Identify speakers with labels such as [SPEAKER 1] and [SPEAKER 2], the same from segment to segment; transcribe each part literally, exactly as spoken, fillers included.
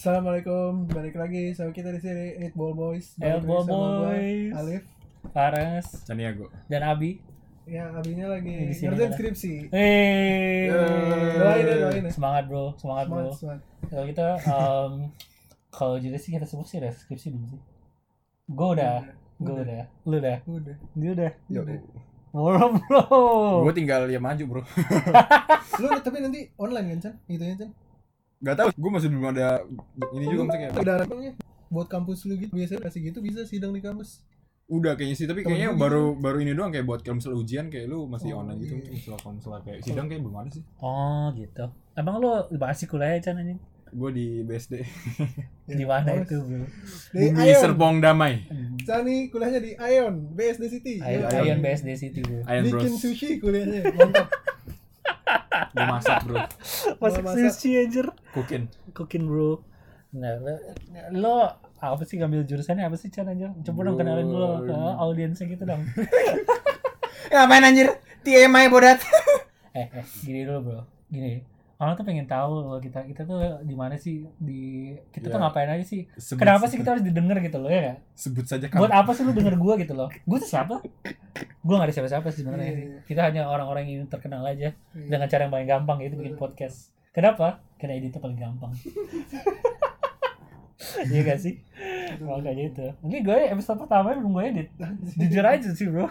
[SPEAKER 1] Assalamualaikum, balik lagi sama kita di sini Eight Ball Boys.
[SPEAKER 2] Eight Ball Boys.
[SPEAKER 1] Gua, Alif,
[SPEAKER 2] Fares,
[SPEAKER 3] Caniago,
[SPEAKER 2] dan Abi.
[SPEAKER 1] Ya, Abinya lagi
[SPEAKER 2] Di sini
[SPEAKER 1] ngerjain
[SPEAKER 2] ada.
[SPEAKER 1] skripsi.
[SPEAKER 2] Hey.
[SPEAKER 1] Doain ya, doain ya.
[SPEAKER 2] Semangat bro, semangat bro.
[SPEAKER 1] Semangat, semangat.
[SPEAKER 2] Kalau kita, um, kalau jadi sih kita semua sih ada skripsi belum sih? Gue udah, gue
[SPEAKER 1] Udah.
[SPEAKER 2] udah, lu udah,
[SPEAKER 1] Udah.
[SPEAKER 2] dia udah.
[SPEAKER 3] yo,
[SPEAKER 1] Udah.
[SPEAKER 2] Bro bro.
[SPEAKER 3] gue tinggal ya maju bro.
[SPEAKER 1] Lu tapi nanti online kan, Chan? Itunya, Chan.
[SPEAKER 3] Gak tau, gue masih belum ada ini juga maksudnya.
[SPEAKER 1] Udah harapannya buat kampus lu gitu. Biasanya kasih gitu bisa sidang di kampus.
[SPEAKER 3] Udah kayaknya sih, tapi
[SPEAKER 1] Temen
[SPEAKER 3] kayaknya
[SPEAKER 1] gua
[SPEAKER 3] baru baru ini doang kayak buat kalau misal ujian kayak lu masih
[SPEAKER 1] Oh,
[SPEAKER 3] online gitu,
[SPEAKER 1] iya.
[SPEAKER 3] misal konselor kayak sidang kayak belum ada sih.
[SPEAKER 2] Oh gitu. Emang lu masih kuliah Chan anjing?
[SPEAKER 3] Gue di B S D.
[SPEAKER 2] Di mana
[SPEAKER 1] Awas.
[SPEAKER 2] itu bro?
[SPEAKER 1] Di
[SPEAKER 3] Bumi
[SPEAKER 1] Ion.
[SPEAKER 3] Serpong Damai.
[SPEAKER 1] Cani kuliahnya di Ion, B S D City.
[SPEAKER 2] Ion,
[SPEAKER 1] Yo,
[SPEAKER 2] Ion B S D City bro.
[SPEAKER 3] Iron Bros.
[SPEAKER 1] Bikin sushi kuliahnya. Mantap.
[SPEAKER 3] Gue masak bro.
[SPEAKER 2] Masak
[SPEAKER 1] masak.
[SPEAKER 2] sushi anjir.
[SPEAKER 3] Cooking.
[SPEAKER 2] Cooking bro. Nah, lo, lo apa sih ngambil jurusannya apa sih Chan anjir? Coba dong kenalin dulu ke audiensnya gitu dong.
[SPEAKER 3] Ngapain anjir? T M I bodat.
[SPEAKER 2] eh, eh, gini dulu bro. Gini. Orang tuh pengen tahu loh kita kita tuh di mana sih di kita tuh
[SPEAKER 3] Ya.
[SPEAKER 2] ngapain aja sih?
[SPEAKER 3] Sebut-
[SPEAKER 2] Kenapa sih kita harus didengar gitu loh ya? Gak?
[SPEAKER 3] Sebut saja
[SPEAKER 2] Buat
[SPEAKER 3] kamu.
[SPEAKER 2] apa sih lu denger gua gitu loh? Gua tuh siapa? Gua gak ada siapa-siapa sih sebenarnya.
[SPEAKER 1] Iya, iya.
[SPEAKER 2] Kita hanya orang-orang yang ingin terkenal aja
[SPEAKER 1] Iya.
[SPEAKER 2] dengan cara yang paling gampang yaitu bikin podcast. Kenapa? Karena editnya paling gampang. Iya gak sih? Makanya itu. Ini gue episode pertama belum gue edit. Jujur aja sih bro.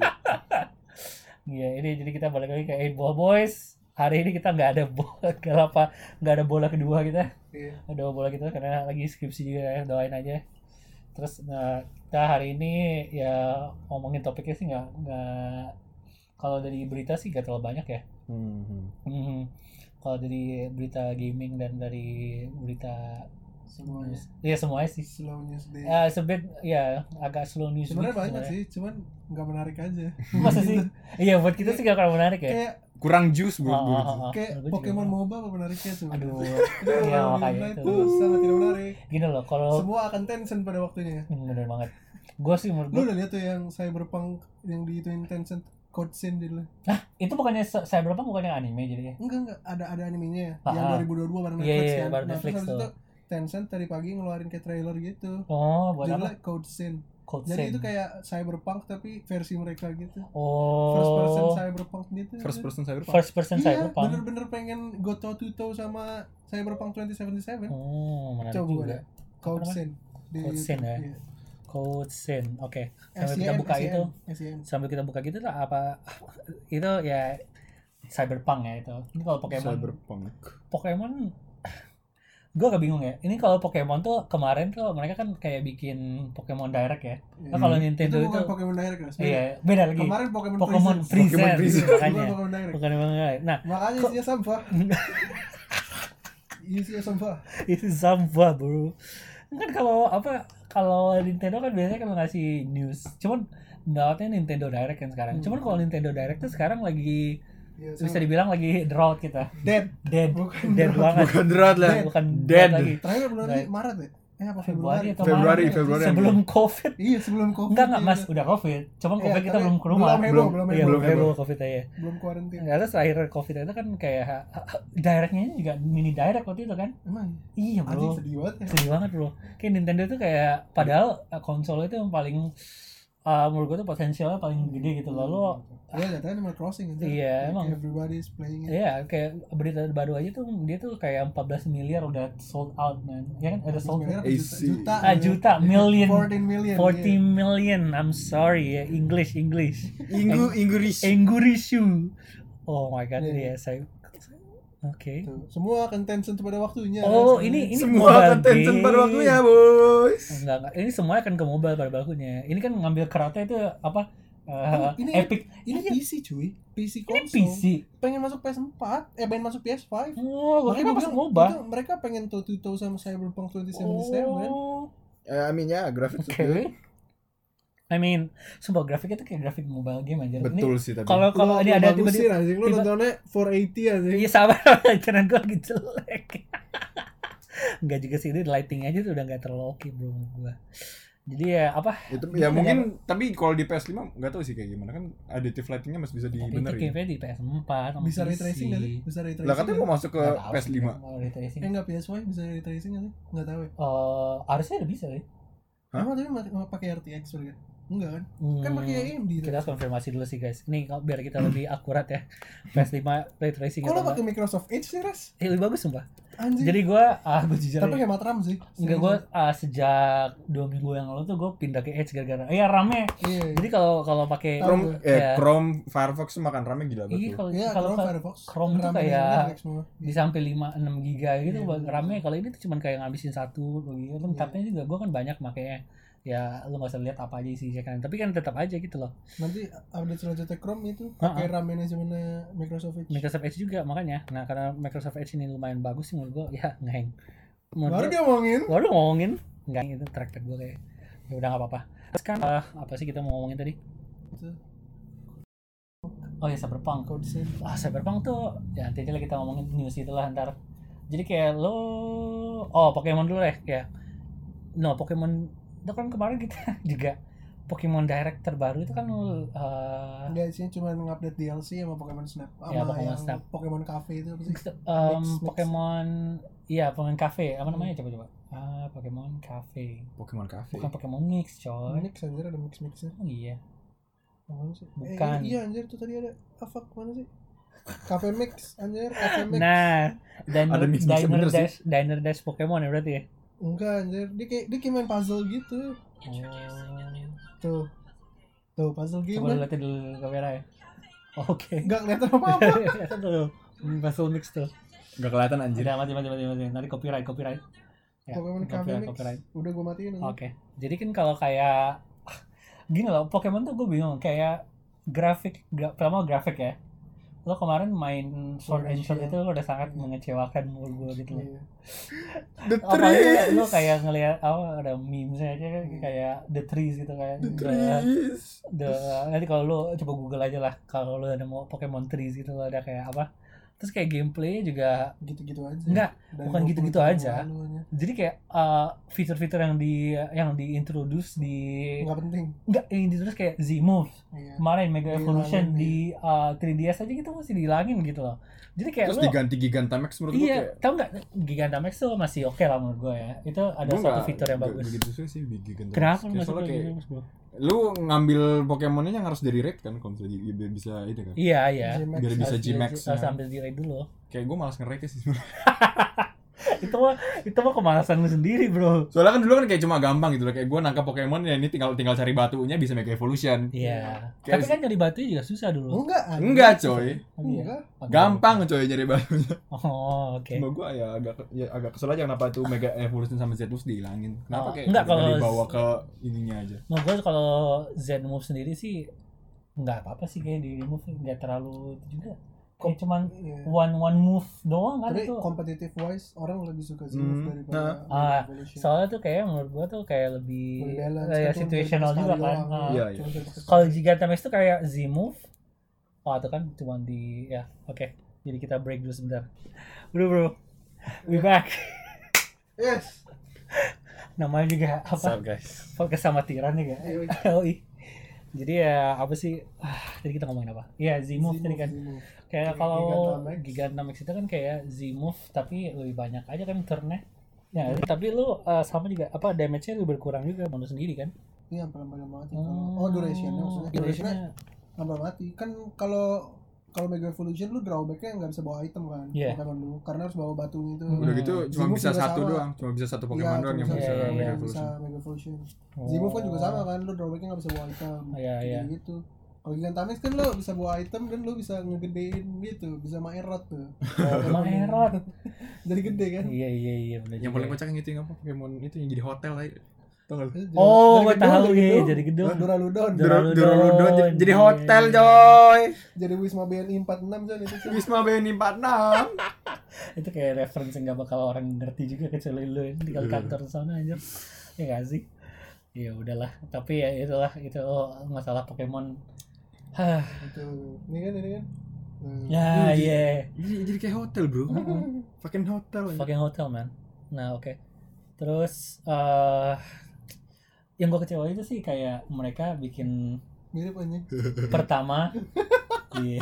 [SPEAKER 2] Iya ini jadi kita balik lagi ke Eight Ball Boys. Hari ini kita nggak ada bola, nggak apa, nggak ada bola kedua kita.
[SPEAKER 1] Iya.
[SPEAKER 2] Ada bola kita karena lagi skripsi juga ya, doain aja. Terus nah, kita hari ini ya ngomongin topiknya sih nggak nggak kalau dari berita sih nggak terlalu banyak ya.
[SPEAKER 3] Hmm.
[SPEAKER 2] Hmm. Kalau dari berita gaming dan dari berita
[SPEAKER 1] Semuanya.
[SPEAKER 2] news, iya semuanya sih.
[SPEAKER 1] Slow news day.
[SPEAKER 2] Ya sebet ya agak slow news.
[SPEAKER 1] Sebenarnya
[SPEAKER 2] gitu
[SPEAKER 1] banyak sih, cuman nggak menarik aja.
[SPEAKER 2] Masa sih? Iya buat kita sih gak akan menarik ya.
[SPEAKER 1] Kayak
[SPEAKER 3] Kurang jus bro.
[SPEAKER 2] Oh, oh, oh, oh.
[SPEAKER 1] kayak
[SPEAKER 2] Gua juga
[SPEAKER 1] Pokemon
[SPEAKER 2] mau.
[SPEAKER 1] MOBA apa menariknya tuh?
[SPEAKER 2] Aduh.
[SPEAKER 1] Itu
[SPEAKER 2] Iya
[SPEAKER 1] kalau
[SPEAKER 2] makanya
[SPEAKER 1] itu
[SPEAKER 2] itu.
[SPEAKER 1] sangat tidak menarik.
[SPEAKER 2] Gini loh kalau
[SPEAKER 1] Semua akan Tencent pada waktunya.
[SPEAKER 2] Hmm, bener banget. Gue sih menurut
[SPEAKER 1] Lu
[SPEAKER 2] gue.
[SPEAKER 1] udah lihat tuh yang Cyberpunk yang diituin Tencent Code Scene dulu?
[SPEAKER 2] Hah, itu bukannya Cyberpunk bukannya anime jadinya?
[SPEAKER 1] Enggak enggak, ada ada animenya
[SPEAKER 2] Ah,
[SPEAKER 1] yang
[SPEAKER 2] ah.
[SPEAKER 1] dua ribu dua puluh dua bareng
[SPEAKER 2] Iya,
[SPEAKER 1] Netflix
[SPEAKER 2] iya,
[SPEAKER 1] kan.
[SPEAKER 2] bareng
[SPEAKER 1] Nah,
[SPEAKER 2] Netflix
[SPEAKER 1] terus habis
[SPEAKER 2] tuh.
[SPEAKER 1] itu Tencent tadi pagi ngeluarin kayak trailer gitu.
[SPEAKER 2] Oh, buat apa?
[SPEAKER 1] Judulnya Code Scene.
[SPEAKER 2] Code
[SPEAKER 1] Jadi
[SPEAKER 2] Scene.
[SPEAKER 1] itu kayak Cyberpunk tapi versi mereka gitu.
[SPEAKER 2] Oh.
[SPEAKER 1] First person Cyberpunk gitu.
[SPEAKER 3] First person cyberpunk.
[SPEAKER 2] First person
[SPEAKER 1] Iya,
[SPEAKER 2] Cyberpunk.
[SPEAKER 1] bener-bener pengen go toe to toe sama Cyberpunk dua ribu tujuh puluh tujuh.
[SPEAKER 2] Oh, menarik
[SPEAKER 1] Coba
[SPEAKER 2] juga.
[SPEAKER 1] ada Code
[SPEAKER 2] namanya?
[SPEAKER 1] Scene di
[SPEAKER 2] Code Scene ya.
[SPEAKER 1] Iya.
[SPEAKER 2] Code Scene. Oke. Sambil
[SPEAKER 1] S I N,
[SPEAKER 2] kita buka
[SPEAKER 1] S I N,
[SPEAKER 2] itu,
[SPEAKER 1] S I N.
[SPEAKER 2] sambil kita buka gitu lah apa itu ya Cyberpunk ya itu. Ini kalau Pokemon
[SPEAKER 3] Cyberpunk.
[SPEAKER 2] Pokemon gue agak bingung ya. Ini kalau Pokemon tuh kemarin tuh mereka kan kayak bikin Pokemon Direct ya.
[SPEAKER 1] Iya.
[SPEAKER 2] Nah, kalau
[SPEAKER 1] Itu
[SPEAKER 2] Nintendo itu,
[SPEAKER 1] bukan Pokemon Direct kan?
[SPEAKER 2] iya beda lagi.
[SPEAKER 1] Kemarin Pokemon,
[SPEAKER 2] Pokemon
[SPEAKER 1] Presents.
[SPEAKER 2] Presents
[SPEAKER 3] Pokemon Presents.
[SPEAKER 2] makanya.
[SPEAKER 1] Bukan Pokemon Direct.
[SPEAKER 2] Bukan Pokemon Direct. Nah,
[SPEAKER 1] Makanya
[SPEAKER 2] Kok-
[SPEAKER 1] isinya sampah. Isinya sampah.
[SPEAKER 2] itu sampah bro. Kan kalau apa kalau Nintendo kan biasanya kalau ngasih news. Cuman dapatnya Nintendo Direct kan sekarang.
[SPEAKER 1] Hmm.
[SPEAKER 2] Cuman kalau Nintendo Direct tuh sekarang lagi
[SPEAKER 1] Iya,
[SPEAKER 2] bisa
[SPEAKER 1] sama.
[SPEAKER 2] dibilang lagi drought kita.
[SPEAKER 1] Dead.
[SPEAKER 2] Dead.
[SPEAKER 1] Bukan
[SPEAKER 2] Dead
[SPEAKER 1] drought.
[SPEAKER 2] banget.
[SPEAKER 3] Bukan drought lah.
[SPEAKER 2] Bukan
[SPEAKER 3] Dead.
[SPEAKER 2] lagi.
[SPEAKER 1] Terakhir bulan
[SPEAKER 2] Right.
[SPEAKER 1] Maret ya? Eh apa
[SPEAKER 2] Februari
[SPEAKER 1] Februari?
[SPEAKER 2] atau
[SPEAKER 3] Februari,
[SPEAKER 2] Maret?
[SPEAKER 3] Februari.
[SPEAKER 2] Sebelum Covid.
[SPEAKER 1] Iya, sebelum Covid.
[SPEAKER 2] Enggak enggak
[SPEAKER 1] iya.
[SPEAKER 2] Mas, udah Covid. Cuman
[SPEAKER 1] Iya,
[SPEAKER 2] Covid kita
[SPEAKER 1] tapi
[SPEAKER 2] belum ke rumah.
[SPEAKER 1] Belum heboh,
[SPEAKER 3] Belum-
[SPEAKER 1] belum
[SPEAKER 2] Iya,
[SPEAKER 1] heboh.
[SPEAKER 2] belum
[SPEAKER 3] heboh.
[SPEAKER 2] heboh Covid aja.
[SPEAKER 1] Belum kuarantin.
[SPEAKER 2] Enggak ada terakhir Covid itu kan kayak directnya juga mini direct waktu itu kan.
[SPEAKER 1] Emang?
[SPEAKER 2] Iya,
[SPEAKER 1] Anjing
[SPEAKER 2] bro.
[SPEAKER 1] sedih banget ya.
[SPEAKER 2] Sedih banget, bro. Kayak Nintendo tuh kayak padahal uh, konsol itu yang paling uh, menurut gue tuh potensialnya paling gede gitu. Lalu
[SPEAKER 1] Iya, katanya Animal Crossing aja.
[SPEAKER 2] Iya, emang.
[SPEAKER 1] Everybody is playing it.
[SPEAKER 2] iya kayak berita baru aja tuh dia tuh kayak empat belas miliar udah sold out, man. Ya kan ada sold out.
[SPEAKER 1] Sebenarnya apa,
[SPEAKER 3] Easy.
[SPEAKER 1] juta,
[SPEAKER 2] Ah, juta, million.
[SPEAKER 1] fourteen million.
[SPEAKER 2] forty
[SPEAKER 1] iya.
[SPEAKER 2] million. I'm sorry ya, English English.
[SPEAKER 3] Inggu Inggris.
[SPEAKER 2] Engurishu. Oh my god,
[SPEAKER 1] Iya.
[SPEAKER 2] iya saya. Oke.
[SPEAKER 1] Tuh, semua akan Tencent pada waktunya.
[SPEAKER 2] Oh,
[SPEAKER 1] rasanya.
[SPEAKER 2] ini ini
[SPEAKER 3] Semua
[SPEAKER 2] mobile
[SPEAKER 3] akan Tencent
[SPEAKER 2] game.
[SPEAKER 3] pada waktunya, boys.
[SPEAKER 2] Enggak, enggak. Ini semua akan ke mobile pada waktunya. Ini kan ngambil keratnya itu apa?
[SPEAKER 1] Oh,
[SPEAKER 2] Uh,
[SPEAKER 1] ini
[SPEAKER 2] Epic.
[SPEAKER 1] Ini
[SPEAKER 2] Iya.
[SPEAKER 1] P C cuy, P C
[SPEAKER 2] Ini
[SPEAKER 1] konsol.
[SPEAKER 2] P C.
[SPEAKER 1] Pengen masuk P S four, eh pengen masuk P S five.
[SPEAKER 2] Oh,
[SPEAKER 1] Makanya
[SPEAKER 2] makanya
[SPEAKER 1] gua
[SPEAKER 2] masuk
[SPEAKER 1] bilang,
[SPEAKER 2] MOBA.
[SPEAKER 1] itu mereka pengen toe to toe sama Cyberpunk dua ribu tujuh puluh tujuh.
[SPEAKER 2] Oh.
[SPEAKER 3] I mean ya, grafik
[SPEAKER 2] Oke. I mean, sumpah grafiknya tuh kayak grafik mobile game aja.
[SPEAKER 3] betul sih tapi.
[SPEAKER 2] Kalau kalau ini ada
[SPEAKER 1] tiba
[SPEAKER 2] tiba-tiba
[SPEAKER 1] anjing lu
[SPEAKER 2] tiba-
[SPEAKER 1] nontonnya four eighty anjing.
[SPEAKER 2] iya sama karena gue lagi jelek. Enggak juga sih, ini lighting aja tuh udah enggak terlalu oke bro menurut gue. Jadi ya apa?
[SPEAKER 3] Itu
[SPEAKER 2] Gimana
[SPEAKER 3] ya mungkin tapi kalau di P S lima enggak tahu sih kayak gimana kan adaptive lighting-nya masih bisa
[SPEAKER 2] Tapi itu
[SPEAKER 3] dibenerin.
[SPEAKER 2] kayaknya di P S empat sama
[SPEAKER 1] Bisa
[SPEAKER 2] P C.
[SPEAKER 1] ray tracing nggak sih? Bisa ray tracing.
[SPEAKER 3] Lah katanya mau masuk ke
[SPEAKER 2] Nggak tahu
[SPEAKER 3] P S
[SPEAKER 2] sih,
[SPEAKER 3] lima.
[SPEAKER 2] mau ray tracing.
[SPEAKER 1] Eh enggak P S Y bisa ray tracing nggak sih? Enggak tahu ya.
[SPEAKER 2] Eh, harusnya udah bisa ya.
[SPEAKER 3] Hah?
[SPEAKER 1] Emang tapi ma- pakai R T X juga? Enggak kan? Kan
[SPEAKER 2] Hmm,
[SPEAKER 1] pakai A M D.
[SPEAKER 2] kita konfirmasi dulu sih guys. Ini kalau- biar kita lebih akurat ya. P S lima ray tracing
[SPEAKER 1] Kok lo
[SPEAKER 2] atau
[SPEAKER 1] pakai
[SPEAKER 2] enggak?
[SPEAKER 1] Microsoft Edge sih, Ras?
[SPEAKER 2] Eh, lebih bagus sumpah.
[SPEAKER 1] Anjir.
[SPEAKER 2] Jadi gua ah gua jujur
[SPEAKER 1] Tapi
[SPEAKER 2] aja.
[SPEAKER 1] hemat RAM sih.
[SPEAKER 2] Enggak, gue uh, sejak dua minggu yang lalu tuh gue pindah ke Edge gara-gara iya RAM-nya.
[SPEAKER 1] Iya.
[SPEAKER 2] Jadi kalau kalau pakai
[SPEAKER 3] Chrome
[SPEAKER 2] ya,
[SPEAKER 3] eh Chrome Firefox tuh makan RAM-nya gila
[SPEAKER 2] iya
[SPEAKER 3] banget.
[SPEAKER 2] kalau
[SPEAKER 1] Iya,
[SPEAKER 2] kalau
[SPEAKER 1] Chrome
[SPEAKER 2] ka-
[SPEAKER 1] Firefox.
[SPEAKER 2] Chrome tuh
[SPEAKER 1] RAM-nya
[SPEAKER 2] kayak
[SPEAKER 1] jelek semua.
[SPEAKER 2] bisa sampai lima enam giga gitu
[SPEAKER 1] Iya,
[SPEAKER 2] buat
[SPEAKER 1] bener.
[SPEAKER 2] RAM-nya. Kalau ini tuh cuman kayak ngabisin satu gitu.
[SPEAKER 1] Iya.
[SPEAKER 2] Tabnya juga gue kan banyak makanya ya lu nggak usah lihat apa aja sih kan. Tapi kan tetap aja gitu loh.
[SPEAKER 1] Nanti update selanjutnya Chrome itu pakai RAM manajemennya Microsoft Edge.
[SPEAKER 2] Microsoft Edge juga makanya. Nah karena Microsoft Edge ini lumayan bagus sih menurut gue ya ngeheng.
[SPEAKER 1] Baru
[SPEAKER 2] Menurut
[SPEAKER 1] dia ngomongin.
[SPEAKER 2] gua udah ngomongin nggak itu trackpad gue kayak ya udah nggak apa-apa. Terus kan eh, apa sih kita mau ngomongin tadi? Oh ya Cyberpunk.
[SPEAKER 1] Code Save.
[SPEAKER 2] Ah Cyberpunk tuh ya nanti aja lah kita ngomongin news itulah ntar. Jadi kayak lo oh Pokemon dulu deh ya. No Pokemon itu kan kemarin kita juga Pokemon Direct terbaru itu kan uh,
[SPEAKER 1] Enggak sih, cuma ngupdate D L C sama Pokemon Snap. Sama
[SPEAKER 2] Ya, Pokemon
[SPEAKER 1] yang
[SPEAKER 2] Snap.
[SPEAKER 1] Pokemon Cafe itu apa sih?
[SPEAKER 2] um,
[SPEAKER 1] Mix, mix.
[SPEAKER 2] Pokemon iya Pokemon Cafe apa namanya coba coba ah Pokemon Cafe
[SPEAKER 3] Pokemon Cafe.
[SPEAKER 2] bukan Pokemon Mix coy.
[SPEAKER 1] Mix anjir, ada mix-mixnya.
[SPEAKER 2] Oh, iya
[SPEAKER 1] Mana sih?
[SPEAKER 2] Bukan.
[SPEAKER 1] Eh, iya anjir tuh tadi ada apa mana sih? Cafe Mix anjir, Cafe Mix.
[SPEAKER 2] nah Diner,
[SPEAKER 3] Ada mix-mixnya
[SPEAKER 2] Diner
[SPEAKER 3] bener sih.
[SPEAKER 2] Dash Diner Dash Pokemon ya berarti ya.
[SPEAKER 1] Enggak anjir, dia kayak dia kayak main puzzle gitu.
[SPEAKER 2] Oh.
[SPEAKER 1] Tuh. Tuh puzzle game.
[SPEAKER 2] Coba
[SPEAKER 1] kan?
[SPEAKER 2] lu liatin dulu kamera ya. Oke.
[SPEAKER 1] Enggak kelihatan apa-apa.
[SPEAKER 2] Lihat dulu. Puzzle mix tuh.
[SPEAKER 3] Enggak kelihatan anjir.
[SPEAKER 2] Udah mati mati mati mati. Nanti copyright copyright. Ya,
[SPEAKER 1] Pokemon Cafe
[SPEAKER 2] copyright
[SPEAKER 1] Mix.
[SPEAKER 2] copyright.
[SPEAKER 1] Udah gua matiin anjir.
[SPEAKER 2] Oke. Jadi kan kalau kayak gini loh, Pokemon tuh gue bingung kayak grafik, gra, pertama grafik ya. Lo kemarin main Sword and Shield itu lo udah sangat mengecewakan menurut gue gitu loh.
[SPEAKER 1] Iya.
[SPEAKER 3] The
[SPEAKER 2] Apalagi
[SPEAKER 3] trees.
[SPEAKER 2] lo kayak ngelihat apa ada memes aja kan kayak the trees gitu kayak
[SPEAKER 3] The
[SPEAKER 2] the,
[SPEAKER 3] trees.
[SPEAKER 2] the nanti kalau lo coba Google aja lah kalau lo ada mau Pokemon trees gitu lo ada kayak apa. Terus kayak gameplay juga
[SPEAKER 1] Gitu-gitu aja.
[SPEAKER 2] enggak,
[SPEAKER 1] Dari
[SPEAKER 2] bukan
[SPEAKER 1] dua puluh
[SPEAKER 2] gitu-gitu
[SPEAKER 1] tahun
[SPEAKER 2] aja.
[SPEAKER 1] lalu aja.
[SPEAKER 2] jadi kayak uh, fitur-fitur yang di yang diintroduce di
[SPEAKER 1] Enggak penting.
[SPEAKER 2] enggak yang diintroduce kayak Z-Move
[SPEAKER 1] Iya.
[SPEAKER 2] kemarin Mega
[SPEAKER 1] Dihilangin,
[SPEAKER 2] Evolution
[SPEAKER 1] iya.
[SPEAKER 2] di uh, tiga D S aja gitu masih dihilangin gitu loh. Jadi kayak
[SPEAKER 3] Terus
[SPEAKER 2] lo
[SPEAKER 3] diganti Gigantamax menurut gue
[SPEAKER 2] iya,
[SPEAKER 3] kayak
[SPEAKER 2] tau nggak Gigantamax tuh masih oke lah menurut gue ya. Itu ada
[SPEAKER 3] Gua
[SPEAKER 2] satu
[SPEAKER 3] nggak-
[SPEAKER 2] fitur yang
[SPEAKER 3] nggak
[SPEAKER 2] bagus.
[SPEAKER 3] begitu sih sih Gigantamax.
[SPEAKER 2] Kenapa lu
[SPEAKER 3] Kayak
[SPEAKER 2] masuk
[SPEAKER 3] soalnya
[SPEAKER 2] ke
[SPEAKER 3] kayak
[SPEAKER 2] Gigantamax bro?
[SPEAKER 3] lu ngambil Pokemonnya yang harus dari raid kan kalau misalnya di- biar bisa itu kan.
[SPEAKER 2] Iya iya.
[SPEAKER 1] G-Max.
[SPEAKER 3] Biar bisa
[SPEAKER 2] Harus di-
[SPEAKER 3] G-Max.
[SPEAKER 2] Harus
[SPEAKER 3] ya.
[SPEAKER 2] ambil di raid dulu.
[SPEAKER 3] Kayak gue malas nge-raid sih sebenarnya.
[SPEAKER 2] itu mah itu mah kemalasan lu sendiri bro.
[SPEAKER 3] Soalnya kan dulu kan kayak cuma gampang gitu loh. Kayak gue nangkap Pokemon ya ini tinggal tinggal cari batunya bisa Mega Evolution.
[SPEAKER 2] Iya.
[SPEAKER 3] Kayak
[SPEAKER 2] Tapi kan nyari batunya juga susah dulu.
[SPEAKER 1] Enggak. anjir.
[SPEAKER 3] Enggak coy.
[SPEAKER 2] Oh, iya.
[SPEAKER 1] Enggak.
[SPEAKER 3] Gampang coy nyari batunya.
[SPEAKER 2] Oh oke.
[SPEAKER 3] Cuma gue ya agak ya agak kesel aja kenapa tuh Mega Evolution sama Z terus dihilangin. Kenapa
[SPEAKER 2] Oh,
[SPEAKER 3] kayak
[SPEAKER 2] enggak,
[SPEAKER 3] nggak
[SPEAKER 2] kalau-
[SPEAKER 3] dibawa ke ininya aja.
[SPEAKER 2] Nah gue kalau Z-Move sendiri sih nggak apa-apa sih kayak di remove nggak terlalu itu juga. Kayak cuman
[SPEAKER 1] Iya.
[SPEAKER 2] one one move doang kan
[SPEAKER 1] Tapi
[SPEAKER 2] itu.
[SPEAKER 1] competitive wise orang lebih suka Z
[SPEAKER 3] Hmm,
[SPEAKER 1] daripada
[SPEAKER 2] Ah,
[SPEAKER 1] Mega Evolution.
[SPEAKER 2] Soalnya tuh kayak menurut gua tuh kayak lebih
[SPEAKER 1] Lebih balance,
[SPEAKER 2] kayak
[SPEAKER 1] kan cuma
[SPEAKER 2] situational
[SPEAKER 1] sekali
[SPEAKER 2] juga kan.
[SPEAKER 1] doang.
[SPEAKER 2] Ah.
[SPEAKER 3] Iya,
[SPEAKER 1] Cuma sekali pakai
[SPEAKER 2] Kalau
[SPEAKER 1] sekali.
[SPEAKER 2] Gigantamax tuh kayak Z-Move. Oh itu kan cuma di ya oke. Jadi kita break dulu sebentar. Bro bro, we back.
[SPEAKER 1] Yes.
[SPEAKER 2] Namanya juga apa?
[SPEAKER 3] guys?
[SPEAKER 2] Podcast sama tiran ya
[SPEAKER 1] Ayo.
[SPEAKER 2] Oh iya. Jadi ya apa sih? Ah, tadi kita ngomongin apa? Iya Z-Move tadi kan.
[SPEAKER 1] Z-Move.
[SPEAKER 2] Kayak
[SPEAKER 1] Kayak
[SPEAKER 2] kalau
[SPEAKER 1] Gigantamax.
[SPEAKER 2] Gigantamax itu kan kayak Z-Move tapi lebih banyak aja kan turn-nya. Ya, tapi lu uh, sama juga apa damage-nya lu berkurang juga menurut sendiri kan?
[SPEAKER 1] Iya, pelan-pelan mati.
[SPEAKER 2] Hmm.
[SPEAKER 1] Kalau oh duration-nya maksudnya. Duration-nya
[SPEAKER 2] Duration-nya
[SPEAKER 1] pelan mati. Kan kalau kalau Mega Evolution lu drawback-nya nggak bisa bawa item kan,
[SPEAKER 2] Iya.
[SPEAKER 1] Pokemon lu, karena harus bawa batunya itu.
[SPEAKER 2] Hmm.
[SPEAKER 3] Udah gitu cuma
[SPEAKER 1] Z-Move
[SPEAKER 3] bisa
[SPEAKER 1] juga
[SPEAKER 3] satu
[SPEAKER 1] sama.
[SPEAKER 3] doang, cuma bisa satu Pokemon
[SPEAKER 1] Iya,
[SPEAKER 3] doang yang
[SPEAKER 1] cuma
[SPEAKER 3] bisa
[SPEAKER 2] bisa- iya,
[SPEAKER 3] Mega
[SPEAKER 2] iya,
[SPEAKER 1] bisa
[SPEAKER 3] Evolution.
[SPEAKER 1] Mega Evolution.
[SPEAKER 2] Oh.
[SPEAKER 1] Z-Move kan juga sama kan, lu drawback-nya nggak bisa bawa item.
[SPEAKER 2] Iya, iya.
[SPEAKER 1] Kayak gitu. Kalau Gigantamax kan lu bisa bawa item dan lu bisa ngegedein gitu, bisa Maerot tuh.
[SPEAKER 2] Oh, Maerot.
[SPEAKER 1] Jadi gede kan?
[SPEAKER 2] Iya iya iya benar.
[SPEAKER 3] Yang paling kocak yang itu yang apa Pokemon itu yang jadi hotel aja. Tau gak lu?
[SPEAKER 1] Jadi-
[SPEAKER 2] Oh,
[SPEAKER 1] dari
[SPEAKER 2] gue
[SPEAKER 1] gedung,
[SPEAKER 2] tahu
[SPEAKER 1] dari
[SPEAKER 2] ya,
[SPEAKER 1] gedung.
[SPEAKER 2] jadi gedung.
[SPEAKER 1] Duraludon.
[SPEAKER 2] Dur- Duraludon.
[SPEAKER 3] Duraludon jadi, jadi
[SPEAKER 2] Iya.
[SPEAKER 3] hotel coy.
[SPEAKER 1] Jadi Wisma B N I empat puluh enam kan itu. Chan.
[SPEAKER 3] Wisma B N I empat puluh enam.
[SPEAKER 2] Itu kayak reference yang gak bakal orang ngerti juga kecuali lu yang tinggal
[SPEAKER 3] Iya.
[SPEAKER 2] kantor sana aja. Ya gak sih? Ya udahlah, tapi ya itulah itu oh, masalah Pokemon. Hah.
[SPEAKER 1] Itu. Ini kan ini kan. Nah,
[SPEAKER 2] Ya, iya.
[SPEAKER 3] Jadi, jadi kayak hotel bro.
[SPEAKER 2] Mm-mm.
[SPEAKER 3] Fucking hotel. aja.
[SPEAKER 2] Fucking hotel man. Nah oke. Terus eh yang gue kecewa itu sih kayak mereka bikin
[SPEAKER 1] Mirip aja.
[SPEAKER 2] pertama iya.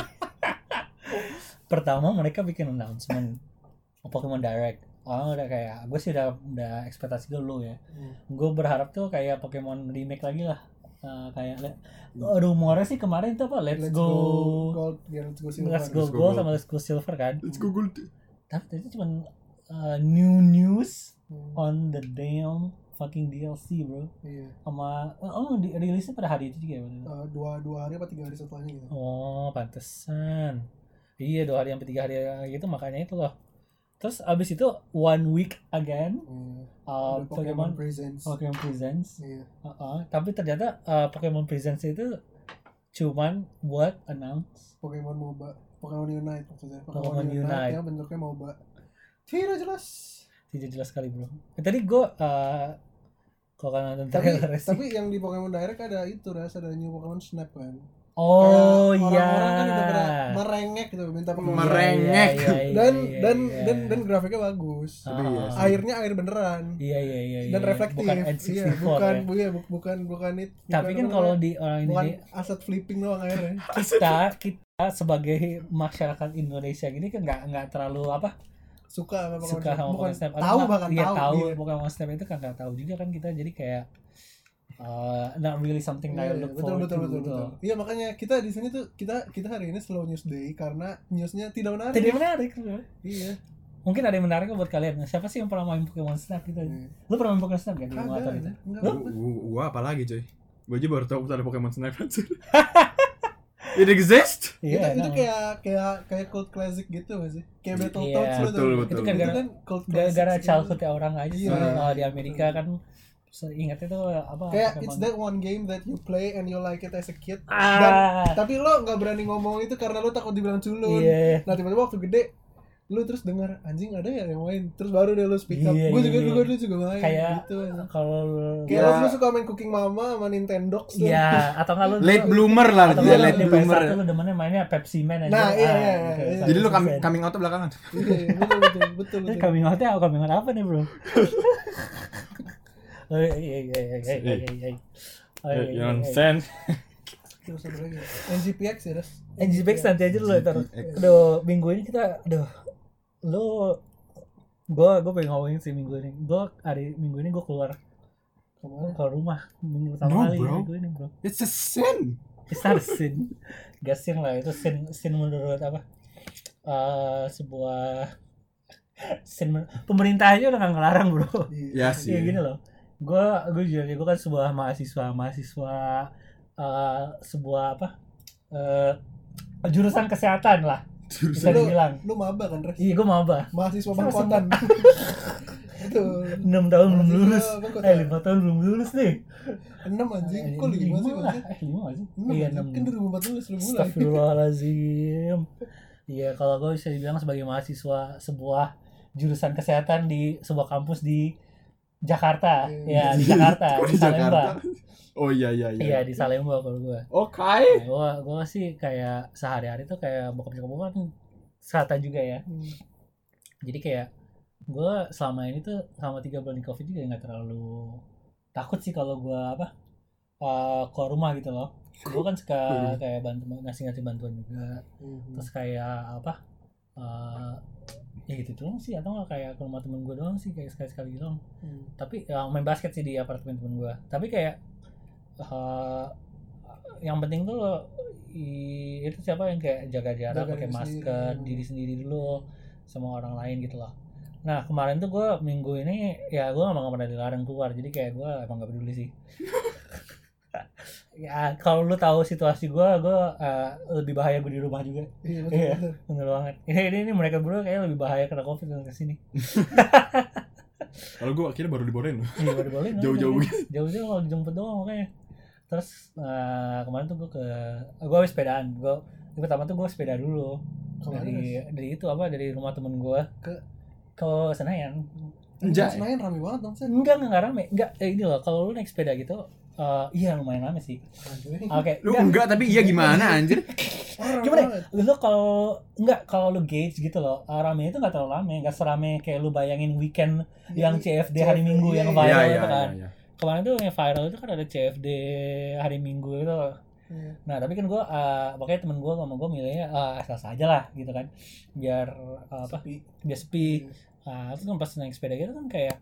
[SPEAKER 2] Pertama mereka bikin announcement Pokemon Direct. Oh udah kayak gue sih udah udah ekspektasi gue low ya.
[SPEAKER 1] Hmm.
[SPEAKER 2] Gue berharap tuh kayak Pokemon remake lagi lah. Uh, kayak oh, rumornya sih kemarin tuh apa Let's,
[SPEAKER 1] Let's
[SPEAKER 2] go,
[SPEAKER 1] go Gold, ya, Let's go Silver.
[SPEAKER 2] Let's go
[SPEAKER 3] Let's go
[SPEAKER 2] Gold
[SPEAKER 3] Gold.
[SPEAKER 2] sama Let's go Silver kan.
[SPEAKER 3] Let's go gold.
[SPEAKER 2] Tapi itu cuma uh, new news
[SPEAKER 1] Hmm.
[SPEAKER 2] on the damn fucking D L C bro.
[SPEAKER 1] Iya.
[SPEAKER 2] Sama oh di rilisnya pada hari itu juga ya.
[SPEAKER 1] Uh, dua dua hari apa tiga hari setelahnya gitu.
[SPEAKER 2] Oh pantesan. Iya dua hari sampai tiga hari gitu makanya itu loh. Terus abis itu one week again
[SPEAKER 1] Iya.
[SPEAKER 2] uh,
[SPEAKER 1] Ada Pokemon
[SPEAKER 2] Pokemon
[SPEAKER 1] Presents.
[SPEAKER 2] Pokemon Presents.
[SPEAKER 1] Iya.
[SPEAKER 2] Uh-uh. Tapi ternyata uh, Pokemon Presents itu cuman buat announce
[SPEAKER 1] Pokemon MOBA, Pokemon Unite maksudnya.
[SPEAKER 2] Pokemon Unite.
[SPEAKER 1] yang bentuknya MOBA. Tidak jelas.
[SPEAKER 2] tidak jelas sekali bro. Eh, tadi gue uh, kalau kan nonton
[SPEAKER 1] Tapi
[SPEAKER 2] trailer sih.
[SPEAKER 1] tapi yang di Pokemon Direct ada itu ras ada new Pokemon Snap kan.
[SPEAKER 2] Oh
[SPEAKER 1] Kayak
[SPEAKER 2] iya.
[SPEAKER 1] orang-orang kan udah pada merengek gitu minta Pokemon.
[SPEAKER 3] Merengek.
[SPEAKER 2] Iya, iya, iya,
[SPEAKER 1] dan
[SPEAKER 2] iya,
[SPEAKER 1] dan
[SPEAKER 2] iya.
[SPEAKER 1] dan dan grafiknya bagus.
[SPEAKER 2] Ah,
[SPEAKER 3] Iya sih.
[SPEAKER 1] Airnya air beneran.
[SPEAKER 2] Iya iya iya.
[SPEAKER 1] Dan
[SPEAKER 2] iya.
[SPEAKER 1] reflektif.
[SPEAKER 2] Bukan N
[SPEAKER 1] Iya,
[SPEAKER 2] sixty four
[SPEAKER 1] bukan
[SPEAKER 2] ya.
[SPEAKER 1] bu- iya, bu- bukan bukan itu.
[SPEAKER 2] Tapi kan kalau di orang
[SPEAKER 1] bukan
[SPEAKER 2] ini
[SPEAKER 1] aset flipping doang airnya.
[SPEAKER 2] kita kita sebagai masyarakat Indonesia gini kan nggak nggak terlalu apa
[SPEAKER 1] Suka sama Pokemon
[SPEAKER 2] suka
[SPEAKER 1] Snap.
[SPEAKER 2] sama
[SPEAKER 1] Bukan
[SPEAKER 2] Pokemon Snap.
[SPEAKER 1] tahu
[SPEAKER 2] Atau
[SPEAKER 1] bahkan
[SPEAKER 2] iya,
[SPEAKER 1] tahu.
[SPEAKER 2] tahu
[SPEAKER 1] Iya.
[SPEAKER 2] Pokemon Snap itu kan nggak tahu juga kan kita jadi kayak uh, not really something that I
[SPEAKER 1] Iya,
[SPEAKER 2] look
[SPEAKER 1] betul
[SPEAKER 2] forward
[SPEAKER 1] betul
[SPEAKER 2] to
[SPEAKER 1] betul
[SPEAKER 2] gitu.
[SPEAKER 1] betul. Iya makanya kita di sini tuh kita kita hari ini slow news day karena newsnya tidak menarik.
[SPEAKER 2] Tidak menarik bro.
[SPEAKER 1] Iya.
[SPEAKER 2] Mungkin ada yang menarik buat kalian. Siapa sih yang pernah main Pokemon Snap gitu?
[SPEAKER 1] Iya.
[SPEAKER 2] Lu pernah main Pokemon Snap gak di
[SPEAKER 1] Kagak.
[SPEAKER 2] motor itu?
[SPEAKER 1] Enggak.
[SPEAKER 2] Lu?
[SPEAKER 3] Gua, gua apa lagi coy? Gua aja baru tahu ada Pokemon Snap anjir. It exists?
[SPEAKER 1] Itu,
[SPEAKER 2] Iya,
[SPEAKER 1] itu
[SPEAKER 2] nah.
[SPEAKER 1] kayak kayak kayak cult classic gitu gak sih? Kayak Battletoads
[SPEAKER 2] Iya.
[SPEAKER 1] lu
[SPEAKER 3] Betul,
[SPEAKER 1] tuh.
[SPEAKER 3] betul.
[SPEAKER 2] Itu kan
[SPEAKER 1] Itu
[SPEAKER 2] gara-
[SPEAKER 1] kan cult classic.
[SPEAKER 2] gara-gara
[SPEAKER 1] gitu.
[SPEAKER 2] childhoodnya orang aja sih.
[SPEAKER 1] Iya.
[SPEAKER 2] Oh, di Amerika kan ingat itu apa?
[SPEAKER 1] Kayak
[SPEAKER 2] Pokemon.
[SPEAKER 1] it's that one game that you play and you like it as a kid.
[SPEAKER 2] Ah.
[SPEAKER 1] Dan tapi lo nggak berani ngomong itu karena lo takut dibilang culun.
[SPEAKER 2] Iya.
[SPEAKER 1] Nah tiba-tiba waktu gede lu terus dengar anjing ada ya yang main terus baru deh lu speak up.
[SPEAKER 2] Iya,
[SPEAKER 1] Gue juga
[SPEAKER 2] iya.
[SPEAKER 1] dulu dulu juga main
[SPEAKER 2] Kayak
[SPEAKER 1] gitu.
[SPEAKER 2] kalau
[SPEAKER 1] Kayak
[SPEAKER 3] Ya.
[SPEAKER 1] lo lu suka main Cooking Mama sama Nintendo.
[SPEAKER 2] Iya, atau enggak lu
[SPEAKER 3] Late bloomer lah,
[SPEAKER 2] atau
[SPEAKER 3] dia
[SPEAKER 2] enggak
[SPEAKER 3] late
[SPEAKER 2] lu di P S
[SPEAKER 3] bloomer.
[SPEAKER 2] satu lu demennya mainnya Pepsi Man aja.
[SPEAKER 1] Nah, iya,
[SPEAKER 2] Ah,
[SPEAKER 1] iya,
[SPEAKER 2] gitu.
[SPEAKER 1] iya.
[SPEAKER 3] Jadi lu coming,
[SPEAKER 2] Pepsi Man.
[SPEAKER 3] coming out belakangan.
[SPEAKER 1] Iya betul betul betul
[SPEAKER 2] Ini
[SPEAKER 1] betul.
[SPEAKER 2] coming out-nya apa coming out apa nih, Bro? Oh iya iya iya iya iya iya. iya. Oh, iya, iya, iya.
[SPEAKER 3] Nonsense.
[SPEAKER 1] Terus satu lagi. N G P X ya, Ras?
[SPEAKER 2] N G P X nanti aja dulu taruh.
[SPEAKER 3] N G P X.
[SPEAKER 2] Aduh, minggu ini kita aduh. Lu gua gua pengen ngomongin sih minggu ini. Gua hari minggu ini gua keluar
[SPEAKER 1] Kemana?
[SPEAKER 2] keluar rumah minggu pertama
[SPEAKER 3] No,
[SPEAKER 2] kali
[SPEAKER 3] bro.
[SPEAKER 2] minggu ini, Bro.
[SPEAKER 3] It's a sin.
[SPEAKER 2] It's not a sin. Gak sin lah, itu sin sin menurut apa? Eh sebuah sin men- pemerintah aja udah gak ngelarang, Bro.
[SPEAKER 3] Ya
[SPEAKER 2] Iya
[SPEAKER 3] sih.
[SPEAKER 2] gini loh. Gua gue juga gue kan sebuah mahasiswa mahasiswa eh sebuah apa? Eh jurusan kesehatan lah. Bisa
[SPEAKER 1] Lu-
[SPEAKER 2] dibilang.
[SPEAKER 1] Lu maba kan, Ras?
[SPEAKER 2] Iya, gue maba.
[SPEAKER 1] Mahasiswa
[SPEAKER 2] Sama
[SPEAKER 1] bangkotan. Betul.
[SPEAKER 2] enam tahun belum
[SPEAKER 1] Mahasiswa
[SPEAKER 2] lulus.
[SPEAKER 1] bangkotan.
[SPEAKER 2] Eh, lima tahun belum lulus nih.
[SPEAKER 1] enam anjing. Kok lima sih
[SPEAKER 2] lah.
[SPEAKER 1] maksudnya?
[SPEAKER 2] Eh, lima sih.
[SPEAKER 1] enam
[SPEAKER 2] Iya,
[SPEAKER 1] anjing.
[SPEAKER 2] enam.
[SPEAKER 1] Kan dua ribu empat belas lu mulai.
[SPEAKER 2] Astagfirullahaladzim. Iya, kalau gue bisa dibilang sebagai mahasiswa sebuah jurusan kesehatan di sebuah kampus di Jakarta.
[SPEAKER 1] Iya.
[SPEAKER 2] Ya, di Jakarta, di Salemba.
[SPEAKER 3] Oh iya iya
[SPEAKER 2] Iya,
[SPEAKER 3] iya.
[SPEAKER 2] di Salemba kalau gue.
[SPEAKER 3] Oke.
[SPEAKER 2] Nah, gue gue sih kayak sehari-hari tuh kayak bokap nyokap gue kan kesehatan juga ya.
[SPEAKER 1] Hmm.
[SPEAKER 2] Jadi kayak gue selama ini tuh selama tiga bulan di covid juga nggak terlalu takut sih kalau gue apa uh, keluar rumah gitu loh. Gue kan suka kayak bantu ngasih-ngasih bantuan juga.
[SPEAKER 1] Hmm.
[SPEAKER 2] Terus kayak apa uh, ya gitu doang sih, atau nggak kayak ke rumah temen gue doang sih kayak sekali-sekali gitu doang.
[SPEAKER 1] Hmm.
[SPEAKER 2] Tapi ya, main basket sih di apartemen temen gue. Tapi kayak uh, yang penting tuh i- itu siapa yang kayak jaga jarak,
[SPEAKER 1] Jaga
[SPEAKER 2] pakai
[SPEAKER 1] diri
[SPEAKER 2] masker,
[SPEAKER 1] sendiri.
[SPEAKER 2] diri sendiri dulu sama orang lain gitu loh. Nah kemarin tuh gue minggu ini ya gue emang gak pernah dilarang keluar, jadi kayak gue emang gak peduli sih. Ya kalau lu tahu situasi gue, gue uh, lebih bahaya gue di rumah juga.
[SPEAKER 1] Iya betul.
[SPEAKER 2] Iya,
[SPEAKER 1] betul.
[SPEAKER 2] bener banget. Ini, ini, ini mereka berdua kayaknya lebih bahaya kena covid dan kesini.
[SPEAKER 3] Kalau gue akhirnya baru dibolehin loh.
[SPEAKER 2] Iya baru boleh.
[SPEAKER 3] Jauh-jauh
[SPEAKER 2] Jauh-jauh kalau dijemput doang makanya. Terus uh, kemarin tuh gue ke, gue habis sepedaan. Gue pertama tuh gue sepeda dulu
[SPEAKER 1] Kemana,
[SPEAKER 2] dari
[SPEAKER 1] Ras?
[SPEAKER 2] dari itu apa dari rumah temen gue
[SPEAKER 1] Ke-
[SPEAKER 2] ke Senayan.
[SPEAKER 3] Enggak.
[SPEAKER 1] Senayan rame banget dong, Sen.
[SPEAKER 2] Enggak enggak rame. Enggak eh, ini loh kalau lu naik sepeda gitu, uh, iya lumayan rame sih.
[SPEAKER 1] Anjing.
[SPEAKER 2] Oke.
[SPEAKER 3] Lu enggak tapi iya gimana anjir?
[SPEAKER 1] Orang
[SPEAKER 2] Gimana?
[SPEAKER 1] banget.
[SPEAKER 2] Lu kalau enggak kalau lu gauge gitu loh, uh, rame itu enggak terlalu rame, enggak serame kayak lu bayangin weekend yang C F D hari Minggu
[SPEAKER 1] Iya,
[SPEAKER 2] yang
[SPEAKER 1] iya.
[SPEAKER 2] viral
[SPEAKER 3] Iya iya
[SPEAKER 2] itu kan.
[SPEAKER 3] iya.
[SPEAKER 2] kemarin tuh yang viral itu kan ada C F D hari Minggu itu.
[SPEAKER 1] Iya.
[SPEAKER 2] Nah tapi kan gue uh, makanya temen gue sama gue milihnya uh, asal aja lah gitu kan, biar uh, apa
[SPEAKER 1] Sepi.
[SPEAKER 2] biar sepi. Nah itu kan pas naik sepeda gitu kan kayak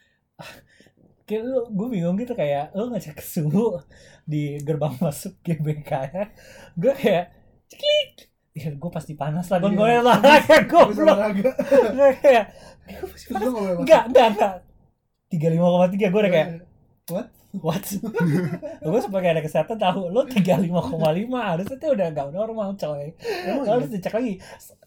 [SPEAKER 2] kayak lu, gue bingung gitu kayak lu ngecek suhu di gerbang masuk G B K ya, gue kayak ceklik, ya gue pasti panas lah, gue
[SPEAKER 1] Iya.
[SPEAKER 2] gue olahraga
[SPEAKER 1] Habis
[SPEAKER 2] goblok,
[SPEAKER 1] olahraga.
[SPEAKER 2] gue kayak gue pasti
[SPEAKER 1] Terus
[SPEAKER 2] panas,
[SPEAKER 1] lu nggak boleh masuk.
[SPEAKER 2] enggak enggak enggak tiga puluh lima koma tiga gue udah kayak
[SPEAKER 1] What?
[SPEAKER 2] what, gue sebagai anak kesehatan tahu lo tiga puluh lima koma lima harusnya tuh udah gak normal coy,
[SPEAKER 1] Emang
[SPEAKER 2] lo harus
[SPEAKER 1] iya?
[SPEAKER 2] dicek lagi.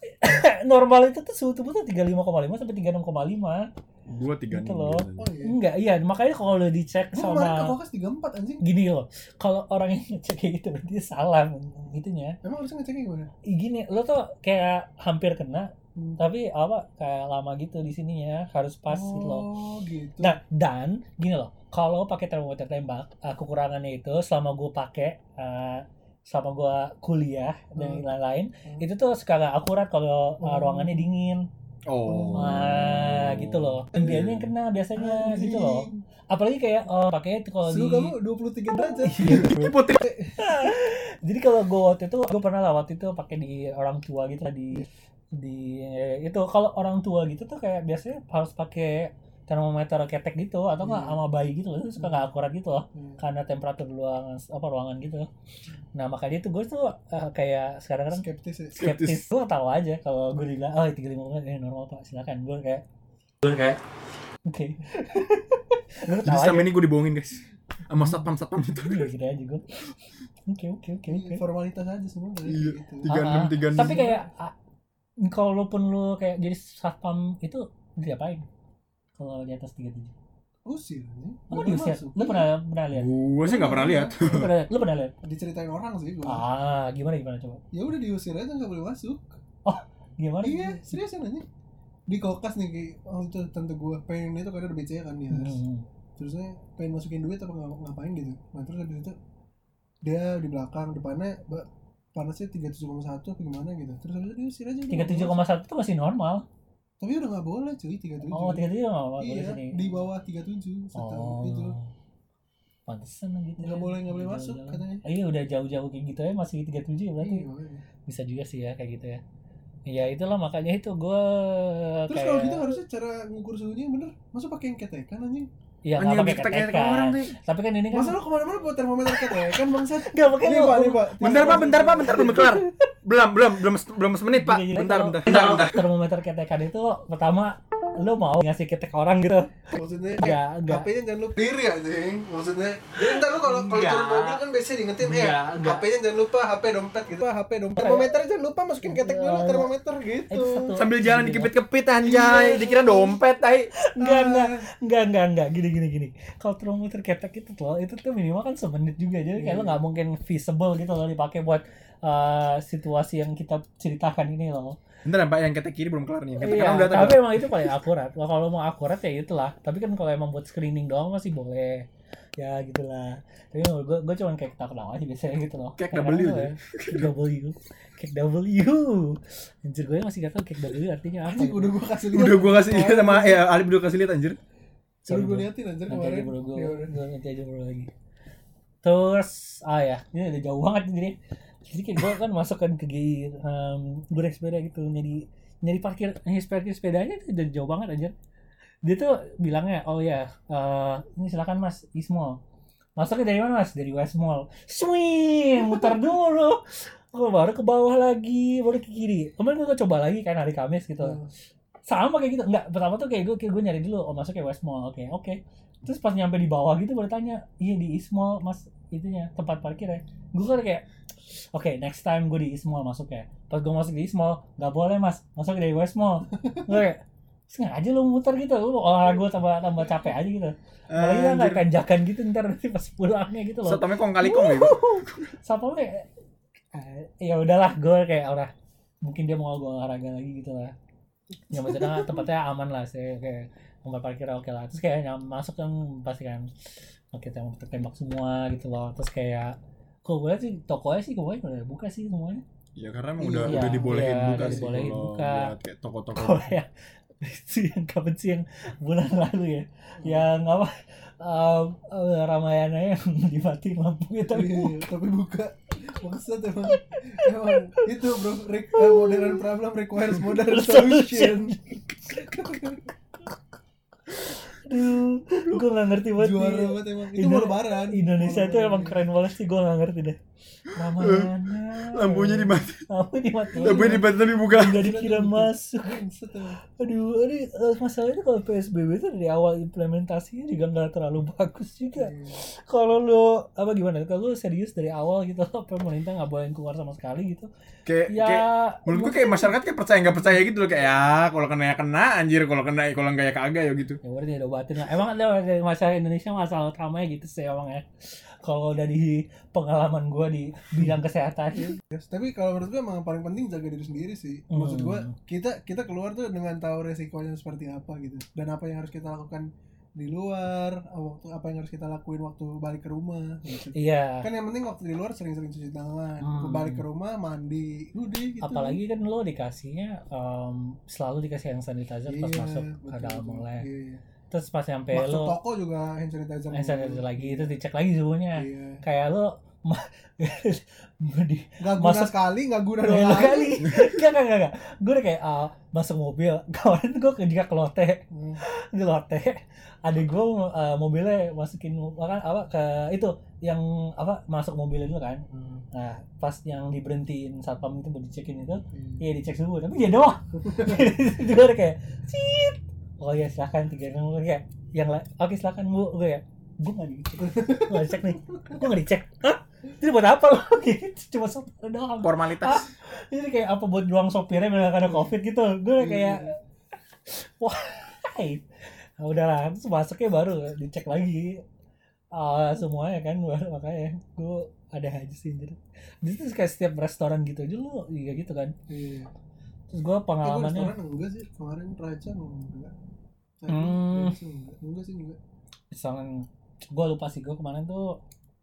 [SPEAKER 2] Normal itu tuh suhu tubuh tuh tiga puluh lima koma lima sampai tiga puluh enam koma lima
[SPEAKER 3] Gua tiga
[SPEAKER 2] gitu loh.
[SPEAKER 1] Oh iya.
[SPEAKER 2] Enggak, iya makanya kalau lo dicek
[SPEAKER 1] Gua kemarin ke
[SPEAKER 2] sama
[SPEAKER 1] Kokas tiga puluh empat anjing.
[SPEAKER 2] gini loh, kalau orang yang ngecek kayak gitu berarti dia salah gitunya.
[SPEAKER 1] Emang harusnya ngeceknya gimana?
[SPEAKER 2] Ih, gini lo tuh kayak hampir kena
[SPEAKER 1] Hmm.
[SPEAKER 2] tapi apa kayak lama gitu di sininya harus pas gitu loh.
[SPEAKER 1] Oh gitu.
[SPEAKER 2] Nah dan gini loh, kalau pakai termometer tembak, uh, kekurangannya itu selama gue pakai uh, selama gue kuliah dan
[SPEAKER 1] Hmm.
[SPEAKER 2] lain-lain,
[SPEAKER 1] Hmm.
[SPEAKER 2] itu tuh suka gak akurat kalau uh,
[SPEAKER 1] Hmm.
[SPEAKER 2] ruangannya dingin.
[SPEAKER 3] Oh.
[SPEAKER 2] Nah gitu loh, dianya yang kena biasanya
[SPEAKER 1] Anjing.
[SPEAKER 2] gitu loh. Apalagi kayak oh, pakai itu kalau
[SPEAKER 1] Suhu
[SPEAKER 2] di
[SPEAKER 1] kamu dua puluh tiga derajat.
[SPEAKER 2] Iya, bro.
[SPEAKER 3] Putri.
[SPEAKER 2] Jadi kalau gue waktu itu gue pernah lah waktu itu pakai di orang tua gitu lah, di di itu kalau orang tua gitu tuh kayak biasanya harus pakai termometer ketek gitu atau nggak
[SPEAKER 1] Hmm.
[SPEAKER 2] sama bayi gitu loh, itu suka nggak akurat gitu loh
[SPEAKER 1] Hmm.
[SPEAKER 2] karena temperatur ruangan apa ruangan gitu. Nah makanya itu gue tuh uh, kayak sekarang kan
[SPEAKER 1] Skeptis ya.
[SPEAKER 2] skeptis, gue tahu aja kalau gue bilang oh tiga puluh lima eh normal pak silakan, gue kayak gue kayak oke. Gue
[SPEAKER 3] Jadi
[SPEAKER 2] tahu aja
[SPEAKER 3] selama ini gue dibohongin guys sama satpam-satpam itu.
[SPEAKER 2] iya gitu aja gue. Oke oke oke oke.
[SPEAKER 1] Formalitas aja semua dari
[SPEAKER 3] Iya.
[SPEAKER 1] gitu.
[SPEAKER 3] tiga puluh enam,
[SPEAKER 2] Ah, ah.
[SPEAKER 3] tiga puluh enam.
[SPEAKER 2] Tapi kayak ah, kalaupun lu kayak jadi satpam itu diapain? Kalau di atas tiga puluh tujuh.
[SPEAKER 1] Usir anjing.
[SPEAKER 2] Lu
[SPEAKER 1] Nggak
[SPEAKER 2] diusir?
[SPEAKER 1] masuk.
[SPEAKER 2] Lu pernah pernah lihat?
[SPEAKER 3] Gua sih nggak pernah lihat.
[SPEAKER 2] Lu pernah lu pernah lihat?
[SPEAKER 1] Diceritain orang sih gua.
[SPEAKER 2] Ah, gimana gimana coba?
[SPEAKER 1] Ya udah diusir aja nggak boleh masuk.
[SPEAKER 2] Gimana?
[SPEAKER 1] Iya, seriusan aja. Di Kokas nih kayak oh itu tante gua pengen itu karena ada B C A kan dia.
[SPEAKER 2] Hmm.
[SPEAKER 1] Terusnya pengen masukin duit apa ngap- ngapain gitu. Nah terus habis itu dia di belakang depannya ba- panasnya tiga puluh tujuh koma satu apa gimana gitu. Terus habis itu diusir aja.
[SPEAKER 2] tiga puluh tujuh koma satu itu masih normal.
[SPEAKER 1] Tapi udah nggak boleh cuy tiga puluh tujuh.
[SPEAKER 2] Oh, tiga puluh tujuh enggak boleh
[SPEAKER 1] Iya,
[SPEAKER 2] sini.
[SPEAKER 1] di bawah tiga puluh tujuh setahu
[SPEAKER 2] Oh.
[SPEAKER 1] itu.
[SPEAKER 2] Pantesan gitu.
[SPEAKER 1] Nggak
[SPEAKER 2] ya.
[SPEAKER 1] boleh nggak boleh masuk
[SPEAKER 2] Jauh-jauh.
[SPEAKER 1] katanya.
[SPEAKER 2] Oh, iya udah jauh-jauh kayak gitu ya masih tiga puluh tujuh ya berarti.
[SPEAKER 1] Iya, makanya.
[SPEAKER 2] Bisa juga sih ya kayak gitu ya. Iya itulah makanya itu gue
[SPEAKER 1] Terus
[SPEAKER 2] kayak
[SPEAKER 1] kalau gitu harusnya cara ngukur suhunya yang bener. Masa pakai yang ketekan anjing?
[SPEAKER 2] iya
[SPEAKER 3] Anjing
[SPEAKER 2] nggak pakai
[SPEAKER 3] ketek-ketek
[SPEAKER 2] ketekan.
[SPEAKER 3] orang nih.
[SPEAKER 2] Tapi kan ini kan
[SPEAKER 1] Masa lo kemana-mana bawa termometer ketekan bangsat?
[SPEAKER 2] nggak pakai
[SPEAKER 1] Nih
[SPEAKER 2] lu.
[SPEAKER 1] pak, nih pak.
[SPEAKER 3] Bentar pak, bentar pak, bentar belum kelar. Belum, belum, belum, belum semenit pak.
[SPEAKER 2] Gini-gini,
[SPEAKER 3] Bentar,
[SPEAKER 2] kalau-
[SPEAKER 3] bentar.
[SPEAKER 2] kalau termometer ketekan itu pertama lu mau ngasih ketek orang gitu.
[SPEAKER 1] Maksudnya
[SPEAKER 2] Enggak, enggak.
[SPEAKER 1] H P-nya jangan lupa diri anjing. Maksudnya jadi ntar lu kalau kalau
[SPEAKER 2] Enggak.
[SPEAKER 1] turun mobil kan biasanya diingetin
[SPEAKER 2] Enggak,
[SPEAKER 1] ya.
[SPEAKER 2] enggak.
[SPEAKER 1] H P-nya jangan lupa, H P dompet gitu. H P dompet. Termometer jangan lupa masukin ketek dulu
[SPEAKER 2] Iya.
[SPEAKER 1] termometer gitu.
[SPEAKER 2] Itu satu.
[SPEAKER 3] Sambil jalan dikepit-kepit anjay, dikira dompet tai.
[SPEAKER 2] Enggak, enggak, enggak, enggak, enggak, gini, gini, gini. Kalau termometer ketek itu tuh, itu tuh minimal kan semenit juga, jadi kayak
[SPEAKER 1] Iya.
[SPEAKER 2] lo nggak mungkin visible gitu loh dipakai buat uh, situasi yang kita ceritakan ini loh.
[SPEAKER 3] Bentar ya, pak, yang ketek kiri belum kelar nih. Yang ketek
[SPEAKER 2] Iya,
[SPEAKER 3] kanan udah
[SPEAKER 2] tapi
[SPEAKER 3] tadi.
[SPEAKER 2] emang itu paling akurat. Kalau kalau mau akurat ya itulah. Tapi kan kalau emang buat screening doang masih boleh. Ya gitulah. Tapi gue gue cuma kayak ketawa-ketawa aja biasanya gitu loh.
[SPEAKER 3] Cake
[SPEAKER 2] Kadang-kadang
[SPEAKER 3] W
[SPEAKER 2] tuh
[SPEAKER 3] tuh.
[SPEAKER 2] ya, Cake W. Cake W. Anjir gue masih gak tau cake W artinya apa.
[SPEAKER 1] Anjing udah gua kasih lihat.
[SPEAKER 3] Udah gua kasih lihat sama ya Alif udah kasih lihat anjir.
[SPEAKER 1] Udah
[SPEAKER 2] Sorry,
[SPEAKER 1] gua
[SPEAKER 2] bro.
[SPEAKER 1] liatin anjir
[SPEAKER 2] Nanti aja
[SPEAKER 1] kemarin.
[SPEAKER 2] bro, gue
[SPEAKER 1] Ya udah.
[SPEAKER 2] gue nanti aja bro lagi. Terus, ah ya, ini udah jauh banget nih jadi. Jadi kayak gue kan masuk kan ke G I, um, gue naik sepeda gitu, nyari nyari parkir, nyari parkir sepedanya itu udah jauh banget aja. Dia tuh bilangnya, oh ya, eh, ini silakan mas, East Mall. Masuknya dari mana mas? Dari West Mall. Swing, muter dulu. Oh, baru ke bawah lagi, baru ke kiri. Kemarin gue coba lagi kan hari Kamis gitu.
[SPEAKER 1] Hmm.
[SPEAKER 2] Sama kayak gitu, enggak, pertama tuh kayak gue kayak gue nyari dulu, oh masuk ke West Mall, oke oke. Terus pas nyampe di bawah gitu baru tanya, iya di East Mall mas itunya tempat parkir ya. Gue kan kayak, oke okay, next time gue di East Mall masuk ya. Pas gue masuk di East Mall, nggak boleh mas, masuk dari West Mall. Gue kayak, sengaja lu muter gitu, lu olahraga gue tambah tambah capek aja gitu. Apalagi kan kayak tanjakan gitu ntar nanti pas pulangnya gitu loh.
[SPEAKER 3] Satpamnya kong kali kong gitu.
[SPEAKER 2] Satpamnya kayak, eh, ya udahlah gue kayak orang mungkin dia mau gue olahraga lagi gitu lah. Ya maksudnya tempatnya aman lah sih kayak tempat parkir oke lah. Terus kayak nyam, masuk kan pasti kan oke tembak tembak semua gitu loh. Terus kayak kok gue sih tokonya sih gue udah buka sih semuanya.
[SPEAKER 3] Ya karena emang
[SPEAKER 1] Iya,
[SPEAKER 3] udah udah dibolehin
[SPEAKER 2] iya,
[SPEAKER 3] buka
[SPEAKER 2] udah
[SPEAKER 3] sih
[SPEAKER 2] dibolehin
[SPEAKER 3] kalau
[SPEAKER 2] buka.
[SPEAKER 3] buat kayak toko-toko.
[SPEAKER 2] Kalau ya Itu yang kapan sih yang bulan lalu ya, yang apa um, uh, Ramayana yang dimatiin lampunya tapi
[SPEAKER 1] Iya, tapi buka maksud emang emang itu bro re- uh, modern problem requires modern solution.
[SPEAKER 2] aduh gue nggak ngerti banget
[SPEAKER 1] Juara
[SPEAKER 2] nih.
[SPEAKER 1] banget emang itu
[SPEAKER 2] Indo-
[SPEAKER 1] mau lebaran
[SPEAKER 2] Indonesia
[SPEAKER 1] Mau
[SPEAKER 2] itu emang
[SPEAKER 1] lebaran.
[SPEAKER 2] keren banget sih, gue nggak ngerti deh. Ramayana
[SPEAKER 3] Lampunya dimatiin.
[SPEAKER 2] lampu dimatiin
[SPEAKER 3] Lampunya dimatiin tapi buka.
[SPEAKER 2] nggak dikira masuk.
[SPEAKER 1] Buset, emang.
[SPEAKER 2] Aduh, ini uh, masalahnya kalau P S B B itu dari awal implementasinya juga nggak terlalu bagus juga.
[SPEAKER 1] Iya.
[SPEAKER 2] Kalau lo apa gimana? Kalau lo serius dari awal gitu, pemerintah nggak boleh keluar sama sekali gitu.
[SPEAKER 3] Kayak
[SPEAKER 2] Ya,
[SPEAKER 3] kayak menurut gue kayak masyarakat kayak percaya nggak percaya gitu loh, kayak ya kalau kena ya kena anjir, kalau kena kalau nggak ya kagak ya gitu.
[SPEAKER 2] ya udah diobatin lah. Emang ada dari masalah Indonesia masalah utamanya gitu sih emang ya. Kalau dari pengalaman gue di bidang kesehatan.
[SPEAKER 1] Yes, tapi kalau menurut gue emang paling penting jaga diri sendiri sih. Maksud gue
[SPEAKER 2] Hmm.
[SPEAKER 1] kita kita keluar tuh dengan tahu resikonya seperti apa gitu dan apa yang harus kita lakukan di luar, waktu apa yang harus kita lakuin waktu balik ke rumah gitu.
[SPEAKER 2] Iya.
[SPEAKER 1] Kan yang penting waktu di luar sering-sering cuci tangan,
[SPEAKER 2] Hmm.
[SPEAKER 1] balik ke rumah mandi, udah gitu.
[SPEAKER 2] Apalagi kan lo dikasihnya um, selalu dikasih hand sanitizer pas
[SPEAKER 1] Iya,
[SPEAKER 2] masuk ke
[SPEAKER 1] betul,
[SPEAKER 2] dalam
[SPEAKER 1] betul.
[SPEAKER 2] mall.
[SPEAKER 1] Iya, iya.
[SPEAKER 2] Terus pas nyampe
[SPEAKER 1] Masuk
[SPEAKER 2] lo
[SPEAKER 1] toko juga hand sanitizer.
[SPEAKER 2] hand sanitizer lagi, itu dicek lagi suhunya.
[SPEAKER 1] Iya.
[SPEAKER 2] Kayak lo ma- di
[SPEAKER 1] Nggak guna
[SPEAKER 2] Masuk-
[SPEAKER 1] sekali, nggak guna
[SPEAKER 2] dua
[SPEAKER 1] dua kali.
[SPEAKER 2] kali. Enggak enggak enggak. Gue udah kayak uh, masuk mobil. Kemarin tuh gue ketika ke Lotte,
[SPEAKER 1] Hmm.
[SPEAKER 2] di Lotte. Adik gue uh, mobilnya masukin makan apa ke itu yang apa masuk mobilnya dulu kan.
[SPEAKER 1] Hmm.
[SPEAKER 2] Nah, pas yang diberhentiin satpam itu buat dicekin itu,
[SPEAKER 1] Hmm.
[SPEAKER 2] iya dicek suhu, tapi dia doang. Gue udah kayak, "Cit. Oh ya silakan tiga nomor kayak yang la- oke silakan Bu." Gue ya, gue nggak dicek, gue nggak dicek nih, gue nggak dicek. Hah? Itu buat apa lo? Gitu, cuma sopir doang.
[SPEAKER 3] Formalitas.
[SPEAKER 2] Ini kayak apa buat ruang sopirnya biar ada covid gitu. Gue kayak, wah, nah, udahlah, terus masuknya baru dicek lagi. Uh, semuanya kan baru makanya gue ada aja sih jadi itu kayak setiap restoran gitu aja lu iya gitu kan.
[SPEAKER 1] Iya.
[SPEAKER 2] Terus gue
[SPEAKER 1] Eh, gue
[SPEAKER 2] pengalamannya
[SPEAKER 1] restoran enggak sih kemarin Raja enggak. Tadi
[SPEAKER 2] Hmm.
[SPEAKER 1] Raja enggak. Enggak sih enggak.
[SPEAKER 2] misalnya gue lupa sih gue kemarin tuh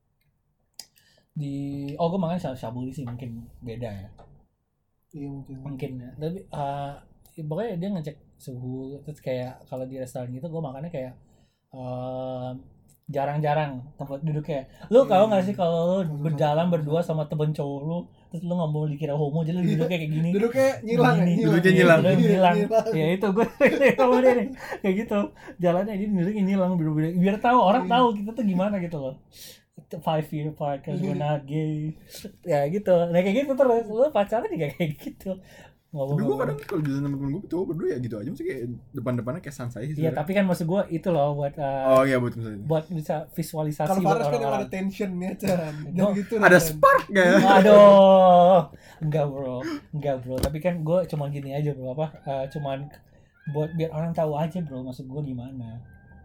[SPEAKER 2] di oh gue makan shabu shabu sih mungkin beda ya
[SPEAKER 1] Iya mungkin.
[SPEAKER 2] mungkin ya tapi uh, pokoknya dia ngecek suhu terus kayak kalau di restoran gitu gue makannya kayak uh, jarang-jarang tempat duduknya. Lu tau nggak sih kalau lu berjalan berdua sama temen cowok lu terus lu nggak mau dikira homo jadi lu duduknya kayak gini.
[SPEAKER 1] Duduknya nyilang ya,
[SPEAKER 2] Gini.
[SPEAKER 1] nyilang.
[SPEAKER 3] Duduknya nyilang.
[SPEAKER 2] Duduknya
[SPEAKER 1] Iya,
[SPEAKER 2] nyilang.
[SPEAKER 1] nyilang.
[SPEAKER 2] Ya itu gue sama dia nih kayak gitu jalannya ini duduknya nyilang biar, biar tahu orang
[SPEAKER 1] Iya.
[SPEAKER 2] tahu kita tuh gimana gitu loh. Itu five year apart cause we're not gay. Ya gitu. Nah kayak gitu terus lu pacaran juga kayak gitu.
[SPEAKER 3] Tapi gue kadang kalau jalan sama temen gue cowok berdua ya gitu aja, mesti kayak depan-depannya kayak sansai sih.
[SPEAKER 2] Iya
[SPEAKER 3] sebenarnya.
[SPEAKER 2] tapi kan maksud gue itu loh buat uh,
[SPEAKER 3] Oh iya buat misalnya.
[SPEAKER 2] buat bisa visualisasi
[SPEAKER 1] Kalau
[SPEAKER 2] buat
[SPEAKER 1] Faras kan emang
[SPEAKER 2] orang-orang.
[SPEAKER 1] ada tensionnya Chan. Dan
[SPEAKER 2] Oh,
[SPEAKER 1] gitu
[SPEAKER 3] Ada
[SPEAKER 1] Chan.
[SPEAKER 3] spark gak ya?
[SPEAKER 2] Aduh, enggak bro, enggak bro. Tapi kan gue cuma gini aja bro, apa? Uh, cuman buat biar orang tahu aja bro, maksud gue gimana.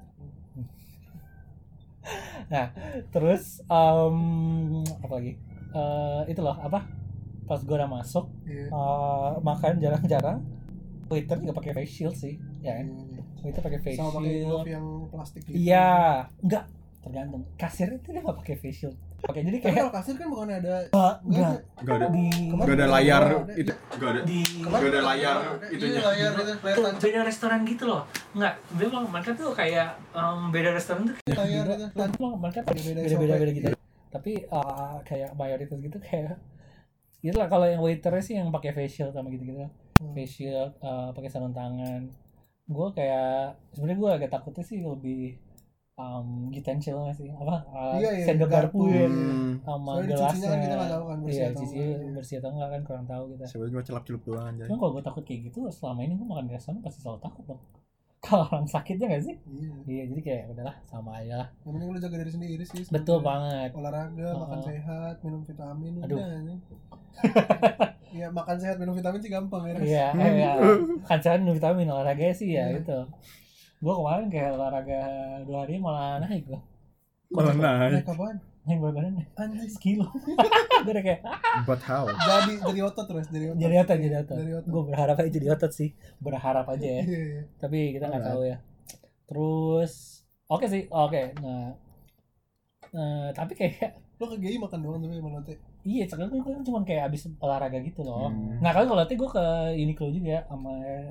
[SPEAKER 2] Nah, terus um, apa lagi? Uh, itu loh apa? Pas gue udah masuk,
[SPEAKER 1] Iya.
[SPEAKER 2] uh, makan jarang-jarang. Waiter juga pakai face shield sih, ya kan?
[SPEAKER 1] Iya.
[SPEAKER 2] Waiter pakai face
[SPEAKER 1] Sama pakai
[SPEAKER 2] shield.
[SPEAKER 1] glove yang plastik gitu.
[SPEAKER 2] Iya, enggak tergantung. Kasir itu dia nggak pakai face shield. Oke, jadi
[SPEAKER 1] Tapi
[SPEAKER 2] kayak
[SPEAKER 1] kalau kasir kan bukan ada
[SPEAKER 2] enggak
[SPEAKER 3] Gak ada.
[SPEAKER 2] di
[SPEAKER 3] Gak ada layar
[SPEAKER 1] Ada.
[SPEAKER 3] itu. Gak ada.
[SPEAKER 2] di
[SPEAKER 3] Gak ada layar itunya.
[SPEAKER 1] Iya, layar itu layar
[SPEAKER 2] tuh,
[SPEAKER 1] tancap
[SPEAKER 2] beda restoran gitu loh. Enggak, memang mereka tuh kayak um, beda restoran tuh
[SPEAKER 1] layar itu.
[SPEAKER 2] memang mereka
[SPEAKER 1] Beda-beda
[SPEAKER 2] beda-beda
[SPEAKER 1] S O P.
[SPEAKER 2] beda gitu. Tapi uh, kayak mayoritas gitu kayak itulah kalau yang waiternya sih yang pakai face shield sama gitu-gitu.
[SPEAKER 1] Hmm.
[SPEAKER 2] Face shield, uh, pakai sarung tangan. Gue kayak sebenarnya gue agak takutnya sih lebih um, utensilnya sih apa uh,
[SPEAKER 1] Iya, iya,
[SPEAKER 2] sendok
[SPEAKER 1] garpu.
[SPEAKER 2] garpu ya
[SPEAKER 3] Hmm.
[SPEAKER 2] sama
[SPEAKER 1] Soalnya dicucinya
[SPEAKER 2] gelasnya.
[SPEAKER 1] kan kita nggak tahu kan bersih
[SPEAKER 2] Iya,
[SPEAKER 1] atau
[SPEAKER 2] cuci
[SPEAKER 1] enggak, iya.
[SPEAKER 2] bersih atau enggak kan kurang tahu kita.
[SPEAKER 3] Siapa cuma celap-celup doang aja.
[SPEAKER 2] Cuma kalau gue takut kayak gitu selama ini gue makan di restoran pasti selalu takut dong. Kalau orang sakitnya nggak sih?
[SPEAKER 1] Iya.
[SPEAKER 2] Iya jadi kayak udahlah sama aja lah.
[SPEAKER 1] Yang penting lu jaga diri sendiri sih.
[SPEAKER 2] Betul
[SPEAKER 1] sebenarnya.
[SPEAKER 2] banget.
[SPEAKER 1] Olahraga,
[SPEAKER 2] Oh.
[SPEAKER 1] makan sehat, minum vitamin
[SPEAKER 2] Aduh.
[SPEAKER 1] udah nih. Iya, makan sehat minum vitamin sih gampang ya.
[SPEAKER 2] Iya, iya. Kan saya minum vitamin olahraga sih ya
[SPEAKER 1] Iya.
[SPEAKER 2] gitu. Gue kemarin kayak olahraga dua hari malah naik gue.
[SPEAKER 3] Malah naik.
[SPEAKER 1] Naik apaan?
[SPEAKER 2] Naik berat badan
[SPEAKER 1] Anjing.
[SPEAKER 2] sekilo. Gue udah kayak
[SPEAKER 3] But how?
[SPEAKER 1] Jadi jadi otot terus, jadi otot.
[SPEAKER 2] jadi otot jadi otot.
[SPEAKER 1] Jadi otot.
[SPEAKER 2] Gue berharap aja jadi otot sih. Berharap aja ya.
[SPEAKER 1] Iya, iya.
[SPEAKER 2] Tapi kita nggak
[SPEAKER 3] Alright.
[SPEAKER 2] tahu ya. Terus oke sih, oke. Nah, eh, tapi kayak
[SPEAKER 1] Lo ke G I makan doang tapi emang lote.
[SPEAKER 2] iya, sekarang kan cuma kayak abis olahraga gitu loh.
[SPEAKER 3] Hmm.
[SPEAKER 2] Nah kalau kalau nanti gue ke Uniqlo juga sama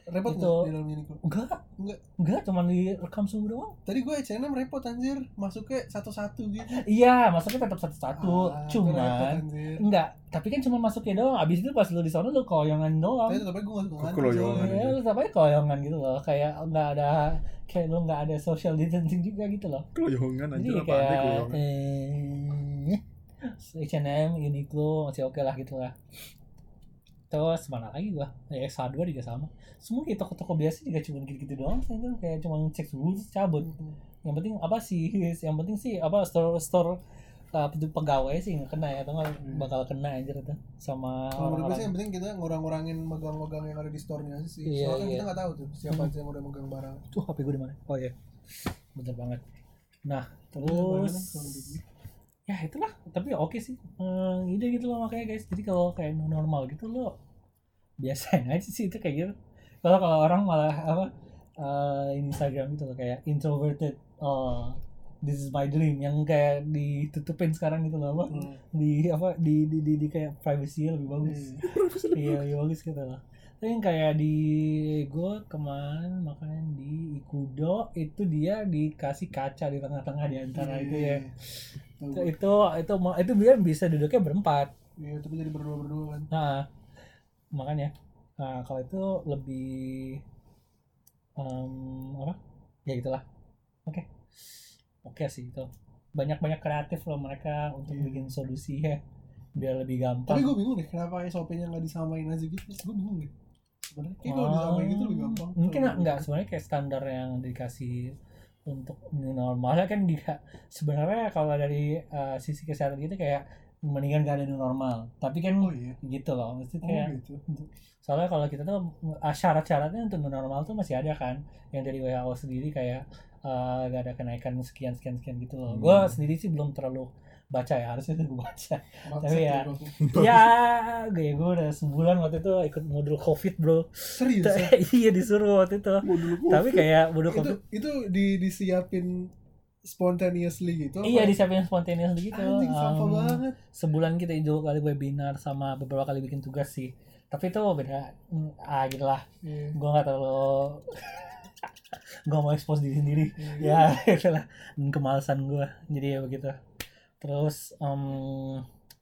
[SPEAKER 1] Repot
[SPEAKER 2] Itu.
[SPEAKER 1] nggak di dalam Uniqlo?
[SPEAKER 2] Enggak,
[SPEAKER 1] Enggak.
[SPEAKER 2] enggak cuma direkam suhu doang.
[SPEAKER 1] Tadi gue H and M repot anjir, masuknya satu-satu gitu.
[SPEAKER 2] Iya, masuknya tetap satu-satu.
[SPEAKER 1] Ah, itu repot,
[SPEAKER 2] Cuman
[SPEAKER 1] anjir.
[SPEAKER 2] enggak, tapi kan cuma masuknya doang. Abis itu pas lu di sana lu koyongan doang.
[SPEAKER 1] Tapi tetap aja gue gak suka ngantuk.
[SPEAKER 3] Keloyongan.
[SPEAKER 1] soalnya.
[SPEAKER 2] Ya, lu tetap aja koyongan gitu loh. Kayak enggak ada kayak lu enggak ada social distancing juga gitu loh.
[SPEAKER 3] Keloyongan
[SPEAKER 2] Jadi
[SPEAKER 3] anjir apa
[SPEAKER 2] kayak
[SPEAKER 3] aneh keloyongan.
[SPEAKER 2] eh H and M, Uniqlo masih oke lah gitu lah. Terus mana lagi gua? Ya, X H dua juga sama. Semua kayak toko-toko biasa juga cuma gitu-gitu doang sih, itu kayak cuma cek suhu terus cabut. Yang penting apa sih? Yang penting sih apa store store uh, pegawai sih nggak kena ya, atau nggak bakal kena anjir itu sama
[SPEAKER 1] Kalau menurut gue sih
[SPEAKER 2] orang-orang.
[SPEAKER 1] yang penting kita ngurang-ngurangin megang-megang yang ada di store-nya aja sih.
[SPEAKER 2] Iya,
[SPEAKER 1] Soalnya kan
[SPEAKER 2] iya.
[SPEAKER 1] kita nggak tahu tuh siapa aja yang udah megang barang.
[SPEAKER 2] Tuh H P gue di mana? Oh iya, bener banget. Nah
[SPEAKER 1] Terus
[SPEAKER 2] terus ya itulah, tapi oke sih, hmm, ide gitu loh makanya guys. Jadi kalau kayak new normal gitu lo biasain aja sih itu kayak gitu. Kalau kalau orang malah apa uh, Instagram gitu loh kayak introverted, oh this is my dream yang kayak ditutupin sekarang gitu loh apa
[SPEAKER 1] Hmm.
[SPEAKER 2] di apa di di di, di kayak privacy lebih bagus. Iya lebih bagus gitu loh. Tapi yang kayak di gue kemarin makan di Ikudo itu dia dikasih kaca di tengah-tengah di antara itu ya. Itu itu itu, itu dia bisa duduknya berempat.
[SPEAKER 1] Iya, tapi jadi berdua-berdua kan.
[SPEAKER 2] Nah, makanya nah, kalau itu lebih um, apa? Ya gitulah. Oke. Oke sih itu. Banyak-banyak kreatif loh mereka untuk
[SPEAKER 1] Iya.
[SPEAKER 2] bikin solusi ya biar lebih gampang.
[SPEAKER 1] Tapi gue bingung deh kenapa S O P-nya nggak disamain aja gitu. Gue bingung deh. Sebenarnya kayak kalau disamain gitu lebih gampang.
[SPEAKER 2] Mungkin
[SPEAKER 1] Kalau-
[SPEAKER 2] enggak, sebenarnya kayak standar yang dikasih untuk new normalnya kan dia sebenarnya kalau dari uh, sisi kesehatan gitu kayak mendingan gak ada new normal. Tapi kan
[SPEAKER 1] Oh iya.
[SPEAKER 2] gitu loh, mesti
[SPEAKER 1] Oh
[SPEAKER 2] kayak
[SPEAKER 1] gitu.
[SPEAKER 2] soalnya kalau kita tuh uh, syarat-syaratnya untuk new normal tuh masih ada kan, yang dari W H O sendiri kayak uh, gak ada kenaikan sekian sekian sekian gitu loh.
[SPEAKER 3] Hmm.
[SPEAKER 2] Gue sendiri sih belum terlalu baca ya, harusnya tuh gue baca.
[SPEAKER 1] Bangsat
[SPEAKER 2] Tapi ya,
[SPEAKER 1] gue.
[SPEAKER 2] ya gue gue udah sebulan waktu itu ikut modul COVID bro.
[SPEAKER 1] Serius. ya?
[SPEAKER 2] Iya disuruh waktu itu. Tapi kayak modul
[SPEAKER 1] itu
[SPEAKER 2] COVID.
[SPEAKER 1] itu di disiapin spontaneously gitu.
[SPEAKER 2] Iya
[SPEAKER 1] apa?
[SPEAKER 2] disiapin spontaneous gitu.
[SPEAKER 1] Anjing sampah
[SPEAKER 2] Um,
[SPEAKER 1] banget.
[SPEAKER 2] Sebulan kita dua kali webinar sama beberapa kali bikin tugas sih. Tapi itu beda. Hmm, Ah gitu lah.
[SPEAKER 1] Iya.
[SPEAKER 2] Gue gak terlalu gue mau expose diri sendiri.
[SPEAKER 1] Iya.
[SPEAKER 2] Ya itulah. Dan kemalasan gue. Jadi ya begitu. Terus um,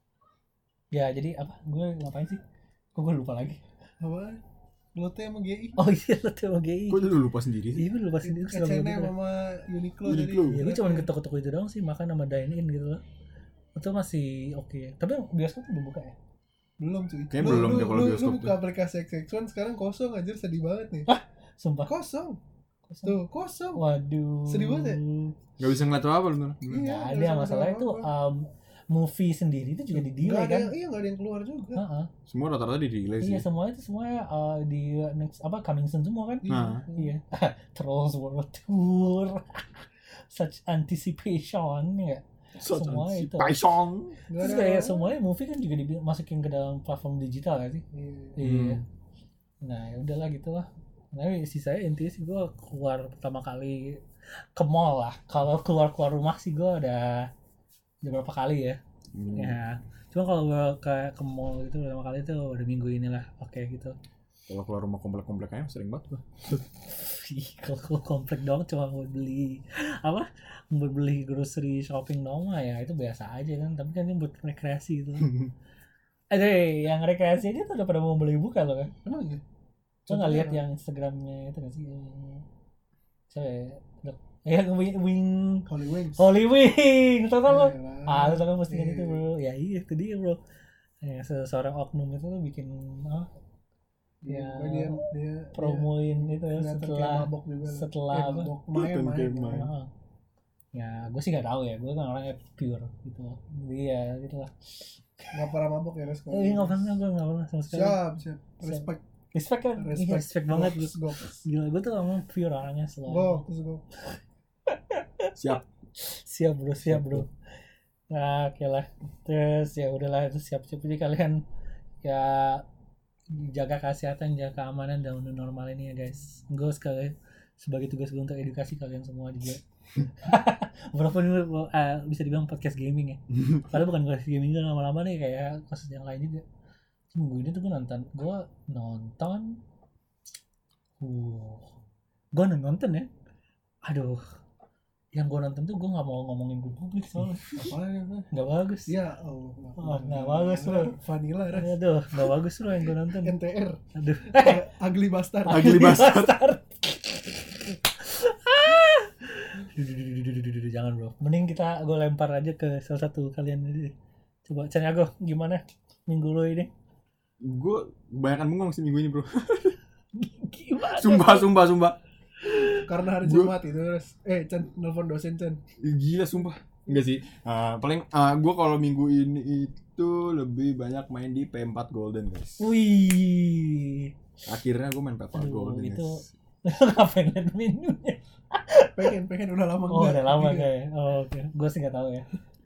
[SPEAKER 2] ya jadi apa? Gue ngapain sih? Kok gue lupa lagi.
[SPEAKER 1] Apa? Lotte sama G I.
[SPEAKER 2] Oh iya lo tuh G I.
[SPEAKER 3] Kok jadi lupa sendiri sih?
[SPEAKER 2] Iya gue lupa sendiri.
[SPEAKER 1] H and M sama Uniqlo tadi.
[SPEAKER 3] Uniqlo.
[SPEAKER 2] Ya gue cuma ke toko-toko itu doang sih, makan sama dine in gitu loh. Itu masih oke. Tapi bioskop udah buka ya?
[SPEAKER 1] Belum cuy.
[SPEAKER 3] Kayaknya
[SPEAKER 1] Lu-
[SPEAKER 3] belum
[SPEAKER 1] lu-
[SPEAKER 3] deh kalau
[SPEAKER 1] lu-
[SPEAKER 3] bioskop
[SPEAKER 1] Lu buka aplikasi X X one sekarang kosong anjir, sedih banget nih.
[SPEAKER 2] Sumpah.
[SPEAKER 1] Kosong.
[SPEAKER 2] Kosong.
[SPEAKER 1] Tuh, kosong.
[SPEAKER 2] Waduh.
[SPEAKER 1] Sedih banget ya?
[SPEAKER 3] Gak bisa ngeliat apa bener.
[SPEAKER 1] Iya,
[SPEAKER 2] Nggak
[SPEAKER 1] nggak
[SPEAKER 2] ada
[SPEAKER 1] bisa
[SPEAKER 2] masalahnya itu
[SPEAKER 1] apa-apa.
[SPEAKER 2] um, movie sendiri itu juga di
[SPEAKER 1] Nggak
[SPEAKER 2] delay
[SPEAKER 1] ada
[SPEAKER 2] kan?
[SPEAKER 1] yang, iya nggak ada yang keluar juga.
[SPEAKER 2] Heeh.
[SPEAKER 3] Semua rata-rata di delay sih.
[SPEAKER 2] Iya semua itu semuanya uh, di next apa coming soon semua kan?
[SPEAKER 3] Nah.
[SPEAKER 2] Iya. Trolls World Tour. Such anticipation ya.
[SPEAKER 3] So,
[SPEAKER 2] semua
[SPEAKER 3] si
[SPEAKER 2] itu.
[SPEAKER 3] Paisong.
[SPEAKER 1] Nggak
[SPEAKER 2] Terus
[SPEAKER 1] ada
[SPEAKER 2] kayak
[SPEAKER 1] apa-apa.
[SPEAKER 2] semuanya movie kan juga dimasukin ke dalam platform digital kan sih?
[SPEAKER 1] Iya.
[SPEAKER 2] Iya.
[SPEAKER 3] Hmm.
[SPEAKER 2] Nah, ya udahlah gitu lah. Tapi sisanya intinya sih gue keluar pertama kali ke mall lah. Kalau keluar-keluar rumah sih gue udah udah berapa kali ya.
[SPEAKER 3] Hmm.
[SPEAKER 2] Ya. Cuma kalau gue kayak ke mall gitu pertama kali itu udah minggu inilah. Oke gitu.
[SPEAKER 3] Kalau keluar rumah komplek-komplek kayaknya sering banget gua.
[SPEAKER 2] Ih, kalau kalau komplek doang cuma mau beli apa? Buat beli grocery shopping doang mah ya itu biasa aja kan. Tapi kan ini buat rekreasi gitu. Eh, yang rekreasi aja tuh udah pada mau beli buka loh kan.
[SPEAKER 1] Emang iya?
[SPEAKER 2] Lo nggak
[SPEAKER 1] Contohnya
[SPEAKER 2] lihat
[SPEAKER 1] apa?
[SPEAKER 2] yang Instagramnya itu nggak sih? Yang saya yang wing, wing
[SPEAKER 1] Holy Wings.
[SPEAKER 2] Holy Wing, tau kan lo?
[SPEAKER 1] Yalah.
[SPEAKER 2] Ah, lo tau kan postingan
[SPEAKER 1] Iya.
[SPEAKER 2] itu bro? Ya iya itu dia bro. Ya, seseorang oknum itu tuh bikin ah,
[SPEAKER 1] Iya,
[SPEAKER 2] ya,
[SPEAKER 1] pokoknya dia dia
[SPEAKER 2] promoin itu
[SPEAKER 1] dia
[SPEAKER 2] ya
[SPEAKER 1] kelihatan kayak
[SPEAKER 2] setelah
[SPEAKER 1] mabok juga lah.
[SPEAKER 2] setelah
[SPEAKER 1] Eh,
[SPEAKER 2] apa?
[SPEAKER 1] mabok main
[SPEAKER 3] Kelihatan
[SPEAKER 1] main.
[SPEAKER 3] kayak main.
[SPEAKER 2] Ah. Ya, gue sih nggak tahu ya. Gue kan orangnya pure gitu loh. Jadi ya gitu lah.
[SPEAKER 1] Nggak pernah mabok ya Res?
[SPEAKER 2] Eh, nggak pernah, gue nggak pernah sama sekali.
[SPEAKER 1] Siap, siap. Respect.
[SPEAKER 2] Respect kan? Respect,
[SPEAKER 1] Respect,
[SPEAKER 2] respect banget
[SPEAKER 1] Goks,
[SPEAKER 2] gitu.
[SPEAKER 1] goks.
[SPEAKER 2] Gila, gue tuh emang pure orangnya selalu.
[SPEAKER 1] Goks, goks.
[SPEAKER 3] Siap.
[SPEAKER 2] Siap bro, siap bro. Nah, oke lah. Terus ya udahlah itu siap-siap jadi kalian ya jaga kesehatan, jaga keamanan dan new normal ini ya guys. Gue sekali sebagai tugas gue untuk edukasi kalian semua juga. Walaupun ini uh, bisa dibilang podcast gaming ya. Padahal bukan podcast gaming juga lama-lama nih kayak kasus yang lain juga. Minggu ini tuh gue nonton, gue nonton Uh, gue nonton ya. Aduh, yang gue nonton tuh gue nggak mau ngomongin gue publik soalnya
[SPEAKER 1] Apa ya?
[SPEAKER 2] nggak bagus.
[SPEAKER 1] Ya, oh,
[SPEAKER 2] Oh, nggak bagus loh.
[SPEAKER 1] Vanilla ras.
[SPEAKER 2] Aduh, nggak bagus loh yang gue nonton.
[SPEAKER 1] N T R.
[SPEAKER 2] Aduh,
[SPEAKER 1] Ugly Bastard.
[SPEAKER 3] Ugly Bastard.
[SPEAKER 2] Duh, duh, duh, duh, duh, duh, duh, jangan bro. Mending kita gue lempar aja ke salah satu kalian aja. Coba Chan Yago, gimana minggu lo ini?
[SPEAKER 3] Gue kebanyakan bengong sih minggu ini bro.
[SPEAKER 2] Gimana?
[SPEAKER 3] Sumpah, sumpah, sumpah.
[SPEAKER 1] Karena hari
[SPEAKER 3] Gua-
[SPEAKER 1] Jumat itu terus. Eh, Chan, nelfon dosen Chan.
[SPEAKER 3] Gila sumpah. Enggak sih. Uh, paling uh, gue kalau minggu ini itu lebih banyak main di P empat Golden guys.
[SPEAKER 2] Wih,
[SPEAKER 3] Akhirnya gue main P empat
[SPEAKER 2] Aduh,
[SPEAKER 3] Golden
[SPEAKER 2] itu
[SPEAKER 3] guys.
[SPEAKER 2] ngapain liat menunya?
[SPEAKER 1] Pengen, pengen udah lama
[SPEAKER 2] Oh
[SPEAKER 1] enggak.
[SPEAKER 2] udah lama
[SPEAKER 1] Iya.
[SPEAKER 2] kayak. Oh, oke, gue sih nggak tahu ya.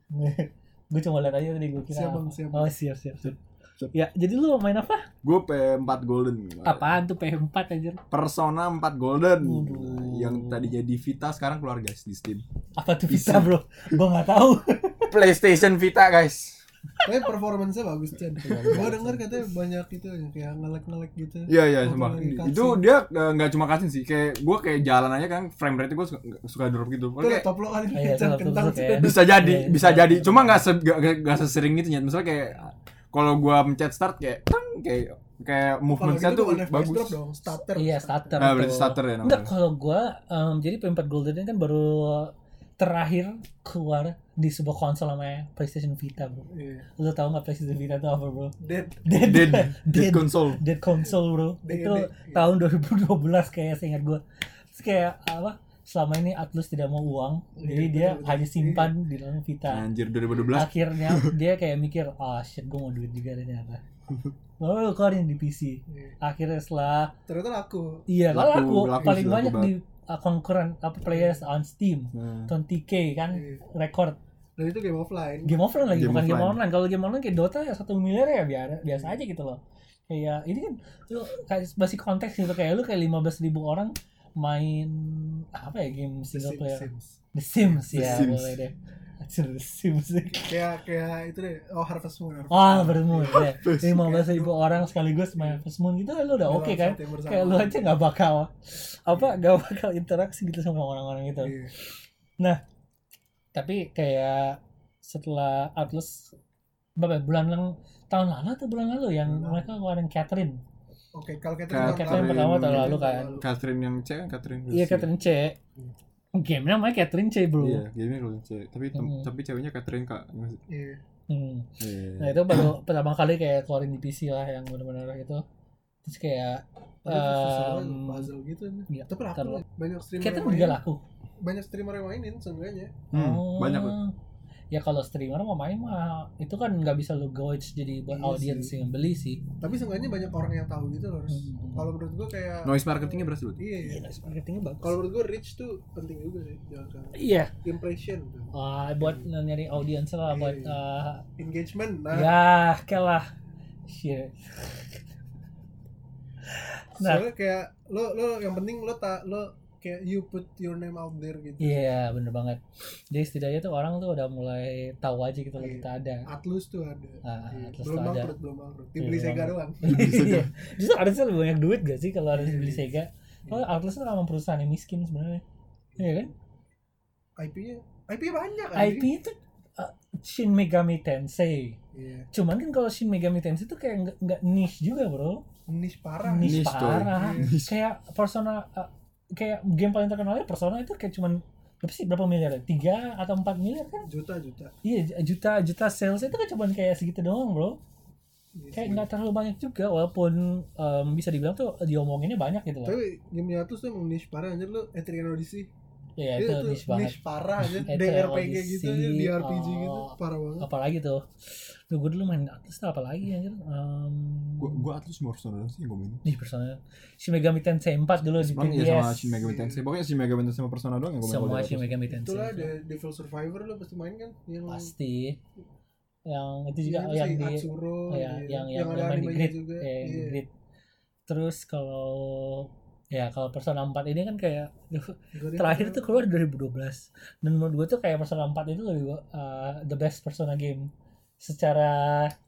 [SPEAKER 2] Gue cuma lihat aja tadi gue kira.
[SPEAKER 1] Siap, Bang,
[SPEAKER 2] apa.
[SPEAKER 1] siap.
[SPEAKER 2] Oh siap siap siap.
[SPEAKER 3] Siap.
[SPEAKER 2] Ya, jadi lu main apa?
[SPEAKER 3] Gue P empat Golden.
[SPEAKER 2] Apaan tuh P empat aja?
[SPEAKER 3] Persona empat Golden.
[SPEAKER 2] Waduh.
[SPEAKER 3] Yang tadi jadi Vita sekarang keluar guys di Steam.
[SPEAKER 2] Apa tuh
[SPEAKER 3] Bisa.
[SPEAKER 2] Vita bro? Gue nggak tahu.
[SPEAKER 3] PlayStation Vita guys.
[SPEAKER 1] Tapi performance-nya bagus Chan. Gua denger katanya banyak itu yang kayak ngelek-ngelek gitu.
[SPEAKER 3] Iya iya
[SPEAKER 1] Waktu
[SPEAKER 3] sumpah.
[SPEAKER 1] lagi cutscene.
[SPEAKER 3] Itu dia eh, nggak cuma cutscene sih. Kayak gue kayak jalan aja kan frame rate gue suka, suka drop gitu.
[SPEAKER 1] Itu
[SPEAKER 3] Kayak
[SPEAKER 1] top lo kali
[SPEAKER 2] Iya,
[SPEAKER 1] Chan
[SPEAKER 2] top lo
[SPEAKER 1] kentang
[SPEAKER 2] tuh
[SPEAKER 1] Chan.
[SPEAKER 2] kayak-
[SPEAKER 3] bisa jadi,
[SPEAKER 2] Iya,
[SPEAKER 3] bisa
[SPEAKER 2] iya.
[SPEAKER 3] jadi. Cuma nggak se nggak nggak sesering gitu nyet. Misalnya kayak kalau gua mencet start kayak tang kayak kayak
[SPEAKER 1] Kalau
[SPEAKER 3] movementnya
[SPEAKER 1] gitu
[SPEAKER 3] tuh
[SPEAKER 1] bukan F P S
[SPEAKER 3] bagus.
[SPEAKER 1] drop dong, starter.
[SPEAKER 2] Iya starter.
[SPEAKER 3] Nah,
[SPEAKER 2] tuh.
[SPEAKER 3] berarti starter ya
[SPEAKER 2] Enggak,
[SPEAKER 3] namanya.
[SPEAKER 2] kalau gue um, jadi P empat Golden ini kan baru terakhir keluar di sebuah konsol namanya PlayStation Vita bro.
[SPEAKER 1] Iya.
[SPEAKER 2] Lu tau nggak PlayStation Vita itu apa bro?
[SPEAKER 1] Dead.
[SPEAKER 2] Dead,
[SPEAKER 3] Dead,
[SPEAKER 2] dead,
[SPEAKER 3] dead console.
[SPEAKER 2] dead console bro.
[SPEAKER 1] Dead,
[SPEAKER 2] Itu
[SPEAKER 1] dead.
[SPEAKER 2] tahun dua ribu dua belas kayak seingat gue. Terus kayak apa? Selama ini Atlus tidak mau uang,
[SPEAKER 1] Iya,
[SPEAKER 2] jadi dia
[SPEAKER 1] betul, betul.
[SPEAKER 2] hanya simpan di dalam Vita.
[SPEAKER 3] Anjir dua ribu dua belas.
[SPEAKER 2] Akhirnya dia kayak mikir, ah shit gue mau duit juga ternyata. Oh, keluarin di P C.
[SPEAKER 1] Iya.
[SPEAKER 2] Akhirnya setelah
[SPEAKER 1] Ternyata laku.
[SPEAKER 2] iya
[SPEAKER 3] Laku,
[SPEAKER 2] laku,
[SPEAKER 3] laku
[SPEAKER 2] paling
[SPEAKER 3] sih, laku
[SPEAKER 2] banyak
[SPEAKER 3] banget.
[SPEAKER 2] di uh, konkuren apa players on Steam,
[SPEAKER 3] Nah,
[SPEAKER 2] dua puluh K kan
[SPEAKER 1] Iya.
[SPEAKER 2] record.
[SPEAKER 1] Dan itu game offline.
[SPEAKER 2] Game offline lagi,
[SPEAKER 3] Game
[SPEAKER 2] bukan game
[SPEAKER 3] offline.
[SPEAKER 2] online. Kalau game online kayak Dota ya satu miliar ya biasa biasa aja gitu loh. Kayak ini kan lu kayak masih konteks gitu kayak lu kayak lima belas ribu orang main apa ya game
[SPEAKER 1] The
[SPEAKER 2] single
[SPEAKER 1] Sims,
[SPEAKER 2] player.
[SPEAKER 1] Sims.
[SPEAKER 2] The Sims
[SPEAKER 3] The
[SPEAKER 2] ya
[SPEAKER 3] Sims.
[SPEAKER 2] boleh deh. Anjir, The Sims.
[SPEAKER 1] Kayak kayak itu deh. Oh, Harvest Moon. Harvest
[SPEAKER 2] Ah,
[SPEAKER 1] Moon.
[SPEAKER 2] bertemu ya. lima belas ribu orang sekaligus main Harvest Moon gitu lu udah
[SPEAKER 1] Dalam
[SPEAKER 2] oke kan?
[SPEAKER 1] satu yang bersama.
[SPEAKER 2] Kayak lu aja nggak bakal apa nggak bakal interaksi gitu sama orang-orang itu.
[SPEAKER 1] Iya.
[SPEAKER 2] Nah, tapi kayak setelah Atlus berapa ya, bulan yang tahun lalu atau bulan lalu yang
[SPEAKER 1] Bulan lalu.
[SPEAKER 2] mereka ngeluarin Catherine.
[SPEAKER 1] Oke, kalau
[SPEAKER 3] Catherine
[SPEAKER 1] Catherine
[SPEAKER 2] Catherine pertama tahun lalu kan.
[SPEAKER 3] Catherine yang C kan Catherine.
[SPEAKER 2] Iya Catherine C. Game namanya Catherine C bro.
[SPEAKER 3] Iya, gamenya kalau C. Tapi tem-
[SPEAKER 2] Hmm.
[SPEAKER 3] tapi ceweknya Catherine Kak.
[SPEAKER 1] Iya.
[SPEAKER 2] Hmm.
[SPEAKER 3] Iya.
[SPEAKER 2] Nah itu baru pertama kali kayak keluarin di P C lah yang benar-benar itu. Terus kayak
[SPEAKER 1] Padahal susah
[SPEAKER 2] um,
[SPEAKER 1] banget, puzzle gitu.
[SPEAKER 2] iya,
[SPEAKER 1] Tapi laku
[SPEAKER 2] terlalu-
[SPEAKER 1] lah. Banyak streamer
[SPEAKER 2] Catherine
[SPEAKER 1] yang
[SPEAKER 2] juga
[SPEAKER 1] mainin.
[SPEAKER 2] laku.
[SPEAKER 1] Banyak streamer yang mainin seenggaknya.
[SPEAKER 3] Hmm,
[SPEAKER 2] Oh.
[SPEAKER 3] banyak loh.
[SPEAKER 2] Ya kalau streamer mau main mah itu kan nggak bisa lu gauge jadi buat
[SPEAKER 1] Iya
[SPEAKER 2] audience
[SPEAKER 1] sih.
[SPEAKER 2] yang beli sih.
[SPEAKER 1] Tapi seenggaknya banyak orang yang tahu gitu loh. Harus.
[SPEAKER 2] Hmm.
[SPEAKER 1] Kalau menurut gua kayak
[SPEAKER 3] Noise marketingnya berhasil.
[SPEAKER 1] iya, iya.
[SPEAKER 2] Iya, marketingnya bagus.
[SPEAKER 1] Kalau menurut gua reach tuh penting juga sih. Jangan salah.
[SPEAKER 2] Iya.
[SPEAKER 1] Impression tuh.
[SPEAKER 2] Wah, buat nyari audiens lah,
[SPEAKER 1] Iya,
[SPEAKER 2] buat
[SPEAKER 1] iya.
[SPEAKER 2] uh,
[SPEAKER 1] Engagement. Nah,
[SPEAKER 2] ya kalah. Shit. Nah.
[SPEAKER 1] soalnya kayak lo lo yang penting lo tak lo kayak you put your name out there gitu.
[SPEAKER 2] Iya, bener banget. Jadi setidaknya tuh orang tuh udah mulai tahu aja gitu loh
[SPEAKER 1] Iya.
[SPEAKER 2] kita ada.
[SPEAKER 1] Atlus tuh ada.
[SPEAKER 2] Ah,
[SPEAKER 1] Iya.
[SPEAKER 2] Atlus
[SPEAKER 1] Belum
[SPEAKER 2] tuh ada.
[SPEAKER 1] bangkrut, belum bangkrut.
[SPEAKER 2] Iya,
[SPEAKER 1] Dibeli
[SPEAKER 2] belum
[SPEAKER 1] Sega
[SPEAKER 2] bangkrut.
[SPEAKER 1] doang.
[SPEAKER 2] Iya. Justru harusnya lebih banyak duit gak sih kalau harus
[SPEAKER 1] Iya,
[SPEAKER 2] beli
[SPEAKER 1] iya.
[SPEAKER 2] Sega? Oh, Atlus tuh emang perusahaan yang miskin sebenarnya. Iya kan?
[SPEAKER 1] I P-nya I P-nya banyak kan.
[SPEAKER 2] I P itu uh, Shin Megami Tensei.
[SPEAKER 1] Iya.
[SPEAKER 2] Cuman kan kalau Shin Megami Tensei itu kayak nggak nggak niche juga, bro.
[SPEAKER 1] Niche parah.
[SPEAKER 2] Niche
[SPEAKER 3] Niche, coy.
[SPEAKER 2] parah.
[SPEAKER 3] Niche.
[SPEAKER 2] Kayak Persona uh, kayak game paling terkenalnya Persona itu kayak cuman berapa sih berapa miliar ya? tiga atau empat miliar kan?
[SPEAKER 1] Juta-juta.
[SPEAKER 2] Iya, juta juta sales itu kan cuman kayak segitu doang, bro.
[SPEAKER 1] Iya
[SPEAKER 2] Kayak
[SPEAKER 1] sih.
[SPEAKER 2] nggak terlalu banyak juga walaupun um, bisa dibilang tuh diomonginnya banyak gitu loh.
[SPEAKER 1] Tapi game Atlus tuh emang niche parah anjir lo Etrian Odyssey.
[SPEAKER 2] Iya, itu
[SPEAKER 1] tuh
[SPEAKER 2] niche banget.
[SPEAKER 1] Niche parah aja.
[SPEAKER 2] Itu
[SPEAKER 1] D R P G gitu aja,
[SPEAKER 2] Odyssey,
[SPEAKER 1] D R P G gitu.
[SPEAKER 2] oh.
[SPEAKER 1] Parah banget.
[SPEAKER 2] Apalagi tuh. Tuh gue dulu main Atlus tuh apalagi anjir. Um,
[SPEAKER 3] Gua gua Atlus mau Persona sih yang gua mainin.
[SPEAKER 2] Nih personanya Shin Megami Tensei empat dulu di
[SPEAKER 3] Emang
[SPEAKER 2] P S.
[SPEAKER 3] iya sama Shin Megami Tensei. Pokoknya Shin Megami Tensei sama Persona doang yang gua main.
[SPEAKER 2] Semua
[SPEAKER 3] kalau di
[SPEAKER 2] Shin
[SPEAKER 3] Atlus.
[SPEAKER 2] Megami Tensei.
[SPEAKER 1] Itulah ada Devil Survivor lo pasti main kan? Yang
[SPEAKER 2] Pasti. Yang itu juga
[SPEAKER 1] Iya,
[SPEAKER 2] oh, yang
[SPEAKER 1] si
[SPEAKER 2] di
[SPEAKER 1] Atsuro,
[SPEAKER 2] oh, ya,
[SPEAKER 1] iya.
[SPEAKER 2] yang yang,
[SPEAKER 1] ada
[SPEAKER 2] yang main di
[SPEAKER 1] animenya
[SPEAKER 2] grid,
[SPEAKER 1] juga.
[SPEAKER 2] ya, yang di
[SPEAKER 1] Iya.
[SPEAKER 2] grid. Terus kalau ya kalau Persona empat ini kan kayak
[SPEAKER 1] Gak ada
[SPEAKER 2] terakhir
[SPEAKER 1] yang
[SPEAKER 2] tuh keluar dua ribu dua belas dan menurut gue tuh kayak Persona empat itu lebih uh, the best Persona game secara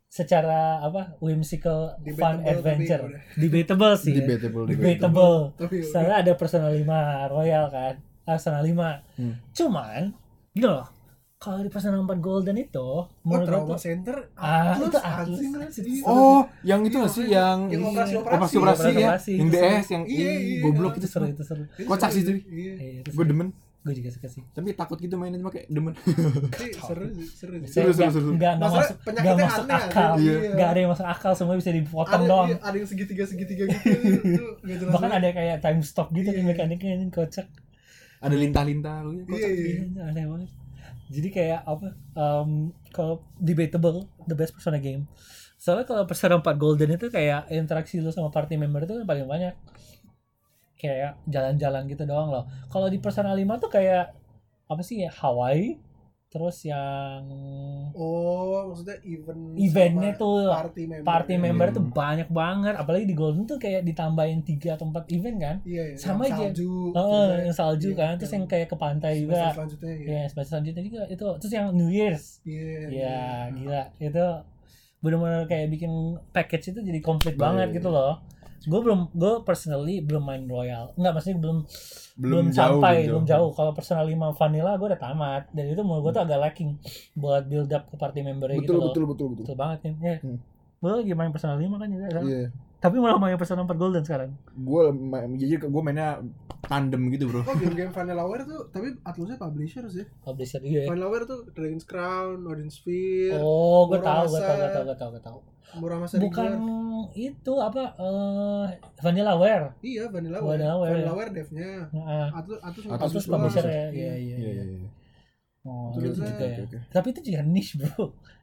[SPEAKER 2] secara apa whimsical fun
[SPEAKER 1] Debatable,
[SPEAKER 2] adventure.
[SPEAKER 1] tapi udah.
[SPEAKER 2] Debatable sih. ya.
[SPEAKER 3] Debatable,
[SPEAKER 2] Debatable.
[SPEAKER 1] Tapi udah.
[SPEAKER 2] Soalnya ada Persona lima Royal kan. Ah, Persona lima.
[SPEAKER 3] Hmm.
[SPEAKER 2] Cuman gitu loh. Kalau di Persona empat Golden itu
[SPEAKER 1] Oh,
[SPEAKER 2] menurut
[SPEAKER 1] Trauma
[SPEAKER 2] gua tuh
[SPEAKER 1] Center
[SPEAKER 2] Ah,
[SPEAKER 1] Atlus,
[SPEAKER 2] itu Atlus.
[SPEAKER 1] anjing lah, sedih.
[SPEAKER 3] Oh, yang itu nggak sih
[SPEAKER 1] Iya,
[SPEAKER 3] yang
[SPEAKER 1] yang
[SPEAKER 3] ini,
[SPEAKER 1] operasi-operasi.
[SPEAKER 3] operasi-operasi ya,
[SPEAKER 2] Operasi-operasi.
[SPEAKER 3] yang D S yang
[SPEAKER 1] Iya,
[SPEAKER 3] ih,
[SPEAKER 1] iya,
[SPEAKER 3] goblok
[SPEAKER 1] iya.
[SPEAKER 3] itu
[SPEAKER 2] itu seru
[SPEAKER 3] seru.
[SPEAKER 2] itu seru.
[SPEAKER 1] Itu
[SPEAKER 3] Kocak sih itu.
[SPEAKER 1] Iya.
[SPEAKER 2] Iya, itu
[SPEAKER 3] Gue
[SPEAKER 2] seru.
[SPEAKER 3] demen,
[SPEAKER 2] Gue juga suka sih.
[SPEAKER 3] tapi takut gitu mainnya cuma kayak demen.
[SPEAKER 1] Tapi seru sih, seru sih.
[SPEAKER 3] Seru, seru, seru.
[SPEAKER 2] Enggak enggak
[SPEAKER 1] Masalah
[SPEAKER 2] masuk enggak
[SPEAKER 1] penyakitnya
[SPEAKER 2] masuk
[SPEAKER 1] aneh,
[SPEAKER 2] akal.
[SPEAKER 1] aneh.
[SPEAKER 3] Iya.
[SPEAKER 2] Enggak ada yang masuk akal, semua bisa dipotong
[SPEAKER 1] Ada,
[SPEAKER 2] doang.
[SPEAKER 1] iya, ada yang segitiga-segitiga gitu. Itu nggak jelas.
[SPEAKER 2] Bahkan ada kayak time stop gitu
[SPEAKER 1] Iya.
[SPEAKER 2] kan mekaniknya ini kocak.
[SPEAKER 3] Ada lintah-lintah, lu
[SPEAKER 1] Iya,
[SPEAKER 3] kocak.
[SPEAKER 1] iya.
[SPEAKER 2] Iya, aneh banget. Jadi kayak apa? Um, kalau debatable the best Persona game. Soalnya kalau Persona empat Golden itu kayak interaksi lu sama party member itu kan paling banyak. Kayak jalan-jalan gitu doang loh. Kalau di Persona lima tuh kayak apa sih ya? Hawaii, terus yang
[SPEAKER 1] Oh, maksudnya event
[SPEAKER 2] Eventnya
[SPEAKER 1] sama
[SPEAKER 2] tuh,
[SPEAKER 1] party member.
[SPEAKER 2] party
[SPEAKER 1] ya.
[SPEAKER 2] member
[SPEAKER 3] Hmm.
[SPEAKER 2] tuh banyak banget. Apalagi di Golden tuh kayak ditambahin tiga atau empat event kan.
[SPEAKER 1] Iya, iya.
[SPEAKER 2] Sama
[SPEAKER 1] yang
[SPEAKER 2] aja.
[SPEAKER 1] salju.
[SPEAKER 2] Oh,
[SPEAKER 1] terus
[SPEAKER 2] yang salju
[SPEAKER 1] iya,
[SPEAKER 2] kan, terus yang kayak ke pantai
[SPEAKER 1] semester
[SPEAKER 2] juga.
[SPEAKER 1] selanjutnya ya.
[SPEAKER 2] Ya, semester selanjutnya juga itu. Terus yang New Year's.
[SPEAKER 1] Iya.
[SPEAKER 2] Ya, gila. Itu benar-benar kayak bikin package itu jadi komplit banget gitu loh. Gue belum, gue personally belum main Royal. Enggak, maksudnya belum belum,
[SPEAKER 3] Belum jauh,
[SPEAKER 2] sampai,
[SPEAKER 3] belum
[SPEAKER 2] belum
[SPEAKER 3] jauh.
[SPEAKER 2] jauh. Kalau Persona lima Vanilla gue udah tamat. Dan itu menurut gue tuh agak lacking buat build up ke party member gitu
[SPEAKER 3] Betul,
[SPEAKER 2] loh.
[SPEAKER 3] betul, betul, betul.
[SPEAKER 2] Betul banget kan. Ya.
[SPEAKER 3] Hmm.
[SPEAKER 2] Gue lagi main Persona lima kan juga. Kan?
[SPEAKER 3] Iya.
[SPEAKER 2] Tapi malah main Persona empat Golden sekarang.
[SPEAKER 3] Gue jadi gue mainnya tandem gitu, bro.
[SPEAKER 1] Oh, game-game Vanillaware tuh, tapi Atlusnya publisher sih.
[SPEAKER 2] Publisher juga ya.
[SPEAKER 1] Vanillaware tuh Dragon's Crown, Odin Sphere,
[SPEAKER 2] Oh, gue tahu, gue
[SPEAKER 1] Muramasa.
[SPEAKER 2] tahu, gue tahu, gue tahu, gue tahu.
[SPEAKER 1] Muramasa
[SPEAKER 2] Bukan
[SPEAKER 1] Rigor.
[SPEAKER 2] itu apa eh Vanillaware.
[SPEAKER 1] Iya, Vanillaware.
[SPEAKER 2] Vanillaware, ya.
[SPEAKER 1] Vanillaware devnya.
[SPEAKER 2] Heeh.
[SPEAKER 1] Atlus Atlus
[SPEAKER 3] Atlus
[SPEAKER 2] Atlus
[SPEAKER 3] doang.
[SPEAKER 2] publisher
[SPEAKER 1] doang.
[SPEAKER 2] ya. Iya, iya,
[SPEAKER 3] Iya,
[SPEAKER 2] iya.
[SPEAKER 3] iya, iya.
[SPEAKER 2] Oh,
[SPEAKER 1] Terus
[SPEAKER 2] itu
[SPEAKER 1] saya-
[SPEAKER 2] juga ya.
[SPEAKER 3] Oke, oke.
[SPEAKER 2] Tapi itu juga niche, Bro.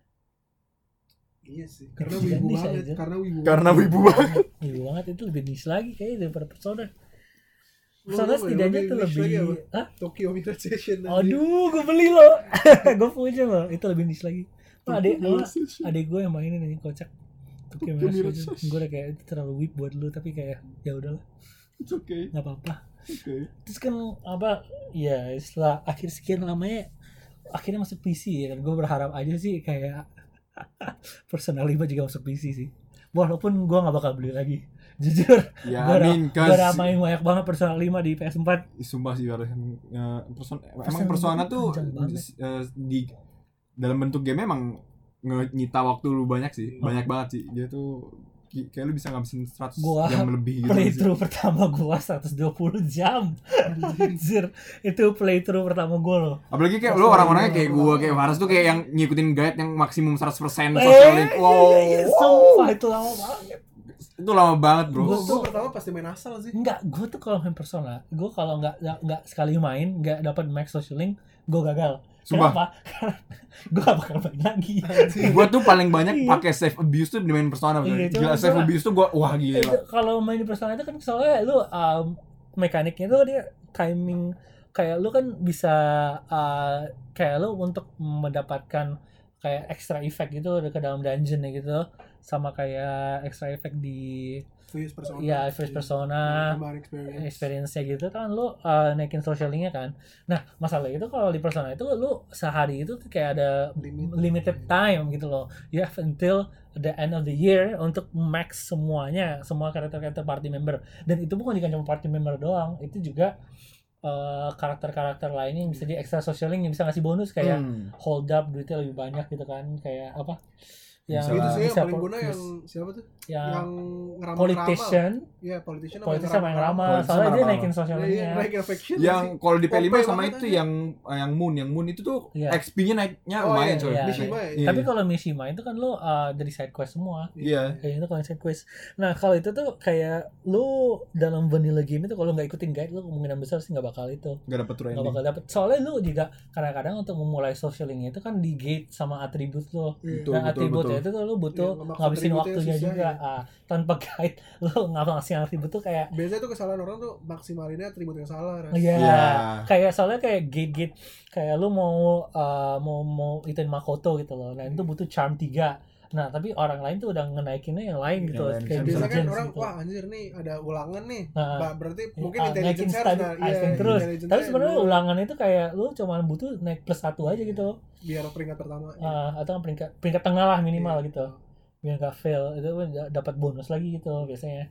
[SPEAKER 1] Iya sih. Karena
[SPEAKER 2] Kecil
[SPEAKER 1] wibu
[SPEAKER 2] nih
[SPEAKER 1] banget,
[SPEAKER 2] saja.
[SPEAKER 1] karena wibu.
[SPEAKER 3] Karena
[SPEAKER 1] banget.
[SPEAKER 3] wibu banget.
[SPEAKER 2] Iya banget, itu lebih niche lagi kayaknya daripada Persona.
[SPEAKER 1] Lu-
[SPEAKER 2] Persona
[SPEAKER 1] lu
[SPEAKER 2] setidaknya
[SPEAKER 1] lebih
[SPEAKER 2] tuh
[SPEAKER 1] niche
[SPEAKER 2] lebih
[SPEAKER 1] lagi apa?
[SPEAKER 2] Hah?
[SPEAKER 1] Tokyo Midnight Session. anjing.
[SPEAKER 2] Aduh, gue beli loh. Gue punya loh. Itu lebih niche lagi. Nah, adek
[SPEAKER 3] Tokyo
[SPEAKER 2] apa?
[SPEAKER 3] Session.
[SPEAKER 2] Adek gue yang mainin ini kocak. Tokyo
[SPEAKER 3] Tokyo
[SPEAKER 2] Mirage
[SPEAKER 3] Mirage
[SPEAKER 2] Session.
[SPEAKER 3] Session.
[SPEAKER 2] Gue udah kayak itu terlalu whip buat lu, tapi kayak ya udahlah,
[SPEAKER 3] It's okay.
[SPEAKER 2] nggak apa-apa.
[SPEAKER 3] Okay.
[SPEAKER 2] Terus kan apa? Ya setelah akhir sekian lamanya akhirnya masuk P C ya kan. Gue berharap aja sih kayak Persona lima juga masuk P C sih. Walaupun gue nggak bakal beli lagi. Jujur.
[SPEAKER 3] Ya,
[SPEAKER 2] gue udah,
[SPEAKER 3] amin,
[SPEAKER 2] gue udah
[SPEAKER 3] kas.
[SPEAKER 2] main banyak banget Persona lima di P S empat.
[SPEAKER 3] Sumpah sih harus uh, person,
[SPEAKER 2] Persona
[SPEAKER 3] emang persona
[SPEAKER 2] itu
[SPEAKER 3] tuh
[SPEAKER 2] panjang banget.
[SPEAKER 3] uh, di dalam bentuk game emang nge- nyita waktu lu banyak sih,
[SPEAKER 2] Oh.
[SPEAKER 3] banyak banget sih. Dia tuh ki- kayak lu bisa ngabisin seratus
[SPEAKER 2] Gua
[SPEAKER 3] jam lebih gitu. sih.
[SPEAKER 2] Playthrough pertama gue seratus dua puluh jam. Anjir, itu playthrough pertama gue loh.
[SPEAKER 3] Apalagi kayak
[SPEAKER 1] Pas
[SPEAKER 3] lu
[SPEAKER 1] lagi
[SPEAKER 3] orang-orangnya kayak
[SPEAKER 1] awal-awal.
[SPEAKER 3] gua kayak Faras tuh kayak yang ngikutin guide yang maksimum seratus persen
[SPEAKER 2] Eh,
[SPEAKER 3] social link. Wow.
[SPEAKER 2] iya, sumpah itu lama banget.
[SPEAKER 3] Itu lama banget, Bro.
[SPEAKER 2] Gua-
[SPEAKER 1] Gue pertama pasti main asal sih.
[SPEAKER 2] Enggak, gue tuh kalau main Persona, gue kalau nggak nggak nggak sekali main nggak dapat max social link, gue gagal.
[SPEAKER 3] Sumpah.
[SPEAKER 2] Kenapa? gue gak bakal main lagi.
[SPEAKER 3] Gua tuh paling banyak
[SPEAKER 2] Iya.
[SPEAKER 3] pakai save abuse tuh di main Persona.
[SPEAKER 2] Iya,
[SPEAKER 3] Gila,
[SPEAKER 2] cuma-
[SPEAKER 3] save
[SPEAKER 2] cuma-
[SPEAKER 3] abuse tuh gua wah
[SPEAKER 2] Itu
[SPEAKER 3] gila.
[SPEAKER 2] kalau main di Persona itu kan soalnya lu um, mekaniknya tuh dia timing kayak lu kan bisa uh, kayak lu untuk mendapatkan kayak extra effect gitu ke dalam dungeon gitu sama kayak extra effect di
[SPEAKER 1] First persona.
[SPEAKER 2] ya first persona
[SPEAKER 1] Tambahan experience.
[SPEAKER 2] experience-nya gitu kan lu uh, naikin social link-nya kan. Nah, masalah itu kalau di Persona itu lu sehari itu tuh kayak ada
[SPEAKER 1] Limit.
[SPEAKER 2] limited time gitu loh. You have until the end of the year untuk max semuanya, semua karakter-karakter party member. Dan itu bukan cuma party member doang, itu juga uh, karakter-karakter lainnya yang bisa di extra social link yang bisa ngasih bonus kayak
[SPEAKER 3] Hmm.
[SPEAKER 2] hold up duitnya lebih banyak gitu kan, kayak apa? Yang
[SPEAKER 1] Itu sih yang
[SPEAKER 2] bisa
[SPEAKER 1] paling
[SPEAKER 2] po-
[SPEAKER 1] guna yang siapa tuh?
[SPEAKER 2] yang
[SPEAKER 1] Yang ngeramal.
[SPEAKER 2] politician,
[SPEAKER 1] Iya, politician
[SPEAKER 2] politician sama yang ramal,
[SPEAKER 3] Politician
[SPEAKER 2] soalnya dia
[SPEAKER 3] sama
[SPEAKER 2] naikin social
[SPEAKER 1] Iya,
[SPEAKER 2] link-nya.
[SPEAKER 1] naikin affection.
[SPEAKER 3] Yang kalau di P lima
[SPEAKER 1] O P
[SPEAKER 3] sama
[SPEAKER 1] banget
[SPEAKER 3] itu
[SPEAKER 1] aja.
[SPEAKER 3] yang eh, yang Moon, yang Moon itu tuh
[SPEAKER 2] Iya.
[SPEAKER 3] X P-nya naiknya
[SPEAKER 1] Oh,
[SPEAKER 3] lumayan
[SPEAKER 1] iya,
[SPEAKER 3] coy.
[SPEAKER 2] iya.
[SPEAKER 1] Mishima ya.
[SPEAKER 3] Iya.
[SPEAKER 2] Tapi kalau Mishima itu kan lu uh, dari side quest semua.
[SPEAKER 3] Iya.
[SPEAKER 2] Kayak itu kalau side quest. Nah, kalau itu tuh kayak lu dalam vanilla game itu kalau nggak ikutin guide lu kemungkinan besar sih nggak bakal itu.
[SPEAKER 3] Gak dapet true
[SPEAKER 2] Nggak
[SPEAKER 3] ending.
[SPEAKER 2] bakal dapet. Soalnya lu juga kadang-kadang untuk memulai social link itu kan di gate sama atribut lu.
[SPEAKER 1] Iya.
[SPEAKER 3] Betul,
[SPEAKER 2] Dan
[SPEAKER 3] betul,
[SPEAKER 2] atributnya
[SPEAKER 3] betul.
[SPEAKER 2] itu tuh lu butuh
[SPEAKER 1] Iya, ngemaksa
[SPEAKER 2] ngabisin
[SPEAKER 1] atributnya
[SPEAKER 2] waktunya
[SPEAKER 1] susah,
[SPEAKER 2] juga.
[SPEAKER 1] ya.
[SPEAKER 2] Ah, tanpa guide lu nggak ngasih atribut tuh kayak
[SPEAKER 1] Biasanya tuh kesalahan orang tuh maksimalinnya atribut yang salah. Ras.
[SPEAKER 2] Iya,
[SPEAKER 3] Iya.
[SPEAKER 2] kayak soalnya kayak gate-gate kayak lu mau uh, mau mau ituin Makoto gitu loh. Nah, itu butuh charm tiga. Nah, tapi orang lain tuh udah ngenaikinnya yang lain gitu.
[SPEAKER 3] Yang lain.
[SPEAKER 2] Kayak
[SPEAKER 1] Biasanya kan
[SPEAKER 2] diligence
[SPEAKER 1] orang
[SPEAKER 2] gitu.
[SPEAKER 1] wah anjir nih ada ulangan nih.
[SPEAKER 2] Nah,
[SPEAKER 1] Ba- berarti mungkin
[SPEAKER 2] ah,
[SPEAKER 1] intelligence
[SPEAKER 2] naikin
[SPEAKER 1] harus
[SPEAKER 2] study,
[SPEAKER 1] nah,
[SPEAKER 2] ah,
[SPEAKER 1] iya,
[SPEAKER 2] terus.
[SPEAKER 1] intelligence
[SPEAKER 2] Tapi
[SPEAKER 1] nya
[SPEAKER 2] sebenarnya
[SPEAKER 1] dulu
[SPEAKER 2] ulangan itu kayak lu cuma butuh naik plus satu aja gitu.
[SPEAKER 1] biar peringkat pertama.
[SPEAKER 2] Ah, atau peringkat peringkat tengah lah minimal
[SPEAKER 1] Iya.
[SPEAKER 2] gitu. biar nggak fail itu dapat bonus lagi gitu biasanya.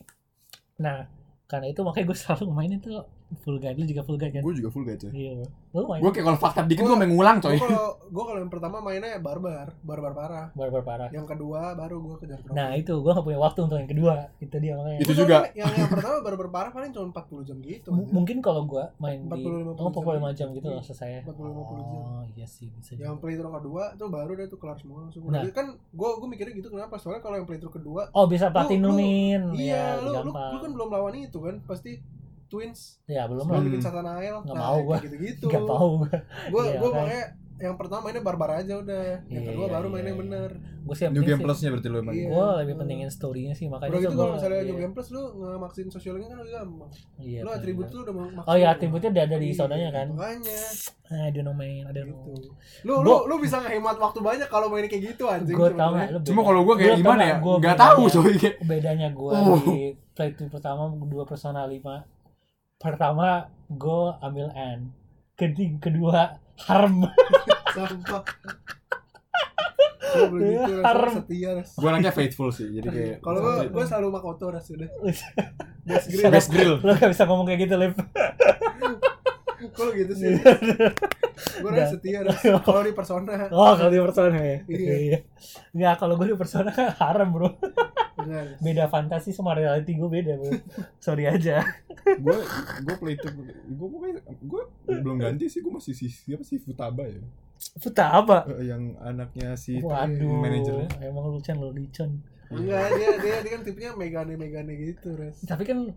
[SPEAKER 2] Nah karena itu makanya gue selalu mainin tuh full guide. Lu juga full guide kan?
[SPEAKER 3] Gue juga full guide coy.
[SPEAKER 2] Iya. Lu main
[SPEAKER 3] Gue kayak kalau fakta dikit gue main ngulang
[SPEAKER 1] Gue
[SPEAKER 3] coy.
[SPEAKER 1] kalau gue kalau yang pertama mainnya barbar, barbar parah.
[SPEAKER 2] barbar parah.
[SPEAKER 1] Yang kedua baru gue kejar trofi.
[SPEAKER 2] Nah itu gue gak punya waktu untuk yang kedua. Itu dia makanya.
[SPEAKER 3] Itu
[SPEAKER 1] Gua
[SPEAKER 3] juga.
[SPEAKER 1] soalnya Yang yang pertama barbar parah paling cuma empat puluh jam gitu.
[SPEAKER 2] M- mungkin kalau gue main
[SPEAKER 1] empat
[SPEAKER 2] di
[SPEAKER 1] puluh lima puluh
[SPEAKER 2] oh empat puluh lima
[SPEAKER 1] jam.
[SPEAKER 2] jam gitu loh selesai.
[SPEAKER 1] empat puluh lima puluh jam.
[SPEAKER 2] Oh iya sih bisa juga.
[SPEAKER 1] Yang playthrough kedua tuh baru deh tuh kelar semua langsung.
[SPEAKER 2] Nah.
[SPEAKER 1] Nah. Kan gue gue mikirnya gitu kenapa? Soalnya kalau yang playthrough kedua,
[SPEAKER 2] Oh bisa
[SPEAKER 1] lu-
[SPEAKER 2] platinumin.
[SPEAKER 1] iya,
[SPEAKER 2] Ya,
[SPEAKER 1] lu, lu,
[SPEAKER 2] gampang.
[SPEAKER 1] lu kan belum lawan itu kan, pasti Twins.
[SPEAKER 2] Ya belum
[SPEAKER 1] Sebelum
[SPEAKER 2] lah.
[SPEAKER 1] bikin Satanael.
[SPEAKER 2] Nggak
[SPEAKER 1] Nah,
[SPEAKER 2] mau gua.
[SPEAKER 1] kayak gitu-gitu.
[SPEAKER 2] Gak tau gue.
[SPEAKER 1] Gue
[SPEAKER 2] Iya,
[SPEAKER 1] gue
[SPEAKER 2] kan.
[SPEAKER 1] makanya yang pertama mainnya barbar aja udah. Yang
[SPEAKER 2] Iya,
[SPEAKER 1] kedua
[SPEAKER 2] iya,
[SPEAKER 1] baru
[SPEAKER 2] iya,
[SPEAKER 1] mainnya
[SPEAKER 2] iya.
[SPEAKER 1] bener.
[SPEAKER 2] Gue sih yang
[SPEAKER 3] New
[SPEAKER 2] penting
[SPEAKER 3] Game
[SPEAKER 2] sih-
[SPEAKER 3] Plus-nya berarti lu emang.
[SPEAKER 1] Iya.
[SPEAKER 2] gue lebih pentingin story-nya sih makanya
[SPEAKER 1] Udah gitu
[SPEAKER 2] gua-
[SPEAKER 1] kalau misalnya
[SPEAKER 2] iya.
[SPEAKER 1] New Game Plus lu ngemaksin sosialnya kan lebih gampang.
[SPEAKER 2] Iya,
[SPEAKER 1] Lu
[SPEAKER 2] bener.
[SPEAKER 1] atribut tuh udah maksimal.
[SPEAKER 2] Oh iya atributnya udah ada di
[SPEAKER 1] Iya,
[SPEAKER 2] zonanya kan.
[SPEAKER 1] Makanya
[SPEAKER 2] I don't know man, I don't know.
[SPEAKER 1] gitu. Lu lu
[SPEAKER 2] Gua-
[SPEAKER 1] lu bisa ngehemat waktu banyak kalau main kayak gitu anjing.
[SPEAKER 2] Gue tau
[SPEAKER 1] sebenarnya.
[SPEAKER 2] gak lu
[SPEAKER 3] Cuma
[SPEAKER 2] beda-
[SPEAKER 3] kalau gue kayak
[SPEAKER 2] Lu tau
[SPEAKER 3] gimana
[SPEAKER 2] nggak
[SPEAKER 3] ya?
[SPEAKER 2] gua
[SPEAKER 3] Gak
[SPEAKER 2] bedanya-
[SPEAKER 3] tahu coy.
[SPEAKER 2] Bedanya gue
[SPEAKER 3] Oh.
[SPEAKER 2] di playthrough pertama dua Persona lima. Pertama gue ambil N. Kedua, kedua harem.
[SPEAKER 1] Sampah. Gue begitu
[SPEAKER 2] Harem.
[SPEAKER 1] rasa setia ras.
[SPEAKER 3] Gue anaknya faithful sih. Jadi kayak
[SPEAKER 1] Kalau gue gue selalu Makoto ras udah. Best grade.
[SPEAKER 3] Best grill.
[SPEAKER 2] Lu gak bisa ngomong kayak gitu, Liv.
[SPEAKER 1] Kalau gitu sih. Gue
[SPEAKER 2] Udah.
[SPEAKER 1] rasa setia ras. Kalau di Persona.
[SPEAKER 2] Oh kalau di Persona ya.
[SPEAKER 1] Iya.
[SPEAKER 2] Iya. Nggak kalau gue di Persona kan harem bro.
[SPEAKER 1] Benar.
[SPEAKER 2] Beda fantasi sama reality gue beda bro. Sorry aja.
[SPEAKER 3] Gue gue play itu gue gue belum ganti sih. Gue masih si siapa sih Futaba ya.
[SPEAKER 2] Futa apa?
[SPEAKER 3] Eh, yang anaknya si
[SPEAKER 2] Waduh.
[SPEAKER 3] manajernya.
[SPEAKER 2] Emang lu Chan lu Licon.
[SPEAKER 1] Enggak, dia dia dia kan tipenya megane-megane gitu ras.
[SPEAKER 2] Tapi kan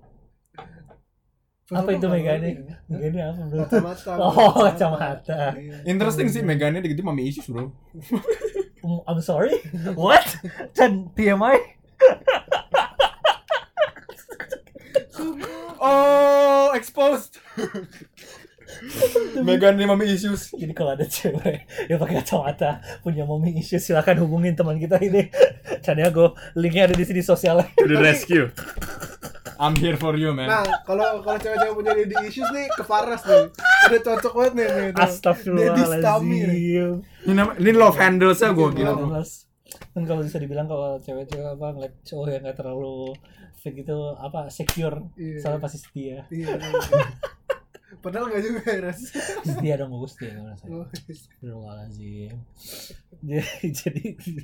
[SPEAKER 1] Futsal
[SPEAKER 2] apa itu
[SPEAKER 1] kan
[SPEAKER 2] megane?
[SPEAKER 1] baru ya.
[SPEAKER 2] Megane apa bro?
[SPEAKER 1] Kacamata.
[SPEAKER 2] Oh, kacamata.
[SPEAKER 1] Iya.
[SPEAKER 3] Interesting sih Megane gitu mami issues bro.
[SPEAKER 2] Um, I'm sorry. What? Chan P M I?
[SPEAKER 3] Oh, exposed. Megane mami issues.
[SPEAKER 2] Jadi kalau ada cewek yang pakai kacamata punya mommy issues silakan hubungin teman kita ini. Sandiago, linknya ada di sini sosialnya.
[SPEAKER 3] To the rescue. I'm here for you man.
[SPEAKER 1] Nah, kalau kalau cewek-cewek punya daddy issues nih ke Faras nih. Udah cocok banget nih nih. tuh. Daddy Stami nih.
[SPEAKER 2] Astagfirullahaladzim.
[SPEAKER 3] Ini nama, ini love handles-nya gue
[SPEAKER 1] Iya,
[SPEAKER 3] gila
[SPEAKER 1] bro.
[SPEAKER 3] bro.
[SPEAKER 2] Jelas. Kan kalau bisa dibilang kalau cewek-cewek apa ngeliat cowok yang gak terlalu fake gitu apa secure,
[SPEAKER 1] Iya.
[SPEAKER 2] soalnya pasti setia.
[SPEAKER 1] Iya. iya. Padahal enggak juga ya, Ras.
[SPEAKER 2] Setia dong gue setia gue rasanya.
[SPEAKER 1] Oh,
[SPEAKER 2] Astagfirullahaladzim. Jadi jadi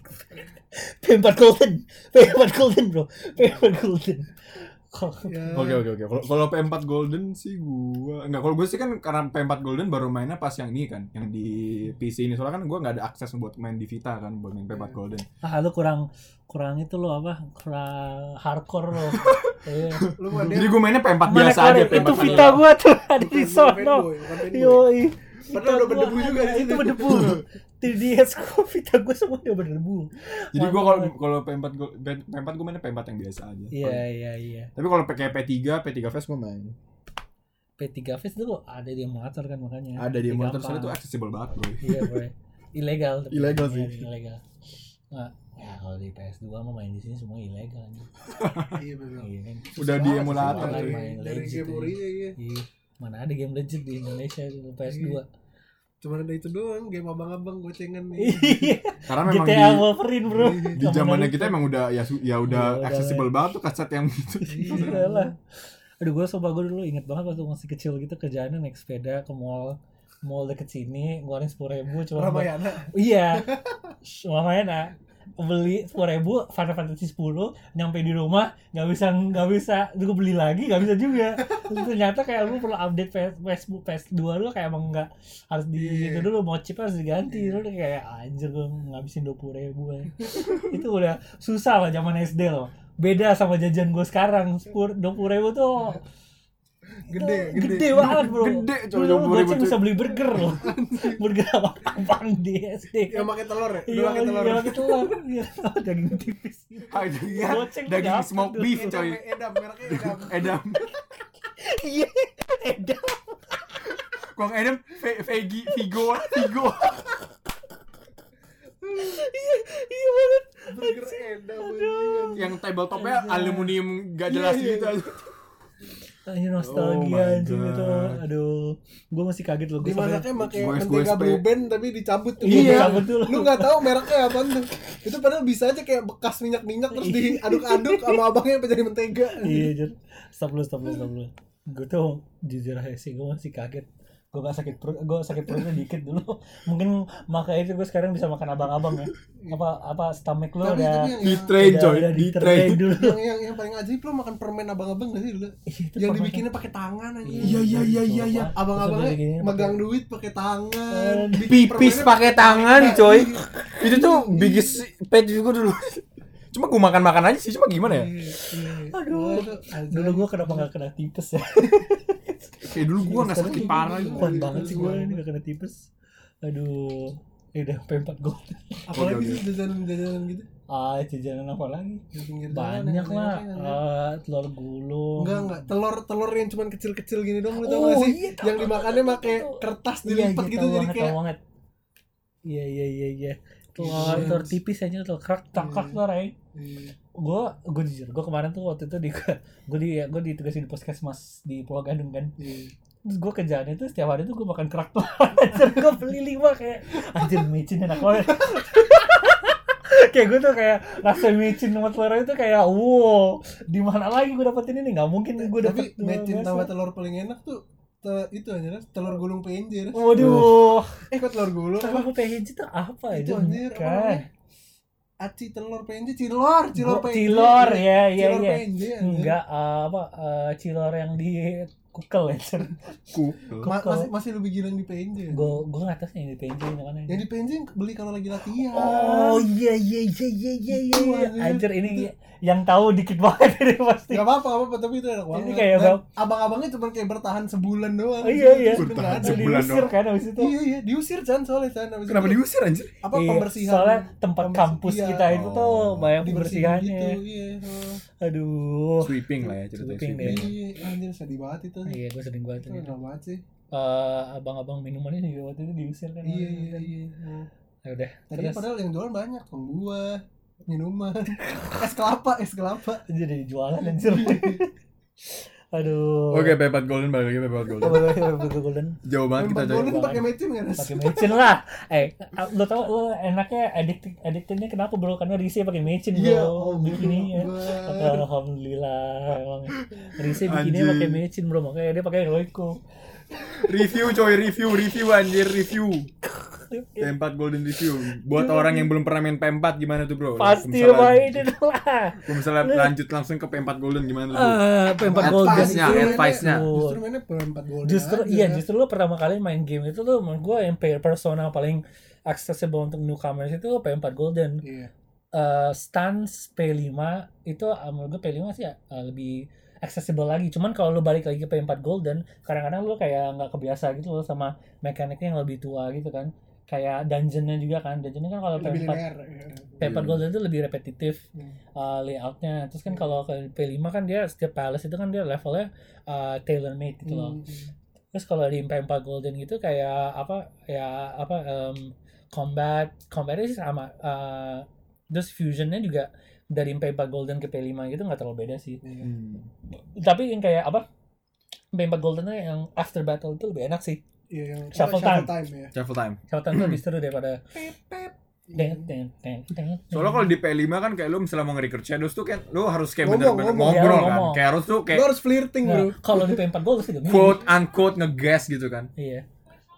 [SPEAKER 2] P empat Golden, P empat Golden bro, P empat Golden.
[SPEAKER 1] ya.
[SPEAKER 3] Oke oke oke. Kalau kalau P empat Golden sih gua enggak, kalau gue sih kan karena P empat Golden baru mainnya pas yang ini kan, yang di P C ini. Soalnya kan gua enggak ada akses buat main di Vita kan, buat main P empat Golden.
[SPEAKER 2] Ah lu kurang kurang itu lo apa? Kurang hardcore lo. Iya.
[SPEAKER 1] Lu mah dia
[SPEAKER 3] Jadi gue mainnya P empat
[SPEAKER 2] Mana
[SPEAKER 3] biasa
[SPEAKER 2] kemarin
[SPEAKER 3] aja, P empat
[SPEAKER 2] itu
[SPEAKER 3] vanilla.
[SPEAKER 2] Vita gua tuh ada di
[SPEAKER 1] bukan
[SPEAKER 2] sono.
[SPEAKER 1] fanboy, bukan fanboy.
[SPEAKER 2] Yoi.
[SPEAKER 1] Padahal udah berdebu juga di
[SPEAKER 2] Itu
[SPEAKER 1] sini.
[SPEAKER 2] berdebu. tiga D S gua Vita gua semua udah berdebu.
[SPEAKER 3] Jadi gue
[SPEAKER 2] Mantap
[SPEAKER 3] kalau
[SPEAKER 2] banget.
[SPEAKER 3] kalau P empat Go- P empat gue mainnya P empat yang biasa aja.
[SPEAKER 2] Iya iya iya.
[SPEAKER 3] Tapi kalau kayak P tiga, P tiga Fest gue main.
[SPEAKER 2] P tiga Fest tuh ada di emulator kan makanya.
[SPEAKER 3] Ada di
[SPEAKER 2] Jadi
[SPEAKER 3] monitor
[SPEAKER 2] gampang.
[SPEAKER 3] soalnya itu accessible banget bro.
[SPEAKER 2] Iya bro. Ilegal. tapi.
[SPEAKER 3] Ilegal
[SPEAKER 2] Iya,
[SPEAKER 3] sih.
[SPEAKER 2] Ilegal. Nah, ya kalau di P S dua mah main di sini semua ilegal.
[SPEAKER 1] Iya benar.
[SPEAKER 2] Iya kan.
[SPEAKER 3] Udah di emulator
[SPEAKER 2] susah
[SPEAKER 3] cuy.
[SPEAKER 2] main
[SPEAKER 1] Dari
[SPEAKER 2] legit
[SPEAKER 1] game ori ya. Iya.
[SPEAKER 2] Iya. Mana ada game legit di Indonesia di P S dua.
[SPEAKER 1] Cuma ada itu doang, game abang-abang gocengan nih.
[SPEAKER 2] Iya.
[SPEAKER 3] Karena memang
[SPEAKER 2] G T A
[SPEAKER 3] di
[SPEAKER 2] Wolverine bro.
[SPEAKER 3] di
[SPEAKER 2] Sama
[SPEAKER 3] zamannya
[SPEAKER 2] Naruto.
[SPEAKER 3] kita emang udah ya su- ya udah
[SPEAKER 2] Iya, udah.
[SPEAKER 3] accessible banget tuh kaset yang gitu.
[SPEAKER 2] Iya lah. Aduh gue sumpah gue dulu inget banget waktu masih kecil gitu kerjaannya naik sepeda ke mall mall deket sini ngeluarin sepuluh ribu cuma buat-
[SPEAKER 1] Ramayana.
[SPEAKER 2] iya Ramayana beli sepuluh ribu Final Fantasy sepuluh nyampe di rumah nggak bisa nggak bisa gue beli lagi nggak bisa juga. Terus ternyata kayak lu perlu update P S, Facebook P S dua lu kayak emang nggak harus di
[SPEAKER 1] Iya.
[SPEAKER 2] itu dulu mau chip harus diganti lu udah kayak anjir gue ngabisin dua puluh ribu ya. Itu udah susah lah zaman S D loh, beda sama jajan gue sekarang sepuluh dua puluh ribu tuh
[SPEAKER 1] Gede,
[SPEAKER 2] itu
[SPEAKER 1] gede.
[SPEAKER 2] gede banget bro.
[SPEAKER 3] Gede, coy,
[SPEAKER 2] Dulu
[SPEAKER 3] dua puluh ribu,
[SPEAKER 2] goceng
[SPEAKER 3] coy.
[SPEAKER 2] bisa beli burger loh. Burger apa apaan di S D
[SPEAKER 1] Yang pakai telur ya?
[SPEAKER 2] iya
[SPEAKER 1] Udah pakai telur.
[SPEAKER 2] iya pakai telur iya daging tipis gitu.
[SPEAKER 3] Ah, itu ya,
[SPEAKER 2] Goceng
[SPEAKER 3] daging
[SPEAKER 2] dapet
[SPEAKER 3] smoke
[SPEAKER 2] dulu.
[SPEAKER 3] beef
[SPEAKER 1] Edam,
[SPEAKER 3] coy.
[SPEAKER 1] edam, mereknya edam.
[SPEAKER 3] Edam.
[SPEAKER 2] Iya edan
[SPEAKER 3] Kuang Edam, Ve- Vegi, Vigo, Vigo.
[SPEAKER 2] iya banget.
[SPEAKER 1] Burger edam. anjing.
[SPEAKER 3] Yang tabletopnya aluminium gak jelas
[SPEAKER 1] Iya, iya.
[SPEAKER 3] gitu aja.
[SPEAKER 2] Ini
[SPEAKER 3] Oh
[SPEAKER 2] nostalgia
[SPEAKER 3] my
[SPEAKER 2] anjing
[SPEAKER 3] God.
[SPEAKER 2] itu. Aduh, gue masih kaget loh. Gue
[SPEAKER 1] Dimasaknya pakai
[SPEAKER 3] Goes-
[SPEAKER 1] mentega
[SPEAKER 3] goes-
[SPEAKER 1] Blue Band tapi dicabut tuh.
[SPEAKER 2] Iya,
[SPEAKER 1] Iya.
[SPEAKER 2] dicabut dulu.
[SPEAKER 1] Lu enggak tahu mereknya apa tuh. Itu padahal bisa aja kayak bekas minyak-minyak terus diaduk-aduk sama abangnya sampai jadi mentega.
[SPEAKER 2] Iya, jujur. Stop lu, stop lu, stop lu. Gue tuh jujur aja sih, gue masih kaget. Gue gak sakit perut, gue sakit perutnya dikit dulu. Mungkin makanya itu gue sekarang bisa makan abang-abang ya. Apa apa stomach lu
[SPEAKER 1] Tapi-
[SPEAKER 2] udah
[SPEAKER 1] tapi yang-
[SPEAKER 3] Di
[SPEAKER 1] yang-
[SPEAKER 3] train
[SPEAKER 2] udah,
[SPEAKER 3] coy,
[SPEAKER 2] udah
[SPEAKER 3] di
[SPEAKER 2] di-train
[SPEAKER 3] train.
[SPEAKER 2] dulu.
[SPEAKER 1] yang yang yang paling ajaib lo makan permen abang-abang gak sih dulu?
[SPEAKER 2] Iya, itu
[SPEAKER 1] Yang
[SPEAKER 2] permen.
[SPEAKER 1] dibikinnya pakai tangan aja.
[SPEAKER 3] Iya, iya, iya, iya, iya.
[SPEAKER 1] Abang-abangnya
[SPEAKER 2] Terus udah diginiin
[SPEAKER 1] megang
[SPEAKER 2] pakai-
[SPEAKER 1] duit pakai tangan.
[SPEAKER 2] Eh,
[SPEAKER 1] Bikin
[SPEAKER 3] Pipis
[SPEAKER 1] permennya
[SPEAKER 3] pakai tangan coy.
[SPEAKER 1] Iya.
[SPEAKER 3] Itu tuh biggest pet juga dulu. Cuma gue makan-makan aja sih, cuma gimana ya?
[SPEAKER 1] Iya, iya.
[SPEAKER 2] Aduh.
[SPEAKER 1] Wah, itu ajaib.
[SPEAKER 2] Dulu gue kenapa gak kena tipes ya?
[SPEAKER 3] Kayak dulu gue nggak sakit parah gitu.
[SPEAKER 2] Kuat banget sih gue ini gak kena tipes. Aduh. Ya udah P empat gold.
[SPEAKER 1] Apalagi
[SPEAKER 3] Oke,
[SPEAKER 1] sih jajanan-jajanan gitu.
[SPEAKER 2] Ah, jajanan apa lagi?
[SPEAKER 1] Di pinggir jalan
[SPEAKER 2] Banyak
[SPEAKER 1] yang
[SPEAKER 2] lah.
[SPEAKER 1] enak-enak.
[SPEAKER 2] Ah, telur gulung.
[SPEAKER 1] Enggak enggak, telur telur yang cuman kecil-kecil gini dong, lu tau
[SPEAKER 2] Oh,
[SPEAKER 1] gak sih?
[SPEAKER 2] iya, tahu,
[SPEAKER 1] yang
[SPEAKER 2] tahu,
[SPEAKER 1] dimakannya
[SPEAKER 2] tahu,
[SPEAKER 1] pakai
[SPEAKER 2] tahu.
[SPEAKER 1] kertas
[SPEAKER 2] Iya,
[SPEAKER 1] dilipat
[SPEAKER 2] iya,
[SPEAKER 1] gitu
[SPEAKER 2] tahu
[SPEAKER 1] jadi
[SPEAKER 2] banget,
[SPEAKER 1] kayak
[SPEAKER 2] tahu banget. Iya, iya, iya, iya. Telur,
[SPEAKER 1] Iya.
[SPEAKER 2] telur tipis aja telur kerak takak
[SPEAKER 1] Iya.
[SPEAKER 2] tuh, Ray.
[SPEAKER 1] Iya.
[SPEAKER 2] Gue, gue jujur, gue kemarin tuh waktu itu di, gue di, gue ditugasin di puskesmas di Pulau Gadung kan.
[SPEAKER 1] Iya.
[SPEAKER 2] Terus gue kerjaannya tuh setiap hari tuh gue makan kerak telur. Anjir, gue beli lima kayak anjir micin enak banget. Kayak gue tuh kayak rasa micin sama telur itu kayak wow, di mana lagi gue dapetin ini? Nggak mungkin gue dapet.
[SPEAKER 1] Tapi mecin tambah telur paling enak tuh te- itu aja Ras. Telur gulung P N J Ras.
[SPEAKER 2] Waduh,
[SPEAKER 1] Eh kok telur gulung apa?
[SPEAKER 2] telur P N J itu apa ya?
[SPEAKER 1] Itu anjir apa
[SPEAKER 2] Bukan.
[SPEAKER 1] namanya? Aci telur P N J, cilor, cilor P N J.
[SPEAKER 2] Cilor, ya, ya,
[SPEAKER 1] Cilor
[SPEAKER 2] ya.
[SPEAKER 1] P N J anjir.
[SPEAKER 2] Enggak, eh, apa eh, cilor yang di kukel ya.
[SPEAKER 3] Ku.
[SPEAKER 1] Ma- masih masih lebih gila yang di P N J.
[SPEAKER 2] Gue gue nggak tahu sih yang di P N J ini mana.
[SPEAKER 1] Yang di P N J beli kalau lagi latihan.
[SPEAKER 2] Oh iya iya iya iya iya iya.
[SPEAKER 1] Itu,
[SPEAKER 2] iya.
[SPEAKER 1] anjir.
[SPEAKER 2] Anjir ini yang tahu dikit banget ini pasti.
[SPEAKER 1] Gak apa-apa, gak apa-apa, tapi itu enak banget.
[SPEAKER 2] Ini kayak
[SPEAKER 1] Dan
[SPEAKER 2] bang-
[SPEAKER 1] abang-abangnya cuma kayak bertahan sebulan doang.
[SPEAKER 2] Oh, iya, iya.
[SPEAKER 1] Terus udah nggak ada.
[SPEAKER 2] Udah
[SPEAKER 3] Sebulan
[SPEAKER 2] diusir
[SPEAKER 3] doang.
[SPEAKER 2] kan abis itu.
[SPEAKER 1] Iya iya, diusir Chan soalnya Chan. Abis
[SPEAKER 3] Kenapa
[SPEAKER 1] itu,
[SPEAKER 3] diusir anjir?
[SPEAKER 1] apa
[SPEAKER 2] Iya,
[SPEAKER 1] pembersihan?
[SPEAKER 2] soalnya tempat
[SPEAKER 1] pembersi-
[SPEAKER 2] kampus
[SPEAKER 1] iya.
[SPEAKER 2] kita itu tuh
[SPEAKER 3] Oh,
[SPEAKER 2] banyak
[SPEAKER 1] Dibersihin
[SPEAKER 2] pembersihannya.
[SPEAKER 1] gitu, iya. oh.
[SPEAKER 2] Aduh.
[SPEAKER 3] Sweeping lah ya ceritanya.
[SPEAKER 2] Sweeping
[SPEAKER 3] Sweeping.
[SPEAKER 2] deh.
[SPEAKER 1] Iya, anjir sedih banget itu.
[SPEAKER 2] Iya gue sering banget
[SPEAKER 1] Itu
[SPEAKER 2] ini.
[SPEAKER 1] enak banget sih.
[SPEAKER 2] Eh, abang-abang minumannya juga waktu itu diusir kan.
[SPEAKER 1] Iya iya iya.
[SPEAKER 2] Ya udah.
[SPEAKER 1] Tadi
[SPEAKER 2] Terus
[SPEAKER 1] padahal yang jualan banyak, tuh buah, minuman, es kelapa, es kelapa.
[SPEAKER 2] jadi jualan anjir. Aduh.
[SPEAKER 3] Oke, P empat Golden balik lagi P empat Golden.
[SPEAKER 2] Golden. Golden.
[SPEAKER 3] Jauh banget kita
[SPEAKER 1] Empat
[SPEAKER 3] coy.
[SPEAKER 1] golden
[SPEAKER 2] banget.
[SPEAKER 1] pakai mecin nggak Ras?
[SPEAKER 2] Pakai mecin lah. Eh, lo tau lo enaknya addicted addictednya kenapa bro? Karena Rise pakai mecin bro.
[SPEAKER 1] Iya, oh,
[SPEAKER 2] Bikininya.
[SPEAKER 1] Akbar.
[SPEAKER 2] Alhamdulillah emang. Rise bikinnya
[SPEAKER 3] Anjing.
[SPEAKER 2] pakai mecin bro, makanya dia pakai Royco.
[SPEAKER 3] Review coy, review, review anjir, review. P empat Golden review. Buat orang yang belum pernah main P empat gimana tuh bro?
[SPEAKER 2] Pasti
[SPEAKER 3] Misalnya-
[SPEAKER 2] mainin lah.
[SPEAKER 3] Kalau misalnya lanjut langsung ke P empat Golden gimana tuh?
[SPEAKER 2] Ah, P empat Golden
[SPEAKER 3] Advice-nya,
[SPEAKER 2] itu
[SPEAKER 3] advice-nya.
[SPEAKER 1] Justru mainnya per empat golden.
[SPEAKER 2] justru
[SPEAKER 1] aja.
[SPEAKER 2] iya justru lo pertama kali main game itu tuh menurut gue yang pe- persona paling accessible untuk newcomers itu P empat Golden.
[SPEAKER 1] Iya.
[SPEAKER 2] Eh, stance P lima itu uh, menurut gue P lima sih uh, lebih accessible lagi. Cuman kalau lu balik lagi ke P empat Golden, kadang-kadang lu kayak nggak kebiasa gitu loh sama mekaniknya yang lebih tua gitu kan. Kayak dungeonnya juga kan. Dungeonnya kan kalau P
[SPEAKER 1] Lebih
[SPEAKER 2] empat
[SPEAKER 1] linear. iya.
[SPEAKER 2] P empat
[SPEAKER 3] Iya.
[SPEAKER 2] Golden itu lebih repetitif
[SPEAKER 1] Hmm.
[SPEAKER 2] uh, layoutnya. Terus kan kalau ke P lima kan dia setiap palace itu kan dia levelnya uh, tailor made gitu loh.
[SPEAKER 1] Hmm.
[SPEAKER 2] Terus kalau di P empat Golden gitu kayak apa ya apa um, combat combatnya sih sama. Uh, terus fusionnya juga dari P empat Golden ke P lima gitu nggak terlalu beda sih.
[SPEAKER 1] Iya.
[SPEAKER 3] Hmm.
[SPEAKER 2] Tapi yang kayak apa P empat Goldennya yang after battle itu lebih enak sih.
[SPEAKER 1] Iya, yang
[SPEAKER 2] Shuffle
[SPEAKER 1] apa,
[SPEAKER 2] time.
[SPEAKER 1] ya.
[SPEAKER 3] Travel time.
[SPEAKER 2] Shoutout tuh lebih seru daripada
[SPEAKER 1] Pep, pep.
[SPEAKER 2] ten ten ten ten.
[SPEAKER 3] Soalnya kalau di P lima kan kayak lu misalnya mau nge-record shadows tuh kan lu harus kayak
[SPEAKER 1] Ngomong,
[SPEAKER 3] bener-bener
[SPEAKER 1] ngomong.
[SPEAKER 3] ngobrol
[SPEAKER 2] Ya,
[SPEAKER 3] kan.
[SPEAKER 2] ngomong.
[SPEAKER 3] Kayak harus tuh
[SPEAKER 1] Lu
[SPEAKER 3] kayak
[SPEAKER 1] harus flirting,
[SPEAKER 2] Nah,
[SPEAKER 1] bro.
[SPEAKER 2] kalau di P empat Golden sih gini.
[SPEAKER 3] quote unquote nge-gas gitu kan.
[SPEAKER 2] Iya.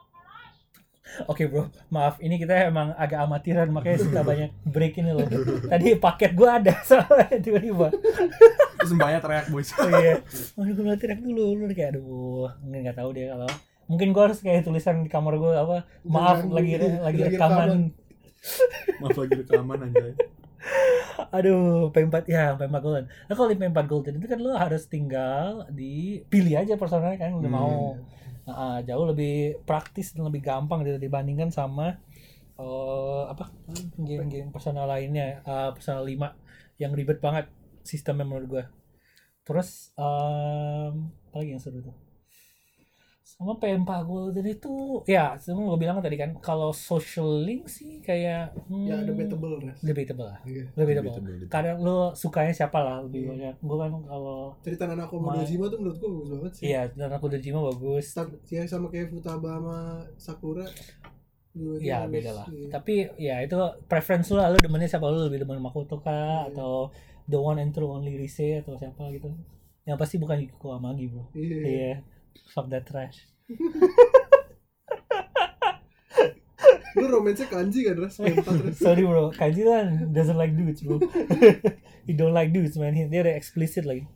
[SPEAKER 2] Oke bro, maaf ini kita emang agak amatiran makanya suka banyak break ini loh. Tadi paket gua ada soalnya tiba-tiba.
[SPEAKER 3] Terus mbaknya teriak boys.
[SPEAKER 2] Oh iya. Aduh gue teriak dulu, lu kayak aduh, nggak tahu deh kalau. Mungkin gua harus kayak tulisan di kamar gua apa? Maaf
[SPEAKER 1] Jangan,
[SPEAKER 2] lagi lagi
[SPEAKER 1] lagi
[SPEAKER 2] rekaman.
[SPEAKER 1] rekaman.
[SPEAKER 3] Maaf lagi rekaman anjay.
[SPEAKER 2] Aduh, P empat ya, P empat Golden. Nah kalau di P empat Golden itu kan lu harus tinggal di pilih aja personalnya kan udah
[SPEAKER 3] Hmm.
[SPEAKER 2] mau. Nah, jauh lebih praktis dan lebih gampang gitu dibandingkan sama eh, apa game-game personal lainnya, uh, personal lima yang ribet banget sistemnya menurut gua. Terus um, apa lagi yang seru tuh? Sama P empat Golden itu ya semua gue bilang tadi kan kalau social link sih kayak hmm,
[SPEAKER 1] Ya debatable Res.
[SPEAKER 2] debatable lah
[SPEAKER 1] Iya.
[SPEAKER 2] debatable
[SPEAKER 3] Debatable.
[SPEAKER 2] kadang lu sukanya siapa lah lebih
[SPEAKER 1] Iya.
[SPEAKER 2] banyak gue kan kalau
[SPEAKER 1] Cerita Nanako sama
[SPEAKER 2] Ma-
[SPEAKER 1] Dojima tuh menurut gua bagus banget sih.
[SPEAKER 2] iya dan aku Dojima bagus
[SPEAKER 1] Start- Ya sama kayak Futaba sama Sakura. Dua itu
[SPEAKER 2] ya
[SPEAKER 1] bagus.
[SPEAKER 2] beda lah
[SPEAKER 1] Iya.
[SPEAKER 2] tapi ya itu preference lu lah lu demennya siapa lu lebih demen Makoto kah
[SPEAKER 1] Iya.
[SPEAKER 2] atau the one and true only Rise atau siapa gitu yang pasti bukan Yukiko Amagi bro
[SPEAKER 1] Iya.
[SPEAKER 2] iya fuck that trash
[SPEAKER 1] Lu romansnya kanji kan Res? P empat Res.
[SPEAKER 2] sorry bro Kanji kan doesn't like dudes bro he don't like dudes man He- dia udah explicit lagi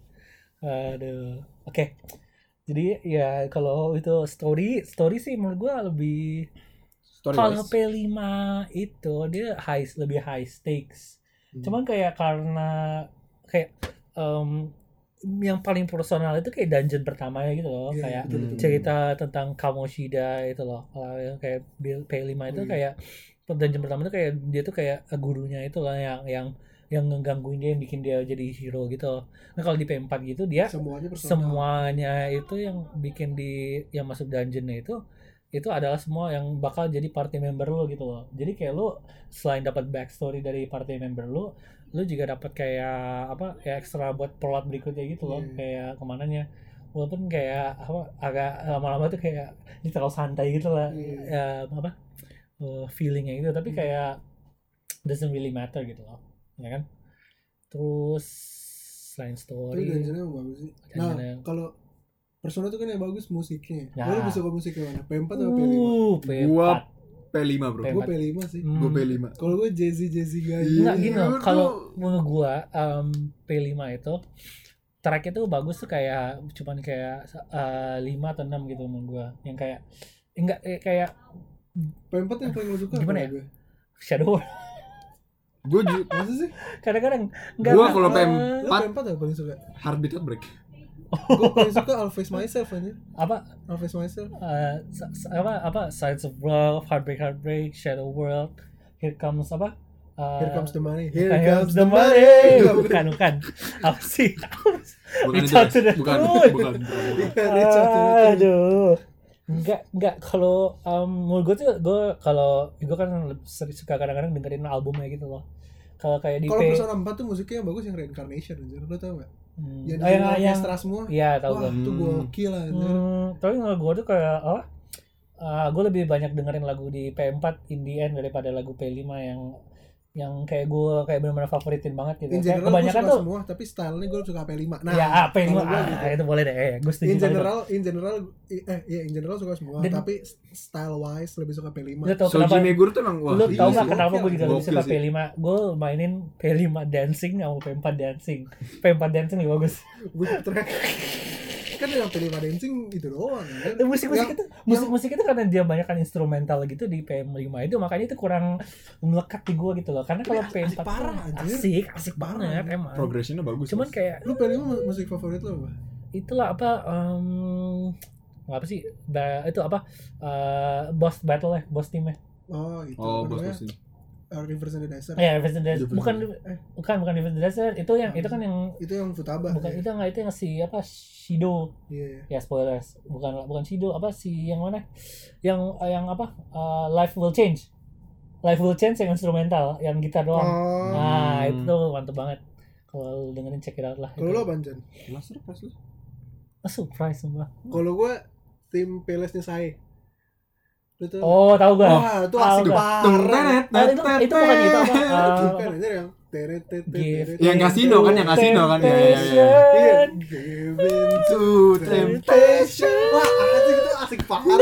[SPEAKER 2] aduh oke jadi ya kalau itu story story sih menurut gua lebih
[SPEAKER 3] Story
[SPEAKER 2] kalau
[SPEAKER 3] wise.
[SPEAKER 2] P lima itu dia high lebih high stakes
[SPEAKER 1] Hmm.
[SPEAKER 2] cuman kayak karena kayak em, yang paling personal itu kayak dungeon pertamanya gitu loh
[SPEAKER 1] Iya,
[SPEAKER 2] kayak
[SPEAKER 1] betul, betul.
[SPEAKER 2] cerita tentang Kamoshida itu loh kalau yang kayak Bill- P lima itu
[SPEAKER 1] Oh, iya.
[SPEAKER 2] kayak dungeon pertama itu kayak dia tuh kayak gurunya itu lah yang yang yang ngegangguin dia yang bikin dia jadi hero gitu. Nah kalau di P empat gitu dia
[SPEAKER 1] Semuanya personal.
[SPEAKER 2] semuanya itu yang bikin di yang masuk dungeonnya itu itu adalah semua yang bakal jadi party member lo gitu loh. Jadi kayak lo selain dapat backstory dari party member lo, lo juga dapat kayak apa ya ekstra buat plot berikutnya gitu loh.
[SPEAKER 1] Iya.
[SPEAKER 2] Kayak kemananya. Walaupun kayak apa agak lama-lama tuh kayak ini terlalu santai gitu lah.
[SPEAKER 1] Iya.
[SPEAKER 2] Ya, apa uh, feelingnya gitu. Tapi kayak doesn't really matter gitu loh, ya kan? Terus selain
[SPEAKER 1] Tapi
[SPEAKER 2] story,
[SPEAKER 1] dungeonnya bagus sih. Nah,
[SPEAKER 2] Dungeonnya-
[SPEAKER 1] kalau Persona tuh kan yang bagus musiknya.
[SPEAKER 2] Ya.
[SPEAKER 1] Lu lebih suka musiknya mana? P empat atau P lima?
[SPEAKER 2] uh, P empat.
[SPEAKER 3] Gua P lima bro.
[SPEAKER 2] P empat.
[SPEAKER 1] Gue P lima sih.
[SPEAKER 2] Hmm.
[SPEAKER 3] Gue P lima.
[SPEAKER 1] Kalau gue Jazzy Jazzy guy.
[SPEAKER 2] Enggak
[SPEAKER 3] Iya,
[SPEAKER 2] gini loh,
[SPEAKER 3] tuh.
[SPEAKER 2] kalau menurut gua um, P lima itu tracknya tuh bagus tuh kayak cuman kayak uh, lima atau enam gitu menurut gua. Yang kayak enggak eh, kayak
[SPEAKER 1] P empat yang paling lo suka
[SPEAKER 2] Gimana
[SPEAKER 1] apa
[SPEAKER 2] ya?
[SPEAKER 1] gue?
[SPEAKER 2] Shadow World.
[SPEAKER 3] Gue ju-
[SPEAKER 1] Masa sih?
[SPEAKER 2] Kadang-kadang enggak
[SPEAKER 3] Gua
[SPEAKER 2] enggak,
[SPEAKER 3] kalau P
[SPEAKER 2] uh,
[SPEAKER 1] Lu
[SPEAKER 3] empat
[SPEAKER 1] P empat apa paling suka?
[SPEAKER 3] Heartbeat Outbreak.
[SPEAKER 1] Gue paling suka I'll Face Myself aja.
[SPEAKER 2] apa
[SPEAKER 1] I'll Face Myself.
[SPEAKER 2] uh, sa- sa- apa apa Sides of Love, Heartbreak Heartbreak, Shadow World, Here Comes apa? Uh,
[SPEAKER 1] Here comes the money.
[SPEAKER 2] Here
[SPEAKER 1] Here
[SPEAKER 2] comes the money. Bukan, bukan. Apa sih?
[SPEAKER 3] Bukan
[SPEAKER 2] Reach
[SPEAKER 3] itu,
[SPEAKER 2] out to
[SPEAKER 3] guys.
[SPEAKER 2] the
[SPEAKER 3] bukan,
[SPEAKER 2] moon.
[SPEAKER 3] bukan.
[SPEAKER 1] Reach out to the moon.
[SPEAKER 2] Aduh. Enggak, enggak kalau um, menurut gue tuh gue kalau gue kan sering suka kadang-kadang dengerin albumnya gitu loh. Kalau kayak di
[SPEAKER 1] Kalau
[SPEAKER 2] P
[SPEAKER 1] Persona empat tuh musiknya yang bagus yang Reincarnation anjir. Lu tau gak?
[SPEAKER 2] hmm,
[SPEAKER 1] Yang
[SPEAKER 2] oh,
[SPEAKER 1] di
[SPEAKER 2] yang yang
[SPEAKER 1] orkestra semua.
[SPEAKER 2] iya tahu
[SPEAKER 1] Wah,
[SPEAKER 2] gue.
[SPEAKER 1] itu
[SPEAKER 3] Hmm.
[SPEAKER 1] gokil anjir.
[SPEAKER 2] Hmm, tapi menurut gue tuh kayak apa? Uh, gue lebih banyak dengerin lagu di P empat in the end daripada lagu P lima yang yang kayak gue kayak benar-benar favoritin banget gitu.
[SPEAKER 1] In
[SPEAKER 2] Kayak
[SPEAKER 1] general gue
[SPEAKER 2] kebanyakan
[SPEAKER 1] suka
[SPEAKER 2] tuh
[SPEAKER 1] semua, tapi stylenya gue suka P lima. Nah,
[SPEAKER 2] ya ah, P lima
[SPEAKER 1] kalau gua
[SPEAKER 2] ah,
[SPEAKER 1] gitu.
[SPEAKER 2] itu boleh deh. Eh, gue setuju.
[SPEAKER 1] In
[SPEAKER 2] banget.
[SPEAKER 1] general, in general, eh ya in general suka semua,
[SPEAKER 2] Dan-
[SPEAKER 1] tapi style wise lebih suka P lima.
[SPEAKER 2] Lu tau
[SPEAKER 3] Soji
[SPEAKER 2] kenapa?
[SPEAKER 3] Meguro tuh emang wah.
[SPEAKER 2] Lu
[SPEAKER 1] iya
[SPEAKER 2] tau
[SPEAKER 1] sih,
[SPEAKER 2] gak kenapa gue juga lebih
[SPEAKER 3] gokil
[SPEAKER 2] suka
[SPEAKER 3] sih.
[SPEAKER 2] P lima? Gue mainin P lima dancing sama P empat dancing. P empat dancing lebih bagus.
[SPEAKER 1] With track. Kan yang P lima dancing itu doang kan.
[SPEAKER 2] Dan musik-musik
[SPEAKER 1] Yang-
[SPEAKER 2] itu musik-musik itu karena dia banyak kan instrumental gitu di P lima itu makanya itu kurang melekat di gue gitu loh. Karena kalau P
[SPEAKER 1] asik
[SPEAKER 2] empat
[SPEAKER 1] parah,
[SPEAKER 2] tuh
[SPEAKER 1] anjir.
[SPEAKER 2] asik, asik
[SPEAKER 1] Parah.
[SPEAKER 2] banget emang.
[SPEAKER 3] Progressionnya bagus.
[SPEAKER 2] Cuman
[SPEAKER 3] Mas.
[SPEAKER 2] kayak
[SPEAKER 1] Lu P lima mu- musik favorit lu apa?
[SPEAKER 2] itulah apa um, apa sih ba- itu apa uh, boss battle ya boss teamnya
[SPEAKER 1] Oh, itu.
[SPEAKER 3] Oh,
[SPEAKER 1] apa
[SPEAKER 3] bos
[SPEAKER 1] namanya?
[SPEAKER 3] bos ini.
[SPEAKER 1] Uh, Rivers and the Desert.
[SPEAKER 2] ya Rivers and the Desert.
[SPEAKER 3] Rivers
[SPEAKER 2] bukan
[SPEAKER 1] eh.
[SPEAKER 2] bukan bukan Rivers and the Desert itu yang itu kan yang
[SPEAKER 1] Itu yang Futaba.
[SPEAKER 2] bukan
[SPEAKER 1] ya?
[SPEAKER 2] itu enggak itu yang si apa Shido
[SPEAKER 1] Iya.
[SPEAKER 2] ya spoilers bukan bukan Shido apa si yang mana yang yang apa uh, Life Will Change Life Will Change yang instrumental yang gitar doang
[SPEAKER 1] Oh.
[SPEAKER 2] nah
[SPEAKER 3] Hmm.
[SPEAKER 2] itu tuh mantep banget kalau lu dengerin check it out lah
[SPEAKER 1] Kalau
[SPEAKER 2] itu.
[SPEAKER 1] lu apa, Jan?
[SPEAKER 3] Kelas surprise lu.
[SPEAKER 2] Ah, surprise sumpah.
[SPEAKER 1] Kalau gue tim Pelesnya saya. Lu tuh.
[SPEAKER 2] Oh tahu gua
[SPEAKER 1] Wah, itu asik
[SPEAKER 2] Tahu gua.
[SPEAKER 1] parah.
[SPEAKER 3] Tung tenet
[SPEAKER 2] Oh, itu itu bukan itu apa uh,
[SPEAKER 1] Bukan aja yang teret teret
[SPEAKER 2] Give
[SPEAKER 1] teret.
[SPEAKER 3] Yang kasino kan, yang kasino kan, ya, ya, ya, ya.
[SPEAKER 1] Iya.
[SPEAKER 2] Temptation.
[SPEAKER 1] Give
[SPEAKER 3] To
[SPEAKER 1] temptation. Wah, asik itu asik parah.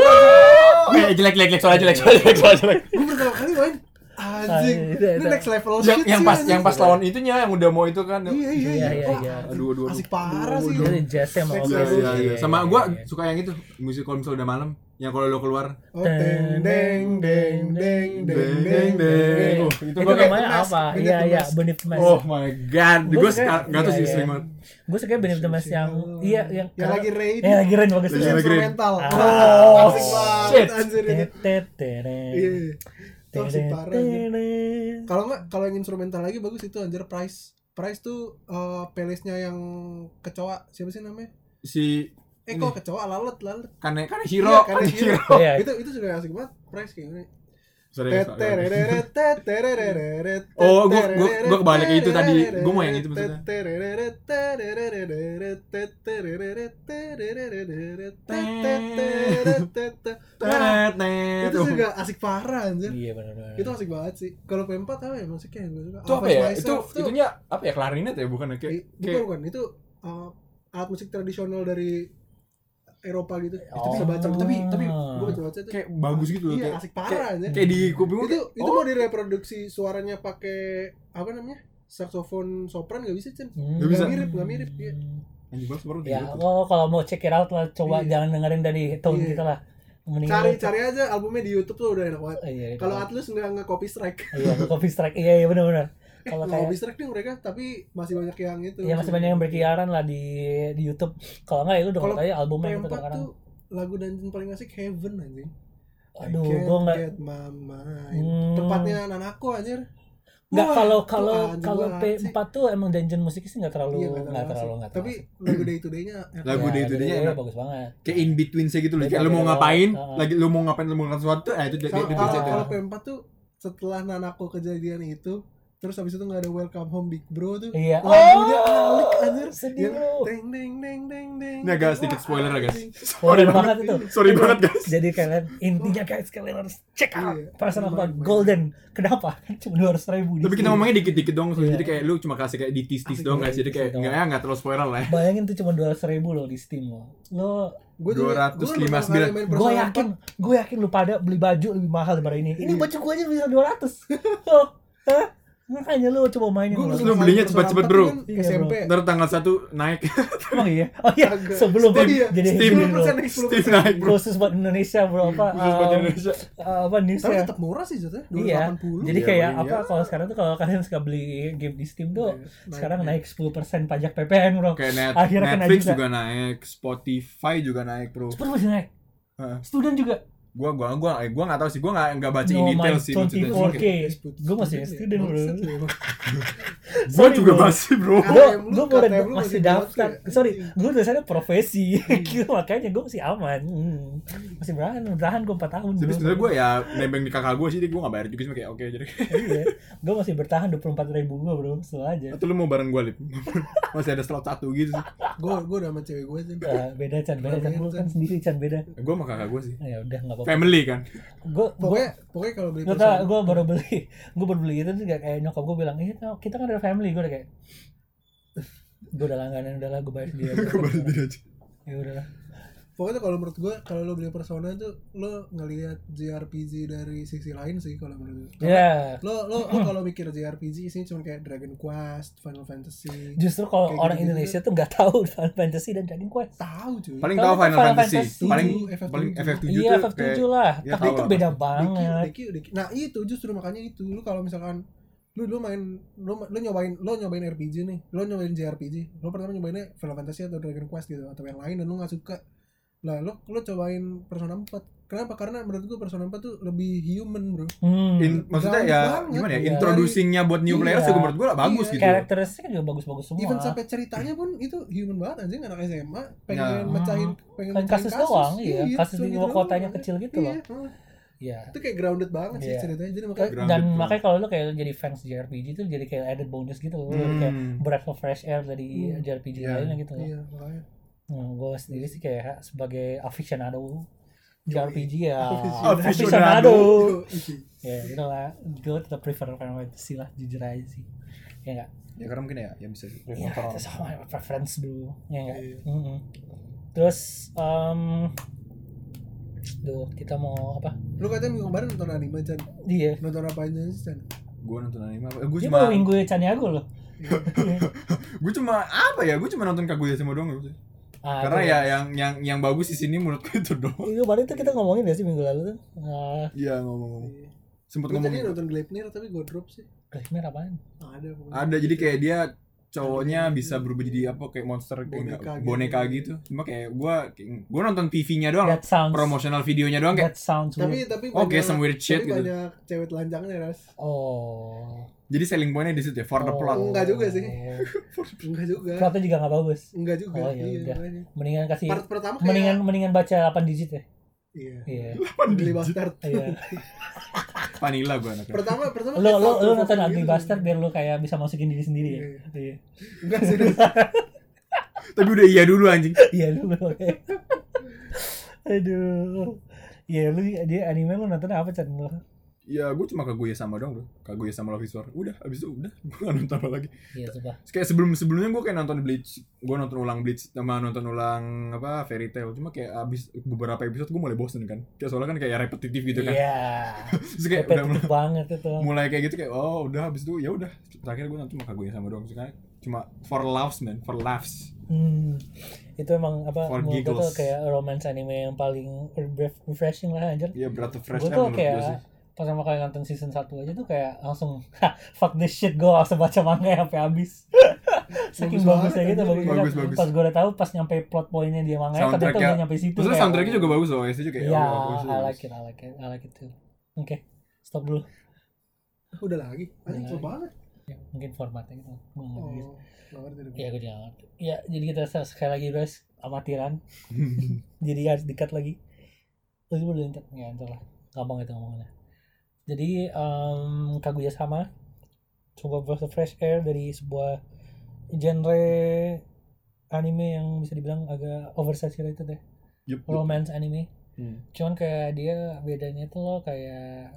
[SPEAKER 3] Eh jelek jelek jelek soalnya jelek soalnya jelek soalnya jelek.
[SPEAKER 1] Gue pertama kali main. Anjing.
[SPEAKER 2] Ah, itu,
[SPEAKER 1] Ini
[SPEAKER 2] itu.
[SPEAKER 1] next level
[SPEAKER 3] Yang
[SPEAKER 1] shit
[SPEAKER 3] yang
[SPEAKER 1] sih,
[SPEAKER 3] pas
[SPEAKER 1] anjing.
[SPEAKER 3] yang pas lawan itunya yang udah mau itu kan.
[SPEAKER 1] Iya iya
[SPEAKER 2] Iya,
[SPEAKER 1] iya.
[SPEAKER 2] iya,
[SPEAKER 1] Wah,
[SPEAKER 2] iya.
[SPEAKER 3] Aduh aduh.
[SPEAKER 1] asik parah sih.
[SPEAKER 2] Itu jazznya mau
[SPEAKER 1] Sex
[SPEAKER 3] Iya
[SPEAKER 1] level.
[SPEAKER 3] iya iya. Sama gua suka yang itu musik kalau misalnya udah malam. Yang kalau lo keluar.
[SPEAKER 1] Oh, deng deng deng deng deng deng deng.
[SPEAKER 3] Oh, itu
[SPEAKER 2] itu
[SPEAKER 3] gua kayak
[SPEAKER 2] namanya
[SPEAKER 1] Beneath the
[SPEAKER 2] apa?
[SPEAKER 1] Mask,
[SPEAKER 2] Iya
[SPEAKER 1] Beneath the
[SPEAKER 2] iya
[SPEAKER 1] Mask.
[SPEAKER 2] Beneath the Mask.
[SPEAKER 3] Oh my god,
[SPEAKER 2] Gua
[SPEAKER 3] gue
[SPEAKER 2] suka-
[SPEAKER 3] nggak tahu
[SPEAKER 2] iya,
[SPEAKER 3] sih
[SPEAKER 2] iya.
[SPEAKER 3] sering banget.
[SPEAKER 2] Gue suka Beneath the Mask yang iya yang
[SPEAKER 1] Yang lagi raid.
[SPEAKER 2] yang lagi rain bagus
[SPEAKER 3] Lagi
[SPEAKER 1] Terus
[SPEAKER 3] raid.
[SPEAKER 1] instrumental.
[SPEAKER 2] Ah.
[SPEAKER 1] Wah, asik
[SPEAKER 3] Oh,
[SPEAKER 1] banget
[SPEAKER 3] shit.
[SPEAKER 1] anjir ini.
[SPEAKER 2] Tet, tet, teret.
[SPEAKER 1] Iya. Itu asik parah. anjir.
[SPEAKER 2] Teret.
[SPEAKER 1] Kalau nggak, kalau yang instrumental lagi bagus itu anjir Price. Price tuh uh, playlistnya yang kecoa siapa sih namanya?
[SPEAKER 3] Si
[SPEAKER 1] Eh
[SPEAKER 3] Ini.
[SPEAKER 1] kok kecoa lalat lalat.
[SPEAKER 3] Kane Kane Hiro,
[SPEAKER 1] Iya, Kane
[SPEAKER 3] Kane
[SPEAKER 1] Hiro.
[SPEAKER 3] Hiro.
[SPEAKER 2] Iya.
[SPEAKER 1] Itu itu juga asik banget. Price kayak gini.
[SPEAKER 3] Sorry, sorry.
[SPEAKER 1] Tetereret, tetereret,
[SPEAKER 3] Oh, gua- gua- gua kebalik itu tadi. Gua mau yang itu maksudnya.
[SPEAKER 1] Tetereret, tetereret, tetereret, tetereret, tetereret, tetereret.
[SPEAKER 3] Net, net.
[SPEAKER 1] Itu juga asik parah anjir.
[SPEAKER 2] Iya benar-benar.
[SPEAKER 1] Itu asik banget sih. Kalau P empat apa ya musiknya yang gue suka?
[SPEAKER 3] Itu apa
[SPEAKER 1] Always
[SPEAKER 3] ya?
[SPEAKER 1] Myself
[SPEAKER 3] Itu
[SPEAKER 1] tuh-
[SPEAKER 3] itunya apa ya? Klarinet ya, bukan ya? Kayak
[SPEAKER 1] Eh, bukan
[SPEAKER 3] kayak
[SPEAKER 1] bukan itu uh, alat musik tradisional dari Eropa gitu. Itu
[SPEAKER 2] Oh.
[SPEAKER 1] bisa baca tapi tapi
[SPEAKER 3] Ah.
[SPEAKER 1] gue baca baca itu.
[SPEAKER 3] kayak bagus gitu loh.
[SPEAKER 1] Iya,
[SPEAKER 3] Kayak
[SPEAKER 1] asik parah aja.
[SPEAKER 3] kayak di kuping gua
[SPEAKER 1] Itu
[SPEAKER 3] kayak,
[SPEAKER 1] itu
[SPEAKER 3] oh,
[SPEAKER 1] mau direproduksi suaranya pakai apa namanya? Saksofon sopran nggak bisa, Cen.
[SPEAKER 2] Hmm.
[SPEAKER 3] Nggak bisa.
[SPEAKER 1] mirip, nggak mirip. Iya.
[SPEAKER 3] anjing banget baru
[SPEAKER 2] Ya,
[SPEAKER 3] gitu.
[SPEAKER 2] lo kalau mau check it out lah, coba
[SPEAKER 1] Iya.
[SPEAKER 2] jangan dengerin dari tone
[SPEAKER 1] Iya.
[SPEAKER 2] kita lah. Mendingan
[SPEAKER 1] Cari
[SPEAKER 2] lo-
[SPEAKER 1] cari aja albumnya di YouTube tuh udah enak banget.
[SPEAKER 2] Iya,
[SPEAKER 1] Kalau Atlus nggak nge copy strike.
[SPEAKER 2] iya, copy strike. Iya, iya benar-benar. Kalau
[SPEAKER 1] Nge
[SPEAKER 2] kayak
[SPEAKER 1] copy strike nih mereka tapi masih banyak yang itu.
[SPEAKER 2] ya masih banyak yang berkeliaran lah di di YouTube. Kalau enggak ya lu
[SPEAKER 1] Kalau
[SPEAKER 2] denger aja albumnya
[SPEAKER 1] P
[SPEAKER 2] gitu
[SPEAKER 1] empat
[SPEAKER 2] kadang-kadang.
[SPEAKER 1] tuh lagu dungeon paling asik Heaven anjing.
[SPEAKER 2] Aduh,
[SPEAKER 1] I can't
[SPEAKER 2] gua enggak
[SPEAKER 1] get my mind.
[SPEAKER 2] Hmm.
[SPEAKER 1] Tempatnya Nanako anjir.
[SPEAKER 2] enggak
[SPEAKER 1] Wah,
[SPEAKER 2] kalau
[SPEAKER 1] tuh
[SPEAKER 2] kalau
[SPEAKER 1] anjing
[SPEAKER 2] kalau
[SPEAKER 1] banget
[SPEAKER 2] P
[SPEAKER 1] sih.
[SPEAKER 2] empat tuh emang dungeon musiknya sih enggak terlalu
[SPEAKER 1] Iya,
[SPEAKER 2] enggak terlalu enggak
[SPEAKER 1] Tapi lagu day to day-nya enak.
[SPEAKER 3] Lagu
[SPEAKER 2] Ya,
[SPEAKER 3] day to day-nya
[SPEAKER 2] jadi
[SPEAKER 3] enak.
[SPEAKER 2] bagus banget.
[SPEAKER 3] Kayak in between saya gitu loh.
[SPEAKER 2] Beda,
[SPEAKER 3] Kayak lu mau
[SPEAKER 2] beda.
[SPEAKER 3] ngapain,
[SPEAKER 2] Uh-uh.
[SPEAKER 3] lagi lu mau ngapain, lu mau ngelakuin sesuatu, eh itu dia
[SPEAKER 1] Sama-
[SPEAKER 3] dia
[SPEAKER 1] kalau
[SPEAKER 3] bisa
[SPEAKER 1] kalau
[SPEAKER 3] tuh.
[SPEAKER 1] P empat tuh setelah Nanako kejadian itu terus habis itu nggak ada Welcome Home Big Bro tuh.
[SPEAKER 2] Iya.
[SPEAKER 1] Lagunya alik anjir.
[SPEAKER 2] sedih
[SPEAKER 1] Yang
[SPEAKER 2] bro.
[SPEAKER 1] deng deng deng deng deng.
[SPEAKER 3] Ini agak sedikit spoiler ya guys.
[SPEAKER 2] Spoiler banget itu.
[SPEAKER 3] Sorry banget guys.
[SPEAKER 2] Jadi kalian intinya guys kalian harus check out
[SPEAKER 1] Iya.
[SPEAKER 2] perasaan apa
[SPEAKER 1] Main, main.
[SPEAKER 2] Golden. Kenapa? Kan cuma dua ratus ribu.
[SPEAKER 3] Tapi kita ngomongnya dikit-dikit dong, so,
[SPEAKER 2] Iya.
[SPEAKER 3] jadi kayak lu cuma kasih kayak ditis-tis
[SPEAKER 1] Asik
[SPEAKER 3] doang
[SPEAKER 1] banget,
[SPEAKER 3] guys. Jadi kayak
[SPEAKER 2] ditis
[SPEAKER 3] enggak ya enggak terlalu spoiler lah ya.
[SPEAKER 2] Bayangin tuh cuma dua ratus ribu loh di Steam lo. Lo
[SPEAKER 1] Gue
[SPEAKER 3] dua ratus lima puluh sembilan.
[SPEAKER 2] gue yakin gue yakin lu pada beli baju lebih mahal daripada ini. Ini
[SPEAKER 1] Iya.
[SPEAKER 2] baju gue aja bisa dua ratus. Oh, hah? Makanya lu coba mainin
[SPEAKER 1] Gue
[SPEAKER 2] lo.
[SPEAKER 3] Lu belinya cepet-cepet, bro.
[SPEAKER 2] Iya,
[SPEAKER 1] S M P.
[SPEAKER 3] Ntar tanggal satu naik.
[SPEAKER 2] Emang iya? Oh iya,
[SPEAKER 1] Agak.
[SPEAKER 2] sebelum
[SPEAKER 1] Oh iya,
[SPEAKER 2] jadi
[SPEAKER 3] Steam
[SPEAKER 2] ini bro.
[SPEAKER 1] sepuluh persen naik sepuluh
[SPEAKER 3] Steam
[SPEAKER 1] persen.
[SPEAKER 3] naik bro.
[SPEAKER 2] Khusus buat Indonesia bro apa?
[SPEAKER 3] Khusus buat
[SPEAKER 2] um,
[SPEAKER 3] Indonesia.
[SPEAKER 2] uh, apa
[SPEAKER 1] Tapi
[SPEAKER 2] newsnya?
[SPEAKER 1] tetap murah sih jatuhnya. dua ratus
[SPEAKER 2] Iya.
[SPEAKER 1] delapan puluh.
[SPEAKER 2] Jadi
[SPEAKER 3] Iya,
[SPEAKER 2] kayak
[SPEAKER 3] iya.
[SPEAKER 2] apa? Kalau sekarang tuh kalau kalian suka beli game di Steam tuh
[SPEAKER 1] Iya, naik,
[SPEAKER 2] sekarang
[SPEAKER 1] naik.
[SPEAKER 2] naik sepuluh persen pajak P P N bro.
[SPEAKER 3] Kayak net,
[SPEAKER 2] Akhirnya kena
[SPEAKER 3] Netflix
[SPEAKER 2] juga.
[SPEAKER 3] juga naik, Spotify juga naik bro.
[SPEAKER 2] Cepet masih naik.
[SPEAKER 3] Heeh.
[SPEAKER 2] Student juga.
[SPEAKER 3] Gua gua gua eh, gua enggak tahu sih, gua enggak enggak baca in
[SPEAKER 2] No
[SPEAKER 3] detail
[SPEAKER 2] my
[SPEAKER 3] sih
[SPEAKER 2] twenty
[SPEAKER 3] maksudnya.
[SPEAKER 2] four
[SPEAKER 3] Cuma
[SPEAKER 2] K.
[SPEAKER 3] kayak,
[SPEAKER 2] Gue masih student bro.
[SPEAKER 3] Gua
[SPEAKER 2] Sorry,
[SPEAKER 3] juga
[SPEAKER 2] bro.
[SPEAKER 3] masih bro.
[SPEAKER 1] Ah,
[SPEAKER 2] Gue
[SPEAKER 1] K T M lu-
[SPEAKER 2] gue
[SPEAKER 1] K T M
[SPEAKER 2] baru
[SPEAKER 1] lu
[SPEAKER 2] masih
[SPEAKER 1] masih
[SPEAKER 2] daftar.
[SPEAKER 1] dipakai.
[SPEAKER 2] Sorry, gue tulisannya profesi. Gitu, makanya gue masih aman. Hmm. Masih bertahan, bertahan gue empat tahun.
[SPEAKER 3] Tapi
[SPEAKER 2] bro.
[SPEAKER 3] sebenarnya gua ya nebeng di kakak gua sih, dia gua enggak bayar juga sih kayak oke jadi.
[SPEAKER 2] Iya, gue masih bertahan dua puluh empat ribu gue bro, slow aja.
[SPEAKER 3] Atau lu mau bareng gua lip? Masih ada slot satu gitu sih.
[SPEAKER 1] Gue gue udah sama cewek gue sih.
[SPEAKER 2] Uh, beda Chan, beda Chan, gue kan sendiri Chan beda.
[SPEAKER 3] Gua sama kakak gua sih.
[SPEAKER 2] Ya udah nggak apa-apa.
[SPEAKER 3] Family kan.
[SPEAKER 2] Gue gue
[SPEAKER 1] Pokoknya pokoknya kalau beli
[SPEAKER 2] gue
[SPEAKER 1] personal-
[SPEAKER 2] gue baru beli, gue baru beli itu tuh kayak, kayak nyokap gue bilang, iya kita kan ada family, gue udah kayak, gue udah langganan udah lah gue bayar sendiri. aja.
[SPEAKER 3] Gua bayar sendiri aja.
[SPEAKER 2] Ya udah lah.
[SPEAKER 1] Pokoknya tuh kalau menurut gue kalau lo beli Persona tuh lo ngelihat J R P G dari sisi lain sih kalau menurut gue.
[SPEAKER 2] Ya,
[SPEAKER 1] Lo lo lo kalau mikir J R P G sih cuma kayak Dragon Quest, Final Fantasy.
[SPEAKER 2] justru kalau
[SPEAKER 1] Kayak
[SPEAKER 2] orang
[SPEAKER 1] gitu-gitu.
[SPEAKER 2] Indonesia tuh nggak tahu Final Fantasy dan Dragon Quest.
[SPEAKER 1] Tahu cuy.
[SPEAKER 3] Paling
[SPEAKER 2] Kalau
[SPEAKER 3] tahu
[SPEAKER 2] itu
[SPEAKER 3] Final
[SPEAKER 2] Final
[SPEAKER 3] Fantasy.
[SPEAKER 2] Fantasy.
[SPEAKER 3] Paling
[SPEAKER 1] F F
[SPEAKER 3] paling
[SPEAKER 1] tujuh.
[SPEAKER 3] F F tujuh
[SPEAKER 2] Iya,
[SPEAKER 3] tuh
[SPEAKER 2] F F tujuh
[SPEAKER 3] kayak
[SPEAKER 2] lah.
[SPEAKER 3] ya
[SPEAKER 2] Tapi
[SPEAKER 3] tahu
[SPEAKER 2] itu
[SPEAKER 3] lah
[SPEAKER 2] beda
[SPEAKER 1] Deki,
[SPEAKER 2] banget.
[SPEAKER 1] Deki, Deki. Nah itu justru makanya itu lu kalau misalkan lu lu main lu, lu nyobain lu nyobain R P G nih, lu nyobain J R P G, lu pertama nyobainnya Final Fantasy atau Dragon Quest gitu atau yang lain dan lu nggak suka, lah lu lu cobain Persona empat. Kenapa? Karena menurut gua Persona empat tuh lebih human bro.
[SPEAKER 2] Hmm.
[SPEAKER 3] In, maksudnya
[SPEAKER 1] Grounded
[SPEAKER 3] ya
[SPEAKER 1] banget.
[SPEAKER 3] gimana ya,
[SPEAKER 2] Iya.
[SPEAKER 3] introducing-nya buat new
[SPEAKER 2] Iya.
[SPEAKER 3] players juga menurut gua lah bagus
[SPEAKER 1] Iya.
[SPEAKER 3] gitu.
[SPEAKER 2] Karakteristiknya juga bagus-bagus semua.
[SPEAKER 1] Even sampai ceritanya pun itu human banget anjing, anak S M A pengen
[SPEAKER 3] Nah.
[SPEAKER 1] mecahin pengen
[SPEAKER 2] Kan
[SPEAKER 1] mecahin
[SPEAKER 2] kasus doang, iya. Kasus
[SPEAKER 1] cuma
[SPEAKER 2] di
[SPEAKER 1] gitu
[SPEAKER 2] kotanya
[SPEAKER 1] doang.
[SPEAKER 2] kecil gitu
[SPEAKER 1] Iya,
[SPEAKER 2] loh.
[SPEAKER 1] heeh.
[SPEAKER 2] Iya.
[SPEAKER 1] Itu kayak grounded banget sih
[SPEAKER 2] Iya.
[SPEAKER 1] ceritanya, jadi makanya
[SPEAKER 3] Grounded
[SPEAKER 2] Dan
[SPEAKER 3] banget.
[SPEAKER 2] makanya kalau lu kayak jadi fans J R P G itu jadi kayak added bonus gitu loh.
[SPEAKER 3] Hmm.
[SPEAKER 2] Kayak breath of fresh air dari
[SPEAKER 1] Hmm.
[SPEAKER 2] J R P G
[SPEAKER 3] Iya.
[SPEAKER 2] lainnya gitu loh.
[SPEAKER 1] iya makanya
[SPEAKER 2] Hmm, gue sendiri sih kayak sebagai aficionado J R P G ya.
[SPEAKER 3] Aficionado.
[SPEAKER 2] Aficionado.
[SPEAKER 1] Iya.
[SPEAKER 2] Ya gitu lah. Gue tetap prefer Final Fantasy lah, jujur aja sih. Ya enggak?
[SPEAKER 3] Ya karena mungkin ya ya bisa sih.
[SPEAKER 2] Ya itu sama preference bro. Ya enggak?
[SPEAKER 1] Iya.
[SPEAKER 2] Mm-mm. Terus um, duh kita mau apa?
[SPEAKER 1] Lu katanya minggu kemarin nonton anime Chan,
[SPEAKER 2] Dia.
[SPEAKER 1] nonton apa aja sih Chan?
[SPEAKER 3] Gua nonton anime apa? Gua
[SPEAKER 2] Dia
[SPEAKER 3] cuma
[SPEAKER 2] baru minggu Chaniago loh.
[SPEAKER 3] gua cuma apa ya? Gua cuma nonton Kaguya sama doang gitu.
[SPEAKER 2] Ah,
[SPEAKER 3] Karena
[SPEAKER 2] itu
[SPEAKER 3] ya yang yang yang bagus di sini menurutku itu doang.
[SPEAKER 2] Itu kemarin tuh kita ngomongin gak sih minggu lalu tuh? Nah,
[SPEAKER 3] Iya ngomong-ngomong. Sempet
[SPEAKER 1] Gue tadi
[SPEAKER 3] ngomong.
[SPEAKER 1] nonton Gleipnir tapi gue drop sih.
[SPEAKER 2] Gleipnir apaan?
[SPEAKER 1] Ada pokoknya.
[SPEAKER 3] Ada jadi kayak dia cowoknya
[SPEAKER 1] Anime
[SPEAKER 3] bisa
[SPEAKER 1] gitu.
[SPEAKER 3] berubah jadi apa kayak monster kayak
[SPEAKER 1] Boneka
[SPEAKER 3] boneka,
[SPEAKER 1] gitu.
[SPEAKER 3] boneka gitu. Cuma kayak gua gua nonton P V-nya doang,
[SPEAKER 2] That sounds
[SPEAKER 3] promotional videonya doang kayak
[SPEAKER 2] that sounds
[SPEAKER 1] Tapi
[SPEAKER 2] weird.
[SPEAKER 1] tapi
[SPEAKER 3] Oke,
[SPEAKER 1] banyak,
[SPEAKER 3] some weird shit
[SPEAKER 1] tapi
[SPEAKER 3] gitu.
[SPEAKER 1] banyak cewek telanjangnya Ras.
[SPEAKER 2] Oh.
[SPEAKER 3] jadi selling point-nya di situ ya for the
[SPEAKER 2] Oh.
[SPEAKER 3] plot.
[SPEAKER 1] Enggak juga sih. Enggak juga.
[SPEAKER 2] Plotnya juga nggak bagus.
[SPEAKER 1] Enggak juga.
[SPEAKER 2] Oh, ya
[SPEAKER 1] iya,
[SPEAKER 2] udah.
[SPEAKER 1] makanya.
[SPEAKER 2] Mendingan kasih
[SPEAKER 1] Part pertama kayak
[SPEAKER 2] mendingan mendingan baca delapan digit ya.
[SPEAKER 1] iya.
[SPEAKER 2] Iya.
[SPEAKER 1] Ugly Bastard.
[SPEAKER 2] Iya.
[SPEAKER 3] Vanilla gua anaknya.
[SPEAKER 1] Pertama pertama
[SPEAKER 2] Lo
[SPEAKER 1] kayak
[SPEAKER 2] lo
[SPEAKER 1] South
[SPEAKER 2] lo
[SPEAKER 1] of
[SPEAKER 2] nonton
[SPEAKER 1] Africa
[SPEAKER 2] Ugly
[SPEAKER 1] gitu.
[SPEAKER 2] Bastard biar lo kayak bisa masukin diri sendiri ya. Iya.
[SPEAKER 1] Enggak sih. Ras.
[SPEAKER 3] Tapi udah iya dulu anjing.
[SPEAKER 2] Iya lu oke. Aduh. Iya lu dia anime lu nonton apa Chan lu?
[SPEAKER 3] Ya gue cuma Kaguya sama doang bro. Kaguya sama Love is War. Udah abis itu udah gue gak nonton apa lagi.
[SPEAKER 2] Iya coba.
[SPEAKER 3] Kayak sebelum sebelumnya gue kayak nonton Bleach. Gue nonton ulang Bleach sama nonton ulang apa Fairy Tail. Cuma kayak abis beberapa episode gue mulai bosen kan. Kayak soalnya kan kayak repetitif gitu kan.
[SPEAKER 2] Iya.
[SPEAKER 3] Terus kayak udah mulai,
[SPEAKER 2] Repetitif banget itu.
[SPEAKER 3] mulai kayak gitu kayak oh udah abis itu ya udah. Terakhir gue nonton cuma Kaguya sama doang. Karena cuma for laughs man, for laughs.
[SPEAKER 2] Hmm. Itu emang apa
[SPEAKER 3] For
[SPEAKER 2] menurut gue tuh
[SPEAKER 3] giggles.
[SPEAKER 2] kayak romance anime yang paling refreshing lah anjir.
[SPEAKER 3] Iya berat fresh
[SPEAKER 2] Gue
[SPEAKER 3] air
[SPEAKER 2] tuh
[SPEAKER 3] menurut gue sih.
[SPEAKER 2] kayak pas pertama kali nonton season satu aja tuh kayak langsung fuck this shit, gue langsung baca manga sampai habis. Saking
[SPEAKER 1] Bagus
[SPEAKER 2] bagusnya
[SPEAKER 1] banget,
[SPEAKER 2] gitu,
[SPEAKER 1] anjir.
[SPEAKER 2] bagus,
[SPEAKER 3] Bagus,
[SPEAKER 2] banget.
[SPEAKER 3] bagus.
[SPEAKER 2] Pas gue udah tahu pas nyampe plot pointnya dia manga ternyata
[SPEAKER 3] Soundtracknya-
[SPEAKER 2] udah nyampe situ.
[SPEAKER 3] Terus
[SPEAKER 2] kayak,
[SPEAKER 3] soundtracknya juga
[SPEAKER 2] oh.
[SPEAKER 3] bagus loh, itu juga kayak
[SPEAKER 2] Iya,
[SPEAKER 3] oh, bagus,
[SPEAKER 2] I
[SPEAKER 3] bagus.
[SPEAKER 2] like it, I like it, I like it too. Oke, stop dulu.
[SPEAKER 1] Udah lagi. Anjing
[SPEAKER 2] Udah
[SPEAKER 1] cepet
[SPEAKER 2] lagi.
[SPEAKER 1] banget.
[SPEAKER 2] Ya, mungkin formatnya gitu. Gue nggak ngerti.
[SPEAKER 1] Oh, nggak ngerti deh.
[SPEAKER 2] Ya gue juga nggak ngerti. Ya jadi kita sekali lagi guys amatiran. Jadi harus dikat lagi. Terus boleh ntar ya ntar lah. Gampang itu ngomongannya. Jadi um, Kaguya sama coba breath of fresh air dari sebuah genre anime yang bisa dibilang agak oversaturated ya.
[SPEAKER 3] Yup, yup.
[SPEAKER 2] Romance anime.
[SPEAKER 3] Hmm.
[SPEAKER 2] Cuman kayak dia bedanya tuh loh kayak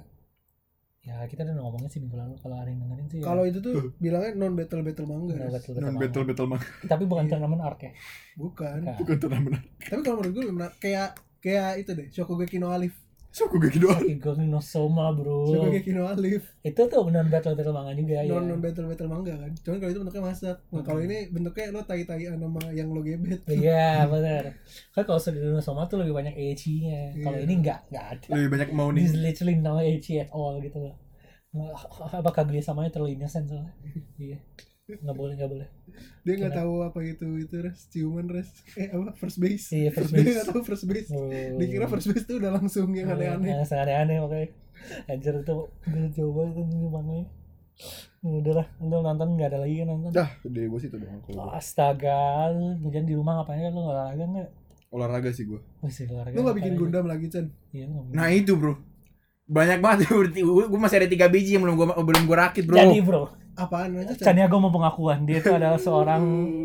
[SPEAKER 2] ya kita udah ngomongin sih minggu lalu kalau ada yang dengerin sih ya.
[SPEAKER 1] Kalau itu tuh bilangnya non battle battle manga.
[SPEAKER 2] Nggak
[SPEAKER 1] Ras.
[SPEAKER 2] battle battle
[SPEAKER 3] Non
[SPEAKER 2] manga.
[SPEAKER 3] battle battle mah.
[SPEAKER 2] Tapi bukan tournament arc ya.
[SPEAKER 1] Bukan.
[SPEAKER 2] Nah,
[SPEAKER 3] Bukan turnamen.
[SPEAKER 1] Tapi kalau menurut gue lebih menarik kayak kayak itu deh, Shokugeki no Alif.
[SPEAKER 3] So gue gitu doang.
[SPEAKER 2] Shokugeki no Soma bro.
[SPEAKER 1] Shokugeki no Alif.
[SPEAKER 2] Itu tuh benar battle battle manga juga ya.
[SPEAKER 1] Non non battle battle manga kan. Cuman kalau itu bentuknya masak. Nah, kalau ini bentuknya lo tai-taian sama yang lo gebet.
[SPEAKER 2] Iya benar. Kan kalau Shokugeki no Soma tuh lebih banyak ecchi-nya. Kalau
[SPEAKER 1] Iya.
[SPEAKER 2] ini enggak, enggak ada.
[SPEAKER 3] Lebih banyak mau
[SPEAKER 2] This
[SPEAKER 3] nih.
[SPEAKER 2] literally no ecchi at all gitu loh. Nggak- Apa Kaguya samanya terlalu innocent soalnya. Iya. Enggak boleh, enggak boleh.
[SPEAKER 1] Dia nggak
[SPEAKER 2] Kenapa?
[SPEAKER 1] tahu apa itu itu res ciuman res eh apa first base.
[SPEAKER 2] Iya, first
[SPEAKER 1] Dia
[SPEAKER 2] base.
[SPEAKER 1] nggak tahu first base.
[SPEAKER 2] Oh.
[SPEAKER 1] Dikira first base tuh udah langsung yang aneh-aneh.
[SPEAKER 2] Yang aneh-aneh makanya. Anjir itu gue coba itu ini manganya. Ya udahlah, lu nonton enggak ada lagi kan nonton.
[SPEAKER 3] Dah, dari gue sih itu doang. Kalau gua.
[SPEAKER 2] Astaga, lu jangan di rumah ngapain kan lu enggak olahraga enggak?
[SPEAKER 3] Olahraga sih gue.
[SPEAKER 2] Wih, sih olahraga.
[SPEAKER 1] Lo nggak bikin
[SPEAKER 2] ngapain aja?
[SPEAKER 1] Gundam lagi Chan?
[SPEAKER 2] Iya, lu nggak bikin.
[SPEAKER 3] Nah itu bro. Banyak banget gue masih ada tiga biji yang belum gue belum gue rakit bro.
[SPEAKER 2] Jadi bro,
[SPEAKER 1] Apaan aja Chan?
[SPEAKER 2] Chania gue mau pengakuan dia itu adalah seorang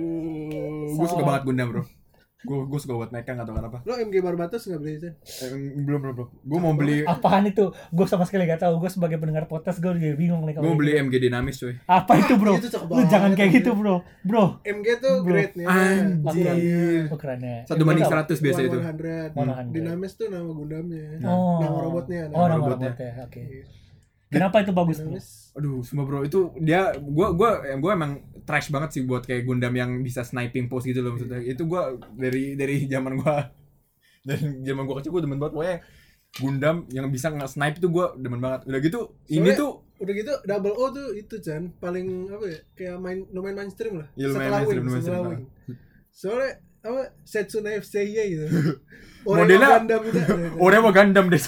[SPEAKER 3] Gue suka banget Gundam bro. Gue gue suka buat mecha atau kenapa?
[SPEAKER 1] Lo M G Barbatos nggak beli Chan?
[SPEAKER 3] Eh, belum belum belum. Gue mau beli
[SPEAKER 2] apaan itu? Gue sama sekali gak tahu. Gue sebagai pendengar podcast gue juga bingung nih
[SPEAKER 3] gue
[SPEAKER 2] kalau
[SPEAKER 3] mau beli
[SPEAKER 2] gitu.
[SPEAKER 3] M G Dynamis coy.
[SPEAKER 2] Apa itu bro?
[SPEAKER 1] Itu cakep
[SPEAKER 2] Lu
[SPEAKER 1] banget,
[SPEAKER 2] jangan kayak
[SPEAKER 1] anjir.
[SPEAKER 2] gitu bro, bro.
[SPEAKER 1] M G tuh
[SPEAKER 2] Bro.
[SPEAKER 1] grade-nya.
[SPEAKER 3] Anjir.
[SPEAKER 2] Oh, kerennya.
[SPEAKER 3] Satu banding seratus biasa itu.
[SPEAKER 1] seratus.
[SPEAKER 2] One hundred.
[SPEAKER 1] Dynamis tuh nama Gundamnya.
[SPEAKER 2] Oh.
[SPEAKER 1] Nama robotnya.
[SPEAKER 2] Oh, nama
[SPEAKER 3] robotnya.
[SPEAKER 2] robotnya. Oke. Kenapa itu bagus bro?
[SPEAKER 1] Dynamis.
[SPEAKER 3] Aduh, semua bro itu dia gua gua gua emang trash banget sih buat kayak Gundam yang bisa sniping pose gitu loh maksudnya. Itu gua dari dari zaman gua dari zaman gua kecil gua demen banget pokoknya Gundam yang bisa nge-snipe itu gua demen banget. Udah gitu ini
[SPEAKER 1] Soalnya-
[SPEAKER 3] tuh
[SPEAKER 1] Udah gitu Double O tuh itu Chan paling apa ya? Kayak main lumayan mainstream lah.
[SPEAKER 3] Iya, lumayan
[SPEAKER 1] Setelah
[SPEAKER 3] mainstream,
[SPEAKER 1] Wing,
[SPEAKER 3] lumayan
[SPEAKER 1] setelah
[SPEAKER 3] mainstream.
[SPEAKER 1] Wing. Soalnya apa Setsuna F C Y gitu.
[SPEAKER 3] Modelnya-
[SPEAKER 1] Gundam gitu.
[SPEAKER 3] orang mau Gundam deh.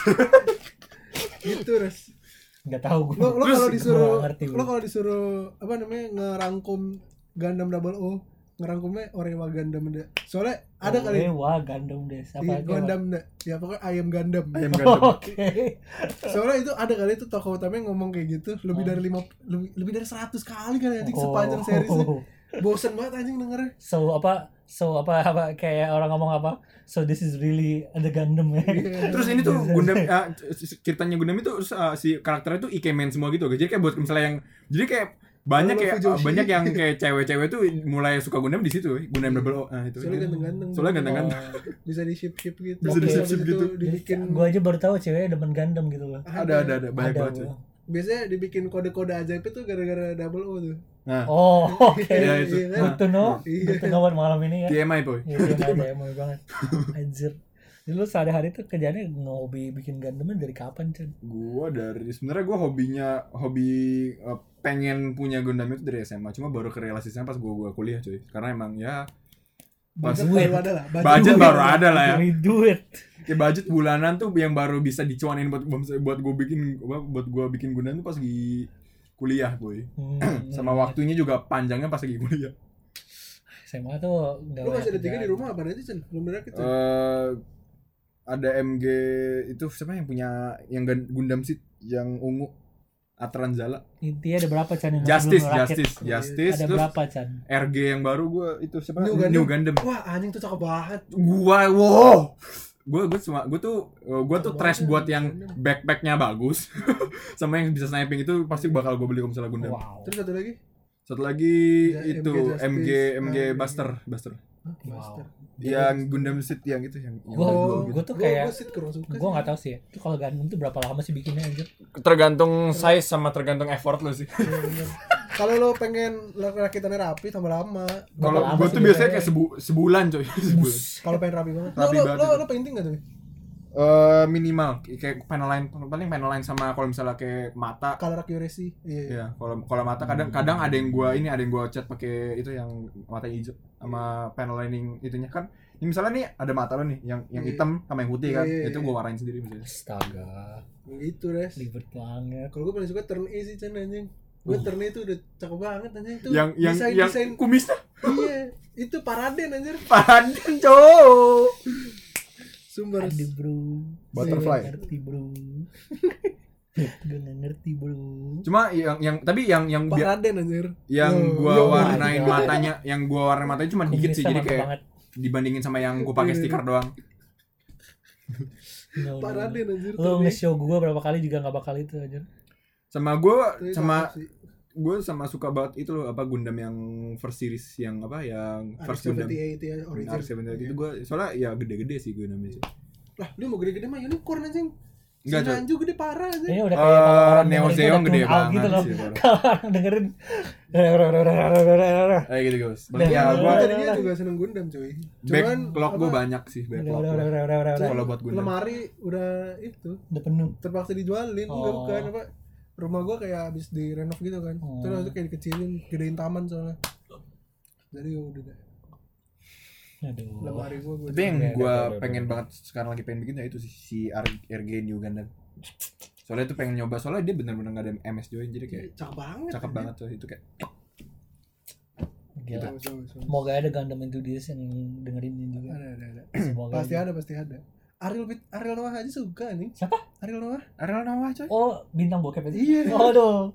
[SPEAKER 1] Gitu res.
[SPEAKER 2] Gak tahu gue.
[SPEAKER 1] Lo lo
[SPEAKER 3] Terus-
[SPEAKER 1] kalau disuruh
[SPEAKER 2] Gua ngerti, bro.
[SPEAKER 1] lo kalau disuruh apa namanya ngerangkum Gundam Double O, ngerangkumnya Orewa Gundam deh. Soalnya ada kali
[SPEAKER 2] Wah, Gundam deh.
[SPEAKER 1] di
[SPEAKER 2] Apa
[SPEAKER 1] Gundam deh. Ya pokoknya Ayam Gundam.
[SPEAKER 3] Ayam Gundam.
[SPEAKER 2] Oke.
[SPEAKER 1] Soalnya itu ada kali itu tokoh utamanya ngomong kayak gitu lebih
[SPEAKER 2] Oh.
[SPEAKER 1] dari lima lebih, lebih dari seratus kali kan anjing sepanjang seriesnya. Bosen banget anjing dengernya.
[SPEAKER 2] So apa? So apa apa kayak orang ngomong apa? So this is really the Gundam ya.
[SPEAKER 3] Terus ini tuh Gundam ah, ceritanya Gundam itu uh, si karakternya tuh ikemen semua gitu. Jadi kayak buat misalnya yang jadi kayak banyak
[SPEAKER 1] Kalau
[SPEAKER 3] kayak
[SPEAKER 1] Fujoshi.
[SPEAKER 3] banyak yang kayak cewek-cewek tuh mulai suka Gundam di situ, Gundam Double O. Nah, itu.
[SPEAKER 1] Soalnya ganteng-ganteng.
[SPEAKER 3] Soalnya ganteng-ganteng.
[SPEAKER 1] Bisa di ship ship gitu.
[SPEAKER 3] Bisa
[SPEAKER 1] Terus
[SPEAKER 3] di-ship-ship
[SPEAKER 1] habis itu
[SPEAKER 3] gitu.
[SPEAKER 1] Dibikin
[SPEAKER 2] Gue aja baru tahu ceweknya demen Gundam gitu loh.
[SPEAKER 3] Ada ada ada banyak
[SPEAKER 2] Ada,
[SPEAKER 3] banget.
[SPEAKER 2] bro.
[SPEAKER 3] Cuy.
[SPEAKER 1] biasanya dibikin kode-kode ajaib itu gara-gara Double O tuh.
[SPEAKER 3] Nah,
[SPEAKER 2] Oh, oke.
[SPEAKER 3] Iya, itu.
[SPEAKER 1] Iya kan?
[SPEAKER 2] Good to know.
[SPEAKER 1] Iya.
[SPEAKER 2] Good to know buat malam ini ya.
[SPEAKER 3] T M I boy.
[SPEAKER 2] Iya, dia ada emosi banget. Anjir. Dulu sehari-hari tuh kerjanya ngehobi bikin Gundam dari kapan, Chan?
[SPEAKER 3] Gua dari sebenarnya gua hobinya hobi uh, pengen punya Gundam itu dari S M A, cuma baru kerealisasinya pas gua gua kuliah cuy. Karena emang ya
[SPEAKER 1] Budget
[SPEAKER 2] Duit.
[SPEAKER 1] baru ada lah.
[SPEAKER 3] budget baru ada lah ya.
[SPEAKER 2] Cari duit.
[SPEAKER 3] Kayak budget bulanan tuh yang baru bisa dicuanin buat buat gua bikin buat gua bikin Gundam tuh pas di kuliah, boy.
[SPEAKER 2] Hmm,
[SPEAKER 3] Sama waktunya juga panjangnya pas lagi kuliah.
[SPEAKER 2] S M A tuh nggak
[SPEAKER 1] Lu masih ada
[SPEAKER 2] banyak
[SPEAKER 1] tiga di
[SPEAKER 2] kerjaan.
[SPEAKER 1] rumah apa aja Cen? Belum berakit Cen?
[SPEAKER 3] Eh ada M G itu siapa yang punya yang Gun- Gundam Seed yang ungu Atranzala.
[SPEAKER 2] Intinya ada berapa, Chan? Yang masih
[SPEAKER 3] Justice,
[SPEAKER 2] belum ngerakit?
[SPEAKER 3] Justice, Justice.
[SPEAKER 2] Ada
[SPEAKER 3] terus
[SPEAKER 2] berapa, Chan?
[SPEAKER 3] R G yang baru gua itu siapa?
[SPEAKER 1] New
[SPEAKER 3] New
[SPEAKER 1] Gundam.
[SPEAKER 3] Gundam.
[SPEAKER 1] Wah anjing tuh cakep banget.
[SPEAKER 3] Gua wow. Gua gua cuma gua tuh gua tuh
[SPEAKER 1] Cakep
[SPEAKER 3] trash
[SPEAKER 1] banget,
[SPEAKER 3] buat yang
[SPEAKER 1] Gundam.
[SPEAKER 3] backpacknya bagus sama yang bisa sniping itu pasti bakal gua beli kalau misalnya Gundam.
[SPEAKER 2] Wow.
[SPEAKER 1] Terus satu lagi?
[SPEAKER 3] Satu lagi
[SPEAKER 1] Ya,
[SPEAKER 3] itu
[SPEAKER 1] M G Justice.
[SPEAKER 3] M G M G
[SPEAKER 1] Ah,
[SPEAKER 3] Buster, Buster.
[SPEAKER 1] Hah,
[SPEAKER 2] Wow.
[SPEAKER 1] Master.
[SPEAKER 3] Yang Gundam Seed yang itu yang, yang
[SPEAKER 2] Gua-
[SPEAKER 3] ada dua
[SPEAKER 2] gua-
[SPEAKER 3] gitu.
[SPEAKER 2] gua tuh
[SPEAKER 1] Gua-
[SPEAKER 2] kayak
[SPEAKER 1] gua sih kurang suka
[SPEAKER 2] gue
[SPEAKER 1] sih.
[SPEAKER 2] nggak tahu sih. Itu kalau Gundam tuh berapa lama sih bikinnya anjir?
[SPEAKER 3] Tergantung size sama tergantung effort lo sih.
[SPEAKER 1] Iya, bener. Kalau lo pengen rakitannya rapi tambah lama.
[SPEAKER 3] Kalau
[SPEAKER 2] lama
[SPEAKER 3] gua
[SPEAKER 2] sih
[SPEAKER 3] tuh biasanya
[SPEAKER 2] biasanya?
[SPEAKER 3] kayak sebu- sebulan coy. Sebulan.
[SPEAKER 1] Kalau pengen rapi banget.
[SPEAKER 3] Rapi
[SPEAKER 1] lo,
[SPEAKER 3] banget
[SPEAKER 1] lo,
[SPEAKER 3] itu.
[SPEAKER 1] lo painting gak tuh?
[SPEAKER 3] Eh minimal kayak panel line paling panel line sama kalau misalnya kayak mata.
[SPEAKER 1] Color accuracy. Iya.
[SPEAKER 3] Iya, kalau kalau mata kadang-kadang ada yang gua ini ada yang gua cat pakai itu yang mata hijau sama panel lining itunya kan. Ini misalnya nih ada mata lo nih yang yang
[SPEAKER 1] Iya.
[SPEAKER 3] hitam sama yang putih kan.
[SPEAKER 1] Iya, iya,
[SPEAKER 3] Itu
[SPEAKER 1] iya.
[SPEAKER 3] gua warnain sendiri misalnya.
[SPEAKER 2] Astaga,
[SPEAKER 1] Gitu Res.
[SPEAKER 2] ribet banget.
[SPEAKER 1] Kalau gue paling suka turn A sih Chan anjing. Gue turn A itu udah cakep banget anjing tuh.
[SPEAKER 3] Yang yang
[SPEAKER 1] desain,
[SPEAKER 3] yang
[SPEAKER 1] desain.
[SPEAKER 3] kumisnya
[SPEAKER 1] Iya, itu Paraden anjir.
[SPEAKER 3] padan cowok.
[SPEAKER 1] Sumber.
[SPEAKER 2] Aduh bro,
[SPEAKER 3] Butterfly.
[SPEAKER 2] gue gak ngerti bro. Gue gak ngerti bro.
[SPEAKER 3] Cuma yang yang tapi yang yang biar
[SPEAKER 1] Paraden anjir.
[SPEAKER 3] yang
[SPEAKER 1] Yo,
[SPEAKER 3] gua
[SPEAKER 1] yo,
[SPEAKER 3] warnain
[SPEAKER 2] yo.
[SPEAKER 3] matanya, yang gua warnain matanya cuma dikit sih,
[SPEAKER 2] Kumisnya
[SPEAKER 3] jadi
[SPEAKER 2] mantep
[SPEAKER 3] kayak
[SPEAKER 2] banget.
[SPEAKER 3] dibandingin sama yang gua pakai
[SPEAKER 1] Iya.
[SPEAKER 3] stiker doang.
[SPEAKER 2] No, no, no.
[SPEAKER 1] Paraden anjir.
[SPEAKER 2] Lo
[SPEAKER 1] turn A.
[SPEAKER 2] nge-show gue berapa kali juga gak bakal itu anjir.
[SPEAKER 3] Sama gua
[SPEAKER 1] Itu
[SPEAKER 3] sama
[SPEAKER 1] cakep sih.
[SPEAKER 3] gue sama suka banget itu loh apa Gundam yang first series yang apa yang first Gundam
[SPEAKER 1] R X tujuh puluh delapan ya origin.
[SPEAKER 3] R X tujuh puluh delapan itu gue soalnya ya gede-gede sih Gundamnya sih.
[SPEAKER 1] Lah, lu mau gede-gede mah unicorn anjing.
[SPEAKER 3] Enggak,
[SPEAKER 1] Si
[SPEAKER 3] Cok.
[SPEAKER 1] Nanju gede parah anjing.
[SPEAKER 2] Ini udah kayak kalau orang
[SPEAKER 3] Neo
[SPEAKER 2] dengerin
[SPEAKER 3] Zeon
[SPEAKER 2] tuh
[SPEAKER 3] gede
[SPEAKER 2] udah tune out
[SPEAKER 3] banget
[SPEAKER 2] gitu loh.
[SPEAKER 3] sih, parah.
[SPEAKER 2] Kalau orang dengerin
[SPEAKER 3] Kayak gitu guys.
[SPEAKER 2] Udah,
[SPEAKER 3] Ya
[SPEAKER 2] udah,
[SPEAKER 3] gue
[SPEAKER 1] Gua tadinya juga seneng Gundam cuy. Cuman
[SPEAKER 3] backlog gue
[SPEAKER 1] apa,
[SPEAKER 3] banyak sih
[SPEAKER 2] udah
[SPEAKER 3] backlog.
[SPEAKER 2] udah
[SPEAKER 3] gua.
[SPEAKER 2] udah udah udah udah udah
[SPEAKER 3] Kalau buat Gundam.
[SPEAKER 1] lemari udah itu
[SPEAKER 2] udah penuh.
[SPEAKER 1] terpaksa dijualin enggak
[SPEAKER 2] Oh.
[SPEAKER 1] bukan apa rumah gua kayak habis direnov gitu kan
[SPEAKER 2] Oh.
[SPEAKER 1] terus itu kayak dikecilin gedein taman soalnya jadi ya udah deh
[SPEAKER 2] Aduh.
[SPEAKER 1] lemari gua gua
[SPEAKER 3] Tapi yang
[SPEAKER 2] Udah,
[SPEAKER 3] gue
[SPEAKER 2] udah, udah,
[SPEAKER 3] pengen
[SPEAKER 2] udah.
[SPEAKER 3] banget sekarang lagi pengen bikin ya itu sih si R- R G New Gundam. Soalnya itu pengen nyoba soalnya dia benar-benar nggak ada M S join jadi kayak
[SPEAKER 1] cakep banget
[SPEAKER 3] cakep
[SPEAKER 1] anjing.
[SPEAKER 3] banget tuh itu kayak
[SPEAKER 2] Gila.
[SPEAKER 1] Bagus, bagus, bagus.
[SPEAKER 2] Semoga ada Gundam Enthusiast yang dengerin ini juga.
[SPEAKER 1] ada ada ada
[SPEAKER 2] Semoga
[SPEAKER 1] pasti
[SPEAKER 2] aja.
[SPEAKER 1] ada pasti ada Ariel Bit- Ariel Noah aja suka nih
[SPEAKER 2] Siapa?
[SPEAKER 1] Ariel Noah
[SPEAKER 3] Ariel Noah coy.
[SPEAKER 2] Oh, bintang bokep itu.
[SPEAKER 1] Iya.
[SPEAKER 2] Oh, aduh.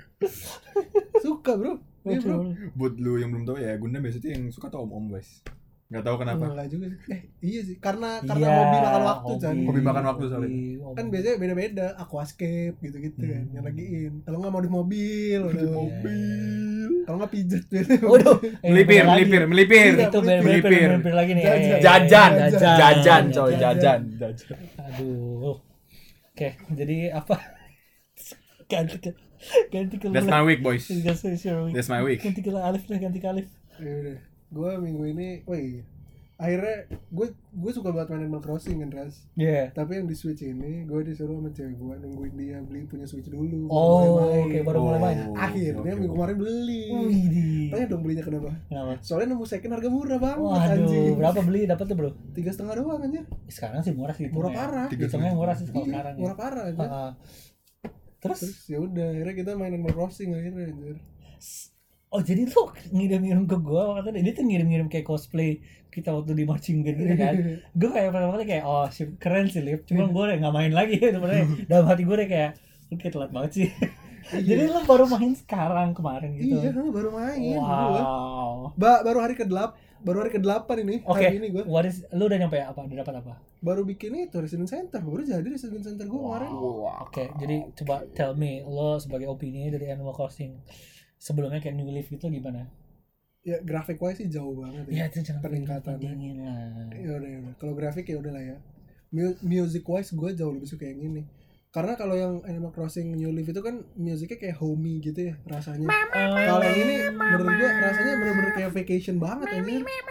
[SPEAKER 1] suka bro iya bro
[SPEAKER 3] Buat lu yang belum tahu ya Gundam biasanya yang suka tuh om-om guys. Nggak tahu kenapa.
[SPEAKER 1] enggak juga sih eh iya sih karena karena
[SPEAKER 2] Iya,
[SPEAKER 1] hobi makan waktu Chan
[SPEAKER 3] Hobi makan waktu soalnya.
[SPEAKER 2] hobi.
[SPEAKER 1] kan biasanya beda-beda aquascape gitu-gitu kan
[SPEAKER 2] Hmm.
[SPEAKER 1] yang lagiin kalau nggak modif mobil udah
[SPEAKER 3] Pijat
[SPEAKER 1] mobil
[SPEAKER 3] mobil.
[SPEAKER 1] kalau nggak pijet biasanya
[SPEAKER 2] Waduh, eh,
[SPEAKER 3] Melipir,
[SPEAKER 2] beda lagi.
[SPEAKER 3] melipir, melipir.
[SPEAKER 1] Iya.
[SPEAKER 2] Itu melipir,
[SPEAKER 3] Melipir.
[SPEAKER 2] melipir lagi nih.
[SPEAKER 1] Jajan.
[SPEAKER 2] Eh, eh,
[SPEAKER 3] Jajan,
[SPEAKER 1] Jajan.
[SPEAKER 3] jajan coy,
[SPEAKER 1] Jajan.
[SPEAKER 3] jajan, jajan.
[SPEAKER 2] Aduh. Oke, jadi apa? ganti ke ganti ke
[SPEAKER 3] That's my week boys.
[SPEAKER 2] That's my week.
[SPEAKER 3] That's my week.
[SPEAKER 2] Ganti ke Alif lah, ganti ke Alif.
[SPEAKER 1] ya udah gue minggu ini oh iya akhirnya gue gue suka banget main Animal Crossing kan Ras
[SPEAKER 2] Iya.
[SPEAKER 1] tapi yang di Switch ini gue disuruh sama cewek gue nungguin dia beli punya Switch dulu baru
[SPEAKER 2] Oh,
[SPEAKER 1] mulai
[SPEAKER 2] oke
[SPEAKER 1] main.
[SPEAKER 2] baru mulai main.
[SPEAKER 3] Oh,
[SPEAKER 1] akhirnya
[SPEAKER 3] oke,
[SPEAKER 1] minggu
[SPEAKER 3] oke.
[SPEAKER 1] kemarin beli
[SPEAKER 2] Wih,
[SPEAKER 1] tanya dong belinya kenapa
[SPEAKER 2] kenapa?
[SPEAKER 1] soalnya nemu second harga murah banget
[SPEAKER 2] Waduh,
[SPEAKER 1] anjing
[SPEAKER 2] berapa beli dapat tuh, Bro?
[SPEAKER 1] tiga setengah doang anjir
[SPEAKER 2] Sekarang sih murah sih.
[SPEAKER 1] murah
[SPEAKER 2] hitungnya.
[SPEAKER 1] parah
[SPEAKER 3] Tiga
[SPEAKER 2] Hitungnya murah sih kalau
[SPEAKER 1] Iya,
[SPEAKER 2] sekarang.
[SPEAKER 1] murah
[SPEAKER 2] Ya.
[SPEAKER 1] parah anjir
[SPEAKER 2] Ah, terus,
[SPEAKER 1] terus ya udah akhirnya kita main Animal Crossing akhirnya anjir
[SPEAKER 2] oh jadi lu ngirim-ngirim ke gua waktu itu dia tuh ngirim-ngirim kayak cosplay kita waktu di marching band gitu kan. Gue kayak pertama kali kayak oh sip, keren sih Lip. Cuma gue udah nggak main lagi sebenarnya. Dalam hati gue udah kayak lu kayak telat banget sih. Jadi lu baru main sekarang kemarin gitu.
[SPEAKER 1] iya baru main gua.
[SPEAKER 2] Wow.
[SPEAKER 1] Ba baru hari ke delapan baru hari ke delapan ini
[SPEAKER 2] Oke.
[SPEAKER 1] hari ini gue
[SPEAKER 2] What is lu udah nyampe apa? Udah dapat apa?
[SPEAKER 1] baru bikin itu Resident Center baru jadi Resident Center gue kemarin
[SPEAKER 2] Oke, jadi coba tell me lo sebagai opini dari Animal Crossing sebelumnya kayak New Leaf itu gimana?
[SPEAKER 1] ya grafik wise sih jauh banget
[SPEAKER 2] Ya
[SPEAKER 1] ya
[SPEAKER 2] itu jangan
[SPEAKER 1] peningkatannya
[SPEAKER 2] dingin lah.
[SPEAKER 1] ya udah ya udah kalau grafik ya udah lah ya Mu- music wise gue jauh lebih suka yang ini karena kalau yang Animal Crossing New Leaf itu kan musiknya kayak homey gitu ya rasanya kalau yang ini menurut gue rasanya bener-bener kayak vacation banget anjir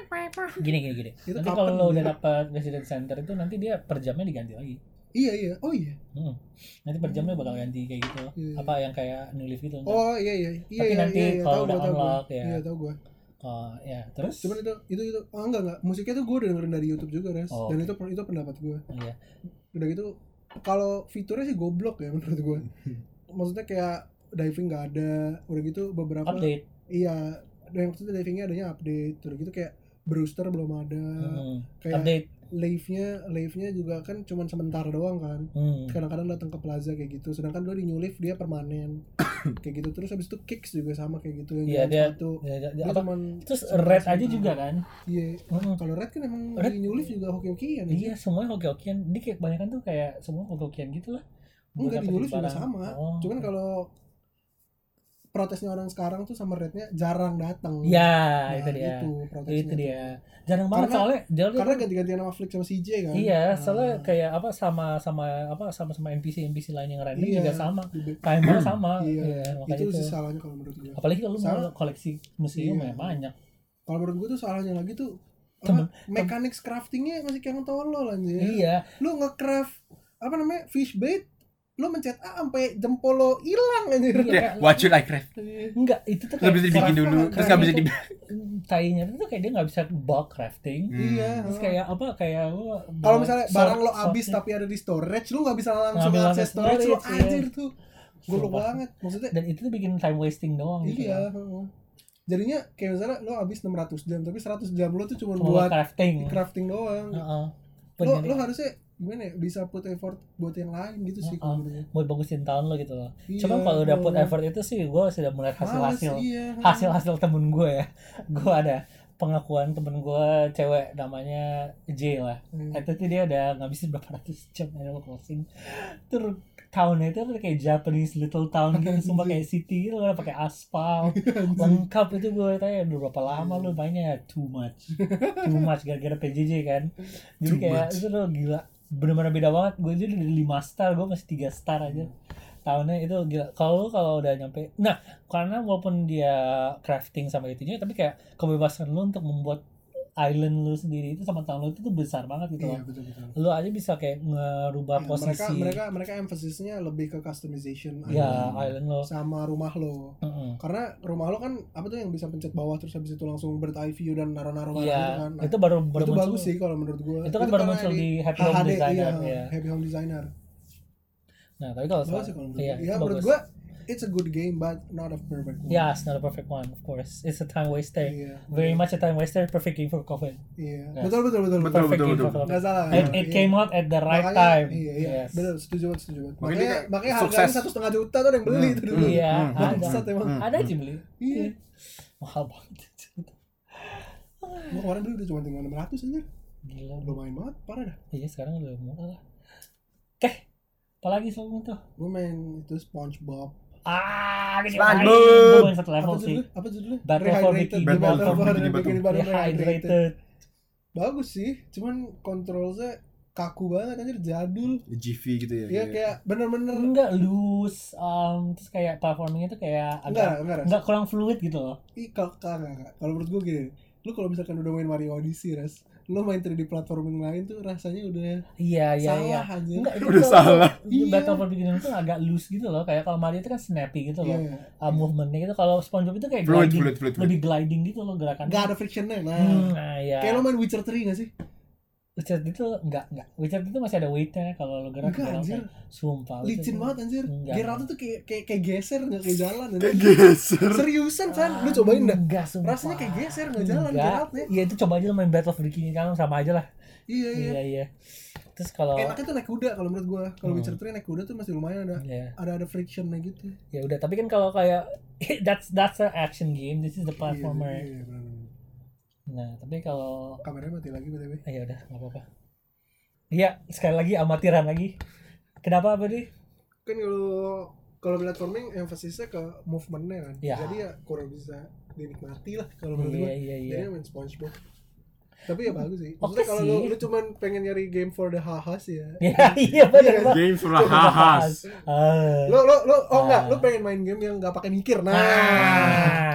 [SPEAKER 2] Gini gini gini.
[SPEAKER 1] Itu
[SPEAKER 2] Nanti
[SPEAKER 1] kapan
[SPEAKER 2] kalau lo udah
[SPEAKER 1] dia?
[SPEAKER 2] dapat resident center itu nanti dia per jamnya diganti lagi.
[SPEAKER 1] Iya iya. Oh iya.
[SPEAKER 2] Hmm. Nanti per jamnya bakal ganti kayak gitu.
[SPEAKER 1] Iya.
[SPEAKER 2] Apa yang kayak new leaf gitu. ntar.
[SPEAKER 1] Oh iya iya. Iya
[SPEAKER 2] Tapi
[SPEAKER 1] iya,
[SPEAKER 2] nanti
[SPEAKER 1] iya, iya.
[SPEAKER 2] kalau
[SPEAKER 1] Tahu
[SPEAKER 2] udah
[SPEAKER 1] gua, tahu gua.
[SPEAKER 2] unlock, ya.
[SPEAKER 1] Iya tahu gua.
[SPEAKER 2] Oh ya terus.
[SPEAKER 1] Cuman itu itu itu oh enggak enggak. Musiknya tuh gue udah dengerin dari YouTube juga, Res.
[SPEAKER 2] Oh,
[SPEAKER 1] Dan
[SPEAKER 2] oke.
[SPEAKER 1] itu itu pendapat gue.
[SPEAKER 2] Iya.
[SPEAKER 1] Udah gitu kalau fiturnya sih goblok ya menurut gue. Maksudnya kayak diving nggak ada, udah gitu beberapa
[SPEAKER 2] Update.
[SPEAKER 1] iya, dan maksudnya divingnya adanya update, udah gitu kayak brewster belum ada,
[SPEAKER 2] Hmm.
[SPEAKER 1] kayak
[SPEAKER 2] Update.
[SPEAKER 1] live-nya live-nya juga kan cuman sebentar doang kan,
[SPEAKER 2] Hmm.
[SPEAKER 1] kadang-kadang datang ke plaza kayak gitu, sedangkan dulu di new live dia permanen kayak gitu. Terus habis itu kicks juga sama kayak gitu yang
[SPEAKER 2] Iya,
[SPEAKER 1] jalan
[SPEAKER 2] dia-
[SPEAKER 1] sepatu
[SPEAKER 2] Ya, ya,
[SPEAKER 1] dia
[SPEAKER 2] apa?
[SPEAKER 1] cuman
[SPEAKER 2] Terus
[SPEAKER 1] sebentar-
[SPEAKER 2] red aja
[SPEAKER 1] sebentar.
[SPEAKER 2] juga kan?
[SPEAKER 1] Iya.
[SPEAKER 2] Hmm.
[SPEAKER 1] Kalau red kan emang
[SPEAKER 2] Red-
[SPEAKER 1] di new live juga hoki-hokian
[SPEAKER 2] Iya,
[SPEAKER 1] aja.
[SPEAKER 2] semuanya hoki-hokian. Dia kayak kebanyakan tuh kayak semua hoki-hokian gitu lah.
[SPEAKER 1] Enggak, di
[SPEAKER 2] Buat
[SPEAKER 1] new live juga
[SPEAKER 2] dapetin
[SPEAKER 1] sama,
[SPEAKER 2] barang. Oh.
[SPEAKER 1] cuman kalau protesnya orang sekarang tuh sama rednya jarang datang.
[SPEAKER 2] Ya,
[SPEAKER 1] Nah,
[SPEAKER 2] itu dia.
[SPEAKER 1] itu protesnya
[SPEAKER 2] Itu
[SPEAKER 1] tuh.
[SPEAKER 2] dia. Jarang banget
[SPEAKER 1] Karena-
[SPEAKER 2] soalnya dia
[SPEAKER 1] Karena ganti-gantian sama Flick sama C J kan.
[SPEAKER 2] iya, soalnya
[SPEAKER 1] Nah,
[SPEAKER 2] kayak apa sama sama apa sama sama N P C N P C lain yang random
[SPEAKER 1] iya,
[SPEAKER 2] juga sama.
[SPEAKER 1] di back-
[SPEAKER 2] Timer sama.
[SPEAKER 1] Iya,
[SPEAKER 2] Iya, makanya
[SPEAKER 1] itu
[SPEAKER 2] itu.
[SPEAKER 1] sih salahnya kalau menurut gue.
[SPEAKER 2] Apalagi kalau lu mau
[SPEAKER 1] Salah.
[SPEAKER 2] koleksi museum
[SPEAKER 1] Iya.
[SPEAKER 2] ya banyak.
[SPEAKER 1] Kalau menurut gue tuh salahnya lagi tuh
[SPEAKER 2] Temen-
[SPEAKER 1] apa, mechanics craftingnya masih kayak tolol anjir.
[SPEAKER 2] Iya.
[SPEAKER 1] Lu nge-craft apa namanya fish bait, lu mencet A sampai jempol lo hilang anjir.
[SPEAKER 2] Iya.
[SPEAKER 3] Ya, what should I craft?
[SPEAKER 2] Enggak, itu tuh
[SPEAKER 3] Nggak bisa dibikin
[SPEAKER 2] craft-
[SPEAKER 3] dulu, terus
[SPEAKER 2] craft
[SPEAKER 3] nggak bisa
[SPEAKER 2] itu-
[SPEAKER 3] di
[SPEAKER 2] tainya itu tuh kayak dia nggak bisa bulk crafting.
[SPEAKER 3] Hmm.
[SPEAKER 1] Iya.
[SPEAKER 2] Terus kayak apa kayak lu
[SPEAKER 1] Kalau misalnya
[SPEAKER 2] sort-
[SPEAKER 1] barang lo habis
[SPEAKER 2] sortnya.
[SPEAKER 1] tapi ada di storage, lu nggak bisa langsung
[SPEAKER 2] Ngambil
[SPEAKER 1] akses
[SPEAKER 2] langsung
[SPEAKER 1] storage, lu
[SPEAKER 2] storage, iya.
[SPEAKER 1] anjir tuh. Goblok
[SPEAKER 2] Sumpah.
[SPEAKER 1] banget. Maksudnya
[SPEAKER 2] Dan itu tuh bikin time wasting doang gitu.
[SPEAKER 1] iya.
[SPEAKER 2] kan.
[SPEAKER 1] heeh. Jadinya kayak misalnya lo habis enam ratus jam, tapi seratus jam lo tuh cuma
[SPEAKER 2] Cuma
[SPEAKER 1] buat
[SPEAKER 2] crafting.
[SPEAKER 1] crafting doang.
[SPEAKER 2] Heeh.
[SPEAKER 1] Lo
[SPEAKER 2] Buat
[SPEAKER 1] lo harusnya gimana ya, bisa put effort buat yang lain gitu sih kalau menurut gue.
[SPEAKER 2] buat bagusin tahun lo gitu loh.
[SPEAKER 1] Iya,
[SPEAKER 2] Cuma kalau udah put
[SPEAKER 1] heeh.
[SPEAKER 2] effort itu sih gue sudah melihat
[SPEAKER 1] Males,
[SPEAKER 2] hasil-hasil
[SPEAKER 1] iya.
[SPEAKER 2] hasil-hasil temen gue ya. Gue ada pengakuan temen gue cewek namanya J lah.
[SPEAKER 1] Hmm.
[SPEAKER 2] Itu tuh dia udah ngabisin berapa ratus jam Animal Crossing. Terus tahunnya itu tuh kayak Japanese little town gitu, sumpah kayak city gitu, udah pakai aspal lengkap. Itu gue tanya udah berapa lama lu mainnya? Too much, too much gara-gara P J J kan. Jadi
[SPEAKER 3] Too
[SPEAKER 2] kayak
[SPEAKER 3] much.
[SPEAKER 2] itu tuh gila, bener-bener beda banget. Gue aja udah lima star, gue masih tiga star aja. Tahunnya itu gila. Kalau lu kalau udah nyampe, nah karena walaupun dia crafting sama itunya, tapi kayak kebebasan lu untuk membuat island lu sendiri itu sama tahun lu itu tuh besar banget gitu
[SPEAKER 1] Iya
[SPEAKER 2] loh.
[SPEAKER 1] betul betul.
[SPEAKER 2] Lu aja bisa kayak ngerubah
[SPEAKER 1] Ya,
[SPEAKER 2] posisi
[SPEAKER 1] mereka mereka mereka emphasisnya lebih ke customization
[SPEAKER 2] ya
[SPEAKER 1] island
[SPEAKER 2] island lo.
[SPEAKER 1] sama rumah lo.
[SPEAKER 2] Heeh.
[SPEAKER 1] Karena rumah lo kan apa tuh yang bisa pencet bawah terus habis itu langsung bird eye view dan naruh-naruh barang
[SPEAKER 2] Iya,
[SPEAKER 1] gitu kan. Nah,
[SPEAKER 2] itu baru baru
[SPEAKER 1] itu
[SPEAKER 2] muncul.
[SPEAKER 1] bagus sih kalau menurut gua.
[SPEAKER 2] Itu kan baru
[SPEAKER 1] karena
[SPEAKER 2] muncul di Happy
[SPEAKER 1] H
[SPEAKER 2] Home
[SPEAKER 1] D,
[SPEAKER 2] Designer,
[SPEAKER 1] iya,
[SPEAKER 2] ya.
[SPEAKER 1] Happy Home Designer.
[SPEAKER 2] Nah, tapi kalau
[SPEAKER 1] Bagus sih kalau menurut
[SPEAKER 2] iya,
[SPEAKER 1] gua.
[SPEAKER 2] itu
[SPEAKER 1] Ya menurut
[SPEAKER 2] bagus.
[SPEAKER 1] gua it's a good game but not a perfect one.
[SPEAKER 2] Yeah, it's not a perfect one, of course. It's a time waster.
[SPEAKER 1] Iya.
[SPEAKER 2] Very much a time waster, perfect game for COVID.
[SPEAKER 1] Iya.
[SPEAKER 2] Yes.
[SPEAKER 1] Betul betul betul.
[SPEAKER 3] Betul,
[SPEAKER 2] Perfect
[SPEAKER 3] betul,
[SPEAKER 2] game
[SPEAKER 3] betul.
[SPEAKER 2] for COVID.
[SPEAKER 1] Nggak salah.
[SPEAKER 2] It,
[SPEAKER 1] Iya.
[SPEAKER 2] it came out at the right
[SPEAKER 1] Makanya-
[SPEAKER 2] time.
[SPEAKER 1] Iya, iya.
[SPEAKER 2] Yes.
[SPEAKER 1] Betul, setuju banget, setuju banget.
[SPEAKER 3] Makanya
[SPEAKER 1] Makanya
[SPEAKER 3] dia
[SPEAKER 1] makanya
[SPEAKER 3] sukses.
[SPEAKER 1] harganya satu setengah juta tuh ada yang beli
[SPEAKER 3] Hmm,
[SPEAKER 1] tuh dulu.
[SPEAKER 2] Iya,
[SPEAKER 3] Hmm,
[SPEAKER 2] ada.
[SPEAKER 1] Bangsat emang.
[SPEAKER 3] Hmm.
[SPEAKER 2] Ada aja beli.
[SPEAKER 1] Iya.
[SPEAKER 2] Mahal banget.
[SPEAKER 1] Gua kemarin beli udah cuma tinggal enam ratus aja.
[SPEAKER 2] Gila.
[SPEAKER 1] Lumayan banget, parah dah.
[SPEAKER 2] Iya, sekarang udah murah lah. Oke. Apalagi soal itu?
[SPEAKER 1] Gue main itu SpongeBob.
[SPEAKER 2] Ah, ini
[SPEAKER 3] SpongeBob.
[SPEAKER 2] gue main satu level
[SPEAKER 1] Apa
[SPEAKER 2] sih.
[SPEAKER 1] judulnya? Apa judulnya?
[SPEAKER 2] Battle for
[SPEAKER 1] Rehydrated.
[SPEAKER 2] Bikini
[SPEAKER 1] The
[SPEAKER 3] Battle
[SPEAKER 1] Battle
[SPEAKER 3] for
[SPEAKER 1] for
[SPEAKER 3] Bikini
[SPEAKER 1] Bikini
[SPEAKER 3] Bottom.
[SPEAKER 1] Bottom Rehydrated.
[SPEAKER 2] Rehydrated.
[SPEAKER 1] Bagus sih, cuman kontrolnya kaku banget anjir, jadul.
[SPEAKER 3] G V gitu ya.
[SPEAKER 1] Iya kayak bener-bener
[SPEAKER 2] Enggak loose, um, terus kayak platformingnya tuh kayak
[SPEAKER 1] enggak
[SPEAKER 2] agak
[SPEAKER 1] enggak Ras.
[SPEAKER 2] enggak kurang fluid gitu loh.
[SPEAKER 1] Ih, kalau enggak enggak. Kalau menurut gue gini, lu kalau misalkan udah main Mario Odyssey, Ras, lu main tiga D platforming lain tuh rasanya udah
[SPEAKER 2] Iya iya
[SPEAKER 1] salah
[SPEAKER 2] iya.
[SPEAKER 1] aja.
[SPEAKER 2] Enggak itu
[SPEAKER 3] Udah
[SPEAKER 2] tuh-
[SPEAKER 3] salah.
[SPEAKER 2] itu
[SPEAKER 1] Iya.
[SPEAKER 2] Battle for Beginner tuh agak loose gitu loh. Kayak kalau Mario itu kan snappy gitu loh.
[SPEAKER 1] Iya.
[SPEAKER 2] Uh, movementnya gitu. Kalau SpongeBob itu kayak
[SPEAKER 3] Fluid,
[SPEAKER 2] gliding,
[SPEAKER 3] fluid, fluid, fluid.
[SPEAKER 2] lebih gliding gitu loh gerakannya.
[SPEAKER 1] Enggak ada frictionnya. Nah,
[SPEAKER 2] Hmm, nah iya.
[SPEAKER 1] kayak lu main Witcher tiga enggak sih?
[SPEAKER 2] Witcher itu enggak enggak. Witcher itu masih ada weightnya kalau lo gerak.
[SPEAKER 1] Enggak,
[SPEAKER 2] gerak
[SPEAKER 1] anjir.
[SPEAKER 2] kayak- Sumpah. Witcher
[SPEAKER 1] Licin
[SPEAKER 2] itu-
[SPEAKER 1] banget anjir.
[SPEAKER 2] Enggak.
[SPEAKER 1] Geralt tuh kayak kayak kayak geser enggak kayak jalan anjir.
[SPEAKER 3] Geser.
[SPEAKER 1] Seriusan, San. Lu cobain dah.
[SPEAKER 2] Enggak, sumpah.
[SPEAKER 1] Rasanya kayak geser enggak jalan
[SPEAKER 2] Enggak.
[SPEAKER 1] Geraltnya.
[SPEAKER 2] Iya itu coba aja lo main Battle of Bikini kan sama aja lah.
[SPEAKER 1] Iya, iya.
[SPEAKER 2] Iya iya. Terus kalau
[SPEAKER 1] Enaknya tuh naik kuda kalau menurut gua. Kalau
[SPEAKER 2] Hmm.
[SPEAKER 1] Witcher tiga naik kuda tuh masih lumayan ada
[SPEAKER 2] Iya.
[SPEAKER 1] ada ada frictionnya gitu.
[SPEAKER 2] Ya udah, tapi kan kalau kayak that's that's an action game, this is the platformer.
[SPEAKER 1] Iya, iya, benar-benar.
[SPEAKER 2] Nah, tapi kalau
[SPEAKER 1] Kameranya mati lagi B T W.
[SPEAKER 2] ah, ya udah nggak apa-apa. Iya, sekali lagi amatiran lagi. Kenapa apa nih?
[SPEAKER 1] Kan kalau kalau platforming emphasisnya ke movementnya kan.
[SPEAKER 2] Iya.
[SPEAKER 1] Jadi ya kurang bisa dinikmati lah kalau menurut
[SPEAKER 2] Iya
[SPEAKER 1] gua.
[SPEAKER 2] iya iya.
[SPEAKER 1] Jadi main SpongeBob. Tapi ya bagus sih.
[SPEAKER 2] Oke
[SPEAKER 1] Maksudnya kalau lu,
[SPEAKER 2] sih.
[SPEAKER 1] lu cuman pengen nyari game for the hahas ya.
[SPEAKER 2] Iya iya benar
[SPEAKER 1] Iya,
[SPEAKER 2] Pak.
[SPEAKER 3] Game for a hahas.
[SPEAKER 2] Ah.
[SPEAKER 1] Lu lu lu oh enggak,
[SPEAKER 2] Ah.
[SPEAKER 1] lu pengen main game yang enggak pakai mikir. Nah,
[SPEAKER 2] Nah.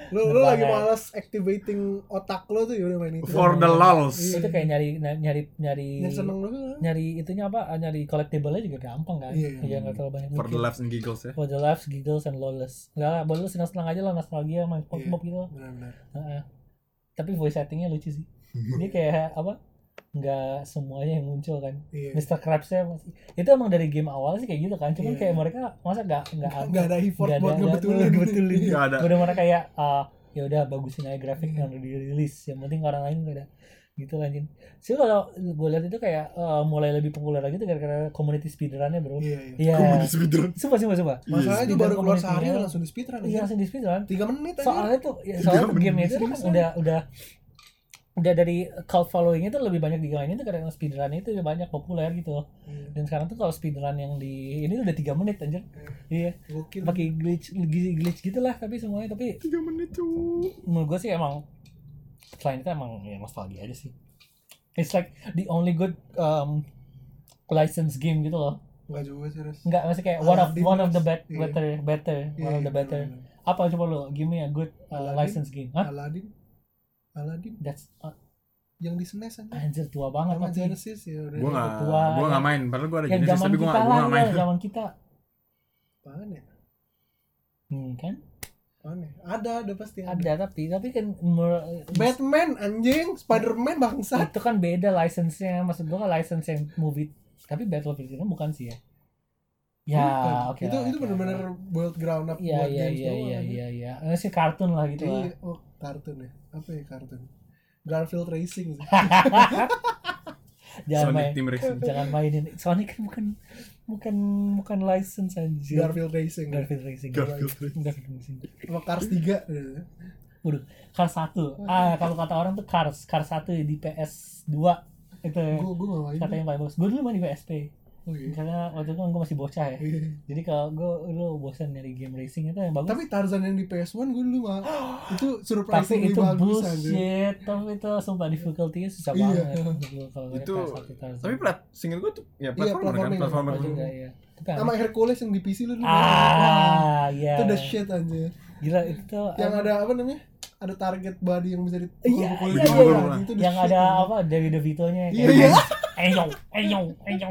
[SPEAKER 1] Lu lu lagi
[SPEAKER 2] Banget.
[SPEAKER 1] malas activating otak lo tuh ya udah main itu.
[SPEAKER 3] For the lulz.
[SPEAKER 2] Itu kayak nyari nyari nyari
[SPEAKER 1] Yang seneng doang.
[SPEAKER 2] nyari itunya apa? Nyari collectible-nya juga gampang kan?
[SPEAKER 1] Iya, iya.
[SPEAKER 2] Iya enggak terlalu banyak.
[SPEAKER 3] For the
[SPEAKER 2] mikir.
[SPEAKER 3] laughs and giggles ya.
[SPEAKER 2] For the laughs, giggles, and lawless. Enggak lah, buat lu senang-senang aja lah, nostalgia main SpongeBob gitu.
[SPEAKER 1] Benar-benar.
[SPEAKER 2] Heeh. Tapi voice actingnya lucu sih. Dia kayak apa? Nggak semuanya yang muncul kan.
[SPEAKER 1] Iya.
[SPEAKER 2] mister Krabs-nya masih. Itu emang dari game awal sih kayak gitu kan. Cuman
[SPEAKER 1] Iya.
[SPEAKER 2] kayak mereka masa nggak nggak
[SPEAKER 1] Nggak ada effort
[SPEAKER 2] nggak
[SPEAKER 1] buat
[SPEAKER 2] ada-
[SPEAKER 1] ngebetulin.
[SPEAKER 2] nggak ngebetulin.
[SPEAKER 3] Nggak ada.
[SPEAKER 2] Bener-bener kayak ah ya udah bagusin aja grafik yang udah dirilis. Yang penting orang lain nggak ada gitu lanjut. Sih kalau gue lihat itu kayak eh, mulai lebih populer lagi tuh gara-gara community speedrun-nya bro.
[SPEAKER 1] Iya, iya.
[SPEAKER 2] Iya.
[SPEAKER 3] Community speedrun.
[SPEAKER 2] Sumpah sumpah sumpah.
[SPEAKER 1] Masalahnya
[SPEAKER 2] Speedrun
[SPEAKER 1] itu baru keluar
[SPEAKER 2] community-nya.
[SPEAKER 1] sehari langsung di speedrun.
[SPEAKER 2] Iya langsung di speedrun.
[SPEAKER 1] tiga menit aja.
[SPEAKER 2] Soalnya tuh ya, soalnya tuh game itu kan udah udah udah dari cult following itu lebih banyak dimainin tuh karena speedrun itu banyak populer gitu.
[SPEAKER 1] Iya.
[SPEAKER 2] Dan sekarang tuh kalau speedrun yang di ini udah tiga menit anjir. Iya.
[SPEAKER 1] Gokil.
[SPEAKER 2] Pakai glitch glitch gitu lah tapi semuanya tapi
[SPEAKER 3] tiga menit tuh.
[SPEAKER 2] menurut gue sih emang selain itu emang ya nostalgia aja sih. It's like the only good um, license game gitu loh.
[SPEAKER 1] Enggak juga sih, Res.
[SPEAKER 2] Enggak, masih kayak one of
[SPEAKER 1] Aladdin,
[SPEAKER 2] one of the
[SPEAKER 1] Res.
[SPEAKER 2] bet,
[SPEAKER 1] Iya.
[SPEAKER 2] better better
[SPEAKER 1] Iya,
[SPEAKER 2] one of
[SPEAKER 1] iya,
[SPEAKER 2] the better.
[SPEAKER 1] bener-bener.
[SPEAKER 2] Apa coba lo give me a good uh,
[SPEAKER 1] Aladdin.
[SPEAKER 2] license game. Hah?
[SPEAKER 1] Aladdin. Aladdin
[SPEAKER 2] That's uh,
[SPEAKER 1] yang di S N E S aja.
[SPEAKER 2] anjir tua banget
[SPEAKER 1] Sama
[SPEAKER 2] tapi
[SPEAKER 1] Genesis ya udah.
[SPEAKER 3] Gue nggak,
[SPEAKER 2] tua,
[SPEAKER 3] gue
[SPEAKER 2] yang-
[SPEAKER 3] nggak main. Padahal gue ada
[SPEAKER 2] yang
[SPEAKER 3] Genesis
[SPEAKER 2] zaman
[SPEAKER 3] tapi gue
[SPEAKER 2] kita
[SPEAKER 3] nggak, gue
[SPEAKER 2] lah
[SPEAKER 3] nggak main.
[SPEAKER 2] ya, zaman kita.
[SPEAKER 1] Apaan ya?
[SPEAKER 2] Hmm, kan?
[SPEAKER 1] Apaan ya? Ada, ada pasti ada.
[SPEAKER 2] Ada tapi tapi kan mer-
[SPEAKER 1] Batman anjing, Spider-Man bangsa.
[SPEAKER 2] itu kan beda license-nya. Maksud gua kan license yang movie. Tapi Battlefield itu bukan sih ya. Ya,
[SPEAKER 1] Bukan.
[SPEAKER 2] oke.
[SPEAKER 1] Itu
[SPEAKER 2] lah,
[SPEAKER 1] itu
[SPEAKER 2] oke,
[SPEAKER 1] benar-benar
[SPEAKER 2] oke.
[SPEAKER 1] build ground up
[SPEAKER 2] Iya
[SPEAKER 1] buat
[SPEAKER 2] iya
[SPEAKER 1] games
[SPEAKER 2] iya
[SPEAKER 1] doang,
[SPEAKER 2] iya
[SPEAKER 1] anjing.
[SPEAKER 2] iya iya. Ini sih kartun lah gitu lah.
[SPEAKER 1] Iya, oh kartun ya. Apa ya kartun? Garfield Racing sih.
[SPEAKER 2] Jangan
[SPEAKER 3] Sonic
[SPEAKER 2] main.
[SPEAKER 3] Team Racing.
[SPEAKER 2] Jangan mainin. Sonic kan bukan bukan bukan license anjir.
[SPEAKER 1] Garfield Racing.
[SPEAKER 2] Garfield Racing.
[SPEAKER 3] Garfield Racing.
[SPEAKER 2] Garfield Racing.
[SPEAKER 1] Sama Cars tiga.
[SPEAKER 2] Waduh, Cars satu. Ah, kalau kata orang tuh Cars, Cars satu di P S dua itu
[SPEAKER 1] Gue gue gak main.
[SPEAKER 2] katanya paling bagus. Gue dulu main di P S P.
[SPEAKER 1] Oh, iya.
[SPEAKER 2] Karena waktu itu kan gue masih bocah ya.
[SPEAKER 1] Iya.
[SPEAKER 2] Jadi kalau gue lu bosan nyari game racing itu yang bagus.
[SPEAKER 1] Tapi Tarzan yang di P S satu gue dulu mah itu
[SPEAKER 2] Tapi
[SPEAKER 1] surprisingly
[SPEAKER 2] itu
[SPEAKER 1] bagus aja.
[SPEAKER 2] bullshit. Tapi itu sumpah difficulty-nya susah
[SPEAKER 1] Iya.
[SPEAKER 2] banget. Dulu kalau
[SPEAKER 3] Itu,
[SPEAKER 2] P S satu Tarzan.
[SPEAKER 3] tapi plat, singkat gue tuh, ya platformer kan,
[SPEAKER 1] platforming.
[SPEAKER 3] platformer.
[SPEAKER 2] Oh, juga ya. Tapi
[SPEAKER 1] Sama Hercules yang di P C lu dulu.
[SPEAKER 2] ah, ya.
[SPEAKER 1] Itu the shit aja.
[SPEAKER 2] Gila itu tuh
[SPEAKER 1] Yang
[SPEAKER 2] apa-
[SPEAKER 1] ada apa namanya? Ada target body yang bisa di
[SPEAKER 2] Iya,
[SPEAKER 1] pukul-pukul
[SPEAKER 2] iya,
[SPEAKER 1] gitu.
[SPEAKER 3] iya,
[SPEAKER 1] Anjing, itu the
[SPEAKER 2] yang
[SPEAKER 1] shit,
[SPEAKER 2] ada
[SPEAKER 1] anjing.
[SPEAKER 2] apa dari DeVito-nya
[SPEAKER 1] Iya, iya.
[SPEAKER 2] Eyo, eyo, eyo,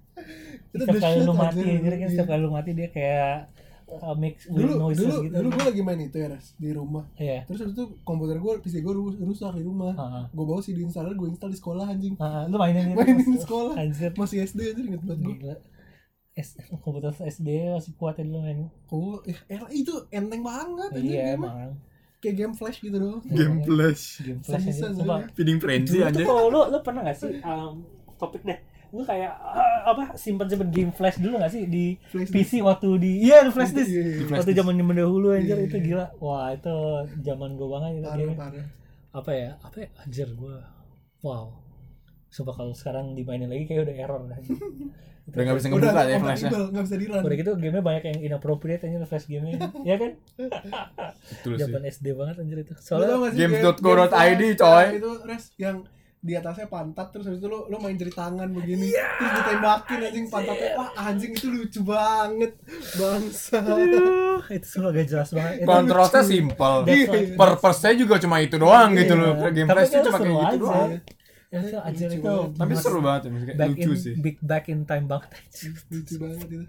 [SPEAKER 1] Itu
[SPEAKER 2] setiap
[SPEAKER 1] the
[SPEAKER 2] kali
[SPEAKER 1] shit
[SPEAKER 2] lu mati,
[SPEAKER 1] anjir.
[SPEAKER 2] jadi kan
[SPEAKER 1] Iya.
[SPEAKER 2] setiap kali lu mati dia kayak uh, make weird
[SPEAKER 1] Dulu
[SPEAKER 2] noises
[SPEAKER 1] dulu
[SPEAKER 2] gitu.
[SPEAKER 1] dulu gue lagi main itu ya, Res, di rumah.
[SPEAKER 2] Iya.
[SPEAKER 1] Terus habis itu komputer gue, P C gue rusak di rumah.
[SPEAKER 2] Heeh.
[SPEAKER 1] Gue bawa C D installer, gue install di sekolah anjing.
[SPEAKER 2] Heeh, lu mainin itu
[SPEAKER 1] Mainin
[SPEAKER 2] pas-
[SPEAKER 1] di sekolah.
[SPEAKER 2] Anjir.
[SPEAKER 1] Masih S D anjir, inget banget gue.
[SPEAKER 2] Gila. S komputer S D masih kuat ya dulu main.
[SPEAKER 1] Oh, eh, eh, itu enteng banget anjir.
[SPEAKER 2] Iya
[SPEAKER 1] game-nya.
[SPEAKER 2] emang.
[SPEAKER 1] Kayak game flash gitu doang.
[SPEAKER 3] Game flash.
[SPEAKER 2] Game flash
[SPEAKER 1] Bisa,
[SPEAKER 2] aja.
[SPEAKER 1] bisa,
[SPEAKER 2] Sumpah.
[SPEAKER 1] soalnya.
[SPEAKER 3] Feeding frenzy
[SPEAKER 2] Dulu tuh
[SPEAKER 3] anjir.
[SPEAKER 2] kalau lu lu pernah gak sih um, topik deh. Lu kayak uh, apa simpen-simpen game flash dulu gak sih di
[SPEAKER 1] Flash
[SPEAKER 2] P C waktu di iya di flash disk.
[SPEAKER 1] Iya, iya, iya.
[SPEAKER 3] Flash
[SPEAKER 2] Waktu
[SPEAKER 3] disk.
[SPEAKER 2] zaman zaman dahulu anjir
[SPEAKER 1] Iya,
[SPEAKER 2] itu
[SPEAKER 1] iya.
[SPEAKER 2] gila. Wah, itu zaman gua banget itu
[SPEAKER 1] Parah,
[SPEAKER 2] game.
[SPEAKER 1] parah.
[SPEAKER 2] Apa ya? Apa ya? Anjir gua. Wow. Sumpah kalau sekarang dimainin lagi kayak udah error dah.
[SPEAKER 3] Udah nggak bisa
[SPEAKER 1] Udah
[SPEAKER 3] ngebuka ya flashnya.
[SPEAKER 1] compatible, nggak bisa di run.
[SPEAKER 2] Udah gitu gamenya banyak yang inappropriate aja flash gamenya. Ya kan?
[SPEAKER 3] Betul sih.
[SPEAKER 2] Zaman S D banget anjir itu.
[SPEAKER 1] Lu tau
[SPEAKER 2] Soalnya
[SPEAKER 1] nggak sih
[SPEAKER 3] games
[SPEAKER 1] game-
[SPEAKER 3] dot co dot i d,
[SPEAKER 1] game flash,
[SPEAKER 3] coy.
[SPEAKER 1] ah, itu Res yang di atasnya pantat terus habis itu lu lu main jari tangan begini terus ditembakin anjing pantatnya. Wah anjing itu lucu banget bangsa.
[SPEAKER 2] aduh, itu semua gak jelas banget. Itu
[SPEAKER 3] Kontrolnya simple.
[SPEAKER 2] That's why-
[SPEAKER 3] Purpose-nya juga cuma itu doang gitu loh.
[SPEAKER 2] Iya.
[SPEAKER 3] Game
[SPEAKER 2] Tapi
[SPEAKER 3] flash
[SPEAKER 2] kan
[SPEAKER 3] cuma
[SPEAKER 2] seru
[SPEAKER 3] kayak gitu
[SPEAKER 2] aja.
[SPEAKER 3] doang.
[SPEAKER 2] Ya itu anjir
[SPEAKER 1] Lucu
[SPEAKER 2] itu.
[SPEAKER 1] banget.
[SPEAKER 3] Tapi
[SPEAKER 2] mas-
[SPEAKER 3] seru banget ya, maksudnya
[SPEAKER 2] back
[SPEAKER 3] lucu
[SPEAKER 2] in,
[SPEAKER 3] sih.
[SPEAKER 2] Big back in time banget.
[SPEAKER 1] Lucu banget itu.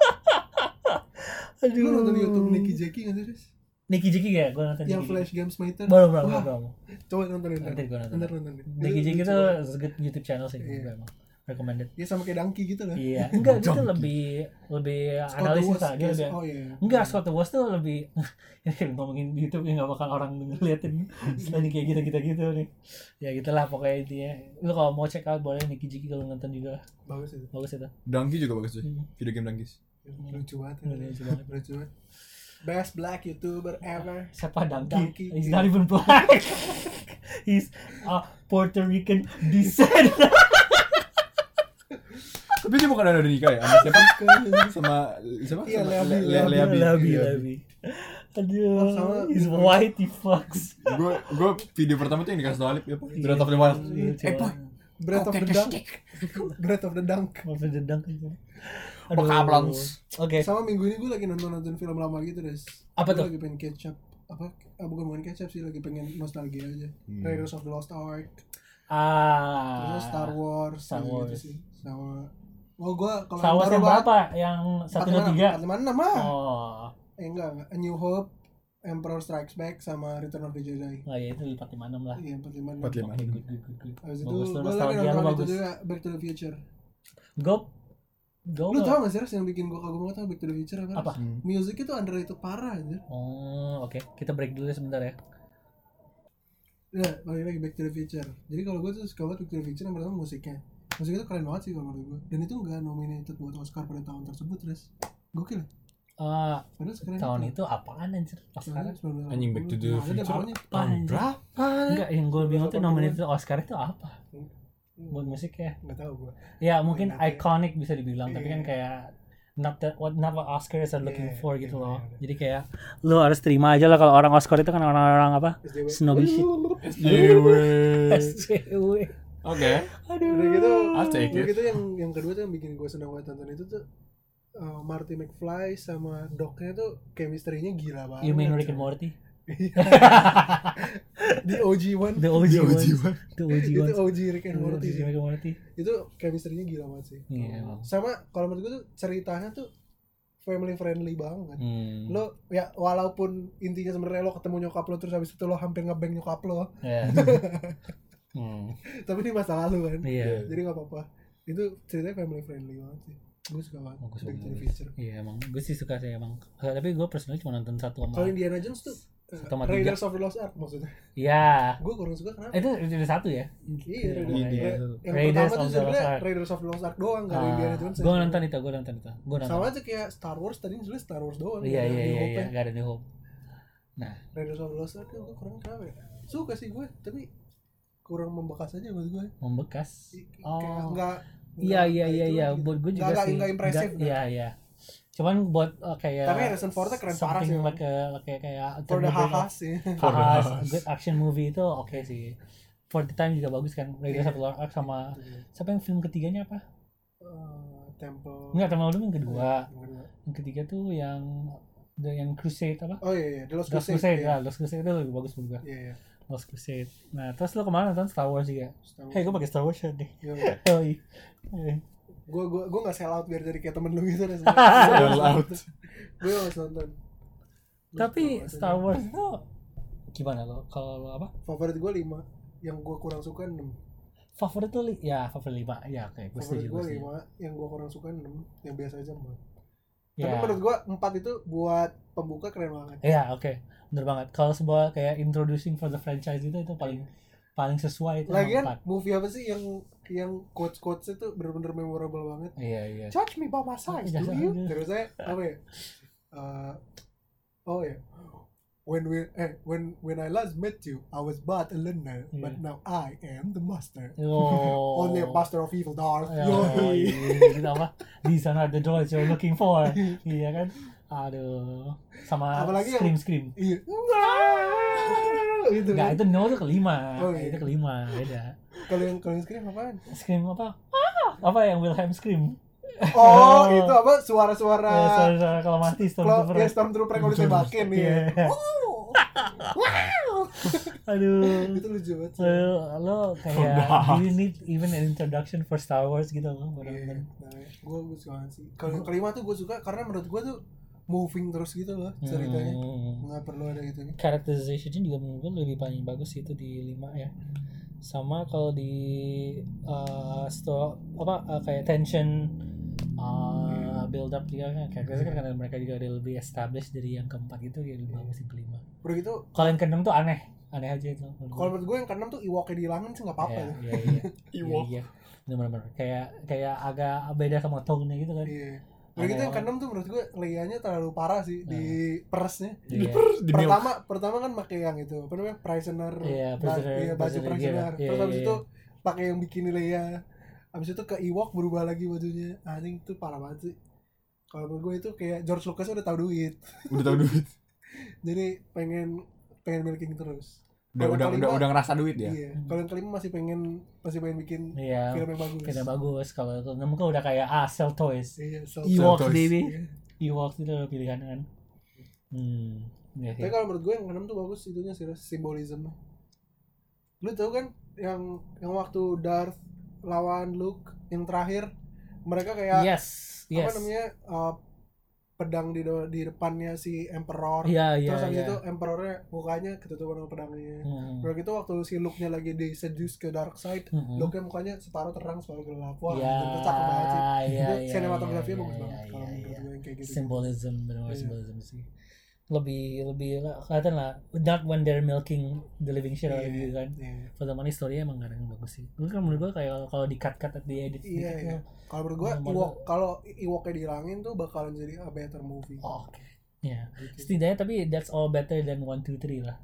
[SPEAKER 2] Aduh.
[SPEAKER 1] Lu nonton di YouTube Nicky Jackie nggak sih Res?
[SPEAKER 2] Nicky Jiki ya, gue nonton
[SPEAKER 1] Yang
[SPEAKER 2] Nicky
[SPEAKER 1] Flash
[SPEAKER 2] Jiki.
[SPEAKER 1] Games Master.
[SPEAKER 2] Belum, belum,
[SPEAKER 1] Wah,
[SPEAKER 2] belum.
[SPEAKER 1] coba nontonin.
[SPEAKER 2] Nanti gua nonton.
[SPEAKER 1] Ntar nonton.
[SPEAKER 2] Nicky Jiki
[SPEAKER 1] Lucu
[SPEAKER 2] itu
[SPEAKER 1] banget.
[SPEAKER 2] good YouTube channel sih,
[SPEAKER 1] Iya.
[SPEAKER 2] gue emang recommended.
[SPEAKER 1] Ya sama kayak Donkey gitu lah.
[SPEAKER 2] Iya, enggak itu
[SPEAKER 3] Junkie.
[SPEAKER 2] lebih lebih
[SPEAKER 1] Scott
[SPEAKER 2] analisis
[SPEAKER 1] Wars,
[SPEAKER 2] lah dia
[SPEAKER 1] yes.
[SPEAKER 2] lebih.
[SPEAKER 1] Oh iya.
[SPEAKER 2] Enggak, Scott the Wars tuh lebih ini kan ngomongin YouTube ya nggak bakal orang ngeliatin selain kayak gitu gitu gitu nih. Ya gitulah pokoknya intinya. Lu kalau mau check out boleh Nicky Jiki kalau nonton juga
[SPEAKER 1] Bagus itu.
[SPEAKER 2] bagus itu.
[SPEAKER 3] Donkey juga bagus sih.
[SPEAKER 2] Hmm.
[SPEAKER 3] Video game Donkey.
[SPEAKER 1] Lucu banget.
[SPEAKER 2] Lucu banget.
[SPEAKER 1] Lucu banget. Best black YouTuber ever.
[SPEAKER 2] Siapa Donkey?
[SPEAKER 1] Donkey.
[SPEAKER 2] He's not even black. He's a Puerto Rican descent.
[SPEAKER 3] Tapi dia bukan ada nikah ya sama siapa? Sama siapa?
[SPEAKER 1] Iya,
[SPEAKER 3] Sama
[SPEAKER 1] Leabi,
[SPEAKER 3] Le- Le- Leabi.
[SPEAKER 2] Labi,
[SPEAKER 3] Iya.
[SPEAKER 2] Labi. Aduh,
[SPEAKER 1] Oh, sama.
[SPEAKER 2] he's white, he fucks.
[SPEAKER 3] Gue gue video pertama tuh yang dikasih Alip ya, Breath of the Wild.
[SPEAKER 2] Iya,
[SPEAKER 3] Eh boy,
[SPEAKER 1] Breath of the Dunk. Breath of the Dunk.
[SPEAKER 2] Maafin dendang gitu.
[SPEAKER 3] Bokablons.
[SPEAKER 2] Oke.
[SPEAKER 1] Sama minggu ini gue lagi nonton-nonton film lama gitu, Des.
[SPEAKER 2] Apa
[SPEAKER 1] Gua
[SPEAKER 2] tuh?
[SPEAKER 1] lagi pengen catch up. apa ah, bukan bukan catch up sih, lagi pengen nostalgia aja.
[SPEAKER 3] Hmm.
[SPEAKER 1] Raiders of the Lost Ark,
[SPEAKER 2] Ah.
[SPEAKER 1] terus Star Wars,
[SPEAKER 2] Star
[SPEAKER 1] gitu
[SPEAKER 2] Wars.
[SPEAKER 1] sih. Sama oh gua kalau
[SPEAKER 2] Star Wars yang berapa? Yang satu dua tiga.
[SPEAKER 1] empat lima enam ah.
[SPEAKER 2] Oh.
[SPEAKER 1] Eh enggak, enggak. A New Hope, Emperor Strikes Back sama Return of the Jedi.
[SPEAKER 2] Nah, ya itu empat lima enam lah.
[SPEAKER 1] Iya, empat lima enam.
[SPEAKER 3] empat lima.
[SPEAKER 2] Good, good, good, good, good.
[SPEAKER 1] Habis itu
[SPEAKER 2] Bagus tuh,
[SPEAKER 1] gua lagi
[SPEAKER 2] nostalgia lu
[SPEAKER 1] nonton itu
[SPEAKER 2] bagus.
[SPEAKER 1] juga Back to the Future.
[SPEAKER 2] Go. Go.
[SPEAKER 1] Lu tau gak sih Ras, yang bikin gua kagum banget sama Back to the Future apa?
[SPEAKER 2] Apa?
[SPEAKER 1] Ras? Music itu underrated parah anjir.
[SPEAKER 2] Oh, oke. Kita break dulu sebentar ya.
[SPEAKER 1] Ya, balik lagi Back to the Future. Jadi kalau gue tuh suka banget Back to the Future, yang pertama musiknya. Musiknya tuh keren banget sih kalau menurut gue. Dan itu nggak nominated buat Oscar pada tahun tersebut, Res. Gokil.
[SPEAKER 2] Eh,
[SPEAKER 1] Padahal sekarang
[SPEAKER 2] tahun itu apaan anjir? Oscar.
[SPEAKER 3] Anjing, Back to the Future.
[SPEAKER 2] Apaan anjir?
[SPEAKER 3] Berapa?
[SPEAKER 2] Enggak, yang gue bingung tuh nominated Oscar itu apa? Buat musik ya?
[SPEAKER 1] Nggak tahu gue.
[SPEAKER 2] Ya mungkin
[SPEAKER 1] Nominated.
[SPEAKER 2] iconic bisa dibilang, tapi kan
[SPEAKER 1] Iya.
[SPEAKER 2] kayak not that what not what Oscars are looking
[SPEAKER 1] Iya,
[SPEAKER 2] for gitu
[SPEAKER 1] iya,
[SPEAKER 2] loh.
[SPEAKER 1] iya.
[SPEAKER 2] Jadi kayak lu harus terima aja lah kalau orang Oscar itu kan orang-orang apa?
[SPEAKER 1] S J W.
[SPEAKER 2] Snobby shit. S J W.
[SPEAKER 3] Oke.
[SPEAKER 2] Aduh.
[SPEAKER 1] Udah gitu,
[SPEAKER 3] I'll take
[SPEAKER 1] udah
[SPEAKER 3] it.
[SPEAKER 1] gitu yang yang kedua tuh yang bikin gue senang banget nonton itu tuh uh, Marty McFly sama Doc-nya tuh chemistry-nya gila banget.
[SPEAKER 2] You mean Rick and Morty?
[SPEAKER 1] The O G one.
[SPEAKER 2] The O G
[SPEAKER 3] The O G
[SPEAKER 2] ones.
[SPEAKER 3] one.
[SPEAKER 2] The O G
[SPEAKER 1] Itu
[SPEAKER 2] ones.
[SPEAKER 1] O G Rick and Morty.
[SPEAKER 2] Rick and Morty.
[SPEAKER 1] Itu chemistry-nya gila banget sih.
[SPEAKER 2] Iya, emang.
[SPEAKER 1] Sama kalau menurut gue tuh ceritanya tuh family friendly banget.
[SPEAKER 2] Hmm.
[SPEAKER 1] Lo ya walaupun intinya sebenarnya lo ketemu nyokap lo terus habis itu lo hampir ngebang nyokap lo,
[SPEAKER 2] Ya. Hmm.
[SPEAKER 1] tapi ini masa lalu kan.
[SPEAKER 2] Iya.
[SPEAKER 1] Jadi nggak apa-apa. Itu ceritanya family friendly banget sih. Gue suka banget.
[SPEAKER 2] Bagus,
[SPEAKER 1] Back to the
[SPEAKER 2] bagus.
[SPEAKER 1] Future.
[SPEAKER 2] Iya emang gue sih suka sih emang. Tapi gue personally cuma nonton satu sama.
[SPEAKER 1] Kalau Indiana Jones tuh uh,
[SPEAKER 2] Sama tiga.
[SPEAKER 1] Raiders of the Lost Ark maksudnya.
[SPEAKER 2] Iya.
[SPEAKER 1] Gue kurang suka kenapa?
[SPEAKER 2] Itu itu ada satu ya?
[SPEAKER 1] Iya, Raiders,
[SPEAKER 2] iya, iya.
[SPEAKER 1] yang
[SPEAKER 2] Raiders
[SPEAKER 1] pertama
[SPEAKER 2] of
[SPEAKER 1] tuh
[SPEAKER 2] the Lost
[SPEAKER 1] sebenarnya
[SPEAKER 2] Ark.
[SPEAKER 1] Raiders of the Lost Ark doang, nggak ada Indiana Jones.
[SPEAKER 2] Gue nonton itu, gue nonton itu. Gue nonton.
[SPEAKER 1] Sama aja kayak Star Wars tadi sebenarnya Star Wars doang.
[SPEAKER 2] Iya
[SPEAKER 1] nggak ada
[SPEAKER 2] iya
[SPEAKER 1] New
[SPEAKER 2] iya
[SPEAKER 1] Hope-nya.
[SPEAKER 2] iya, gak ada New Hope. Nah,
[SPEAKER 1] Raiders of the Lost Ark gue kurang kenapa ya? Suka sih gue, tapi kurang membekas aja buat gue.
[SPEAKER 2] membekas.
[SPEAKER 1] Kayak
[SPEAKER 2] Oh.
[SPEAKER 1] nggak.
[SPEAKER 2] Iya
[SPEAKER 1] nggak-
[SPEAKER 2] iya
[SPEAKER 1] nggak
[SPEAKER 2] iya
[SPEAKER 1] itu
[SPEAKER 2] iya,
[SPEAKER 1] lagi.
[SPEAKER 2] buat gue juga
[SPEAKER 1] Nggak-
[SPEAKER 2] sih.
[SPEAKER 1] nggak impresif,
[SPEAKER 2] Nggak- Iya iya. Cuman buat uh, kayak
[SPEAKER 1] Tapi Harrison Ford-nya keren parah
[SPEAKER 2] something
[SPEAKER 1] sih,
[SPEAKER 2] like a, kayak kayak
[SPEAKER 1] For the
[SPEAKER 2] Thunderbird
[SPEAKER 1] hahas sih.
[SPEAKER 3] For the
[SPEAKER 2] Hahas,
[SPEAKER 3] hahas.
[SPEAKER 2] good action movie itu oke sih. For the time juga bagus kan. Raiders
[SPEAKER 1] Iya.
[SPEAKER 2] of the Lost Ark sama siapa yang film ketiganya apa?
[SPEAKER 1] Uh, Temple.
[SPEAKER 2] Enggak, Temple Doom yang kedua.
[SPEAKER 1] Yang kedua.
[SPEAKER 2] Yang ketiga tuh yang the yang Crusade apa?
[SPEAKER 1] Oh iya iya, The Lost
[SPEAKER 2] Lost
[SPEAKER 1] Crusade.
[SPEAKER 2] Crusade,
[SPEAKER 1] iya.
[SPEAKER 2] ya, Lost Crusade itu lebih bagus menurut gua.
[SPEAKER 1] Iya iya.
[SPEAKER 2] Lost Crusade. Nah, terus lo kemana nonton Star Wars juga?
[SPEAKER 1] Star Wars.
[SPEAKER 2] Hey, gue pakai Star Wars shirt deh.
[SPEAKER 1] Iya.
[SPEAKER 2] Oh iya. Eh.
[SPEAKER 1] Gue gue gue nggak sell out biar jadi kayak temen lu gitu.
[SPEAKER 3] Sell out.
[SPEAKER 1] Gue harus nonton. Gua
[SPEAKER 2] Tapi
[SPEAKER 1] suka
[SPEAKER 2] Star
[SPEAKER 1] banget.
[SPEAKER 2] Wars itu gimana lo? Kalau lo apa?
[SPEAKER 1] Favorit gue lima, yang gue kurang suka enam.
[SPEAKER 2] Favorit tuh li- ya favorit lima. Ya, oke, gue
[SPEAKER 1] Favorit
[SPEAKER 2] setuju.
[SPEAKER 1] gue
[SPEAKER 2] Gue setuju.
[SPEAKER 1] lima, yang gue kurang suka enam, yang biasa aja empat.
[SPEAKER 2] Ya.
[SPEAKER 1] Tapi menurut gue empat itu buat pembuka keren banget.
[SPEAKER 2] Iya, oke. Bener banget. Kalau sebuah kayak introducing for the franchise itu itu paling paling sesuai itu
[SPEAKER 1] Lagian
[SPEAKER 2] empat.
[SPEAKER 1] movie apa sih yang yang quotes quotes itu bener-bener memorable banget.
[SPEAKER 2] Iya, iya.
[SPEAKER 1] Judge me by my size, do
[SPEAKER 2] Judge
[SPEAKER 1] you?
[SPEAKER 2] me.
[SPEAKER 1] Terus saya apa ya? Uh, oh ya. When we eh when when I last met you, I was but a learner, but
[SPEAKER 2] Iya.
[SPEAKER 1] now I am the master.
[SPEAKER 2] Oh.
[SPEAKER 1] Only a master of evil, Darth.
[SPEAKER 2] Ya,
[SPEAKER 1] Yoi.
[SPEAKER 2] iya, gitu apa? These are not the droids you're looking for. Iya kan? Aduh. Sama
[SPEAKER 1] Apalagi yang-
[SPEAKER 2] scream scream.
[SPEAKER 1] Iya. Gitu
[SPEAKER 2] Enggak,
[SPEAKER 1] kan.
[SPEAKER 2] itu no itu kelima.
[SPEAKER 1] Oh, iya.
[SPEAKER 2] Itu kelima, beda.
[SPEAKER 1] Kalau yang kalau yang scream apaan?
[SPEAKER 2] Scream apa? Ah, apa yang Wilhelm scream?
[SPEAKER 1] Oh, itu apa? Suara-suara
[SPEAKER 2] Ya, suara-suara kalau mati
[SPEAKER 1] Kalau
[SPEAKER 2] Stormtrooper.
[SPEAKER 1] ya Stormtrooper yang udah tembakin nih.
[SPEAKER 2] Iya.
[SPEAKER 1] Oh. Wow.
[SPEAKER 2] Aduh.
[SPEAKER 1] Itu lucu banget sih.
[SPEAKER 2] Lo, lo kayak do you need even an introduction for Star Wars gitu loh,
[SPEAKER 1] Iya.
[SPEAKER 2] benar-benar.
[SPEAKER 1] Nah, gue gue suka banget sih. Kalau yang kelima tuh gue suka karena menurut gue tuh moving terus gitu loh ceritanya.
[SPEAKER 2] Hmm.
[SPEAKER 1] Nggak perlu ada gitu nih.
[SPEAKER 2] Characterization juga menurut gue lebih paling bagus itu di lima ya. Sama kalau di uh, sto apa uh, kayak tension uh, build up juga kan kayak kan karena mereka juga ada lebih established dari yang keempat itu ya lebih bagus yang kelima.
[SPEAKER 1] Udah gitu,
[SPEAKER 2] Kalau yang keenam tuh aneh, aneh aja itu.
[SPEAKER 1] kalau menurut gue yang keenam tuh Ewoknya dihilangin sih nggak apa-apa.
[SPEAKER 2] Iya,
[SPEAKER 1] tuh.
[SPEAKER 2] iya, iya.
[SPEAKER 3] Ewok.
[SPEAKER 2] Iya, iya. Bener-bener kayak kayak agak beda sama tone-nya gitu kan.
[SPEAKER 1] Iya. Udah gitu yang keenam tuh menurut gue Leia-nya terlalu parah sih di peresnya.
[SPEAKER 2] Iya.
[SPEAKER 3] Di milk.
[SPEAKER 1] Pertama pertama kan pakai yang itu apa namanya prisoner,
[SPEAKER 2] Iya,
[SPEAKER 1] ba-
[SPEAKER 2] prisoner-
[SPEAKER 1] iya, baju
[SPEAKER 2] prisoner,
[SPEAKER 1] prisoner.
[SPEAKER 2] iya,
[SPEAKER 1] Terus
[SPEAKER 2] iya,
[SPEAKER 1] habis
[SPEAKER 2] iya.
[SPEAKER 1] itu pakai yang bikini Leia. Habis itu ke Ewok berubah lagi bajunya. Anjing itu parah banget sih. Kalau menurut gue itu kayak George Lucas udah tahu duit.
[SPEAKER 3] Udah tau duit.
[SPEAKER 1] Jadi pengen pengen milking terus.
[SPEAKER 3] Udah
[SPEAKER 1] Kalau
[SPEAKER 3] udah
[SPEAKER 1] kelima-
[SPEAKER 3] udah udah ngerasa duit ya.
[SPEAKER 1] Iya. Kalau yang kelima masih pengen masih pengen bikin
[SPEAKER 2] Iya.
[SPEAKER 1] film yang bagus.
[SPEAKER 2] Kita bagus kalau itu enam kan udah kayak ah sell toys.
[SPEAKER 1] Iya, so
[SPEAKER 2] Ewoks
[SPEAKER 3] toys.
[SPEAKER 2] baby.
[SPEAKER 1] Iya.
[SPEAKER 2] Ewoks itu udah pilihan kan. Hmm. Iya,
[SPEAKER 1] Tapi
[SPEAKER 2] iya.
[SPEAKER 1] kalau menurut gue yang keenam tuh bagus itunya sih, simbolisme. Lu tau kan yang yang waktu Darth lawan Luke yang terakhir, mereka kayak
[SPEAKER 2] Yes, yes.
[SPEAKER 1] apa namanya uh, pedang di de- di depannya si Emperor.
[SPEAKER 2] Iya, iya,
[SPEAKER 1] Terus habis
[SPEAKER 2] iya.
[SPEAKER 1] itu Emperornya mukanya ketutupan sama pedangnya.
[SPEAKER 2] Hmm.
[SPEAKER 1] Udah gitu waktu si Luke-nya lagi di seduce ke dark side,
[SPEAKER 2] Hmm.
[SPEAKER 1] Luke-nya mukanya separuh terang separuh gelap. Wah,
[SPEAKER 2] Iya,
[SPEAKER 1] itu cakep banget sih.
[SPEAKER 2] iya,
[SPEAKER 1] Itu
[SPEAKER 2] iya,
[SPEAKER 1] sinematografinya
[SPEAKER 2] iya,
[SPEAKER 1] bagus
[SPEAKER 2] iya,
[SPEAKER 1] banget
[SPEAKER 2] iya,
[SPEAKER 1] kalau
[SPEAKER 2] iya,
[SPEAKER 1] menurut
[SPEAKER 2] iya.
[SPEAKER 1] gue yang kayak gitu.
[SPEAKER 2] Symbolism, benar-benar
[SPEAKER 1] Iya.
[SPEAKER 2] symbolism sih. Lebih lebih kelihatan lah, not when they're milking the living shit out of
[SPEAKER 1] Iya,
[SPEAKER 2] you kan.
[SPEAKER 1] iya.
[SPEAKER 2] For the money story emang kadang bagus sih. Lu kan menurut gua kayak kalau di cut cut di edit
[SPEAKER 1] Iya,
[SPEAKER 2] gitu.
[SPEAKER 1] iya. Kalau menurut gue,
[SPEAKER 2] Nomor
[SPEAKER 1] Ewok, kalau Ewoknya dihilangin tuh bakalan jadi a better movie.
[SPEAKER 2] Oh, oke. Ya.
[SPEAKER 1] Gitu.
[SPEAKER 2] Setidaknya tapi that's all better than one two three lah.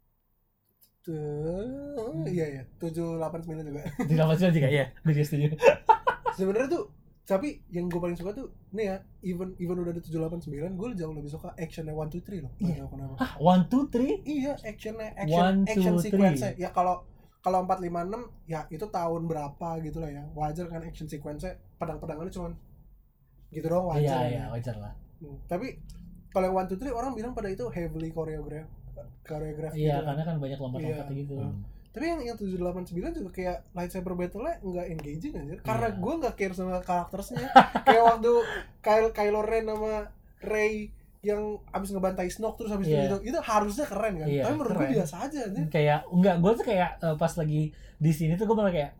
[SPEAKER 1] Tuh, iya ya, tujuh delapan sembilan juga.
[SPEAKER 2] Di dalam juga ya. Gue juga setuju.
[SPEAKER 1] Sebenarnya tuh, tapi yang gue paling suka tuh nih ya, even even udah ada tujuh delapan sembilan, gue jauh lebih suka actionnya one two three loh.
[SPEAKER 2] Iya.
[SPEAKER 1] Nggak tahu kenapa.
[SPEAKER 2] Hah, one two three?
[SPEAKER 1] Iya, actionnya action
[SPEAKER 2] One,
[SPEAKER 1] action
[SPEAKER 2] two,
[SPEAKER 1] sequence-nya. Ya kalau kalau empat lima enam ya itu tahun berapa gitu lah ya. Wajar kan action sequence-nya, pedang-pedangannya cuman gitu doang wajar.
[SPEAKER 2] Iya,
[SPEAKER 1] kan
[SPEAKER 2] iya,
[SPEAKER 1] ya.
[SPEAKER 2] wajar lah.
[SPEAKER 1] Hmm, Tapi kalau yang one two three orang bilang pada itu heavily choreograph choreograph
[SPEAKER 2] Iya,
[SPEAKER 1] gitu.
[SPEAKER 2] karena kan banyak lompat-lompat
[SPEAKER 1] Iya.
[SPEAKER 2] gitu.
[SPEAKER 3] Hmm.
[SPEAKER 1] Tapi yang yang tujuh delapan sembilan juga kayak lightsaber battle-nya enggak engaging aja. Karena
[SPEAKER 2] Iya.
[SPEAKER 1] gue enggak care sama karakternya. Kayak waktu Kylo, Kylo Ren sama Rey yang abis ngebantai Snoke terus abis
[SPEAKER 2] Iya.
[SPEAKER 1] itu itu harusnya keren kan.
[SPEAKER 2] Iya,
[SPEAKER 1] Tapi menurut gue
[SPEAKER 2] keren.
[SPEAKER 1] biasa aja aja.
[SPEAKER 2] Kayak enggak, gue tuh kayak eh, pas lagi di sini tuh gue malah kayak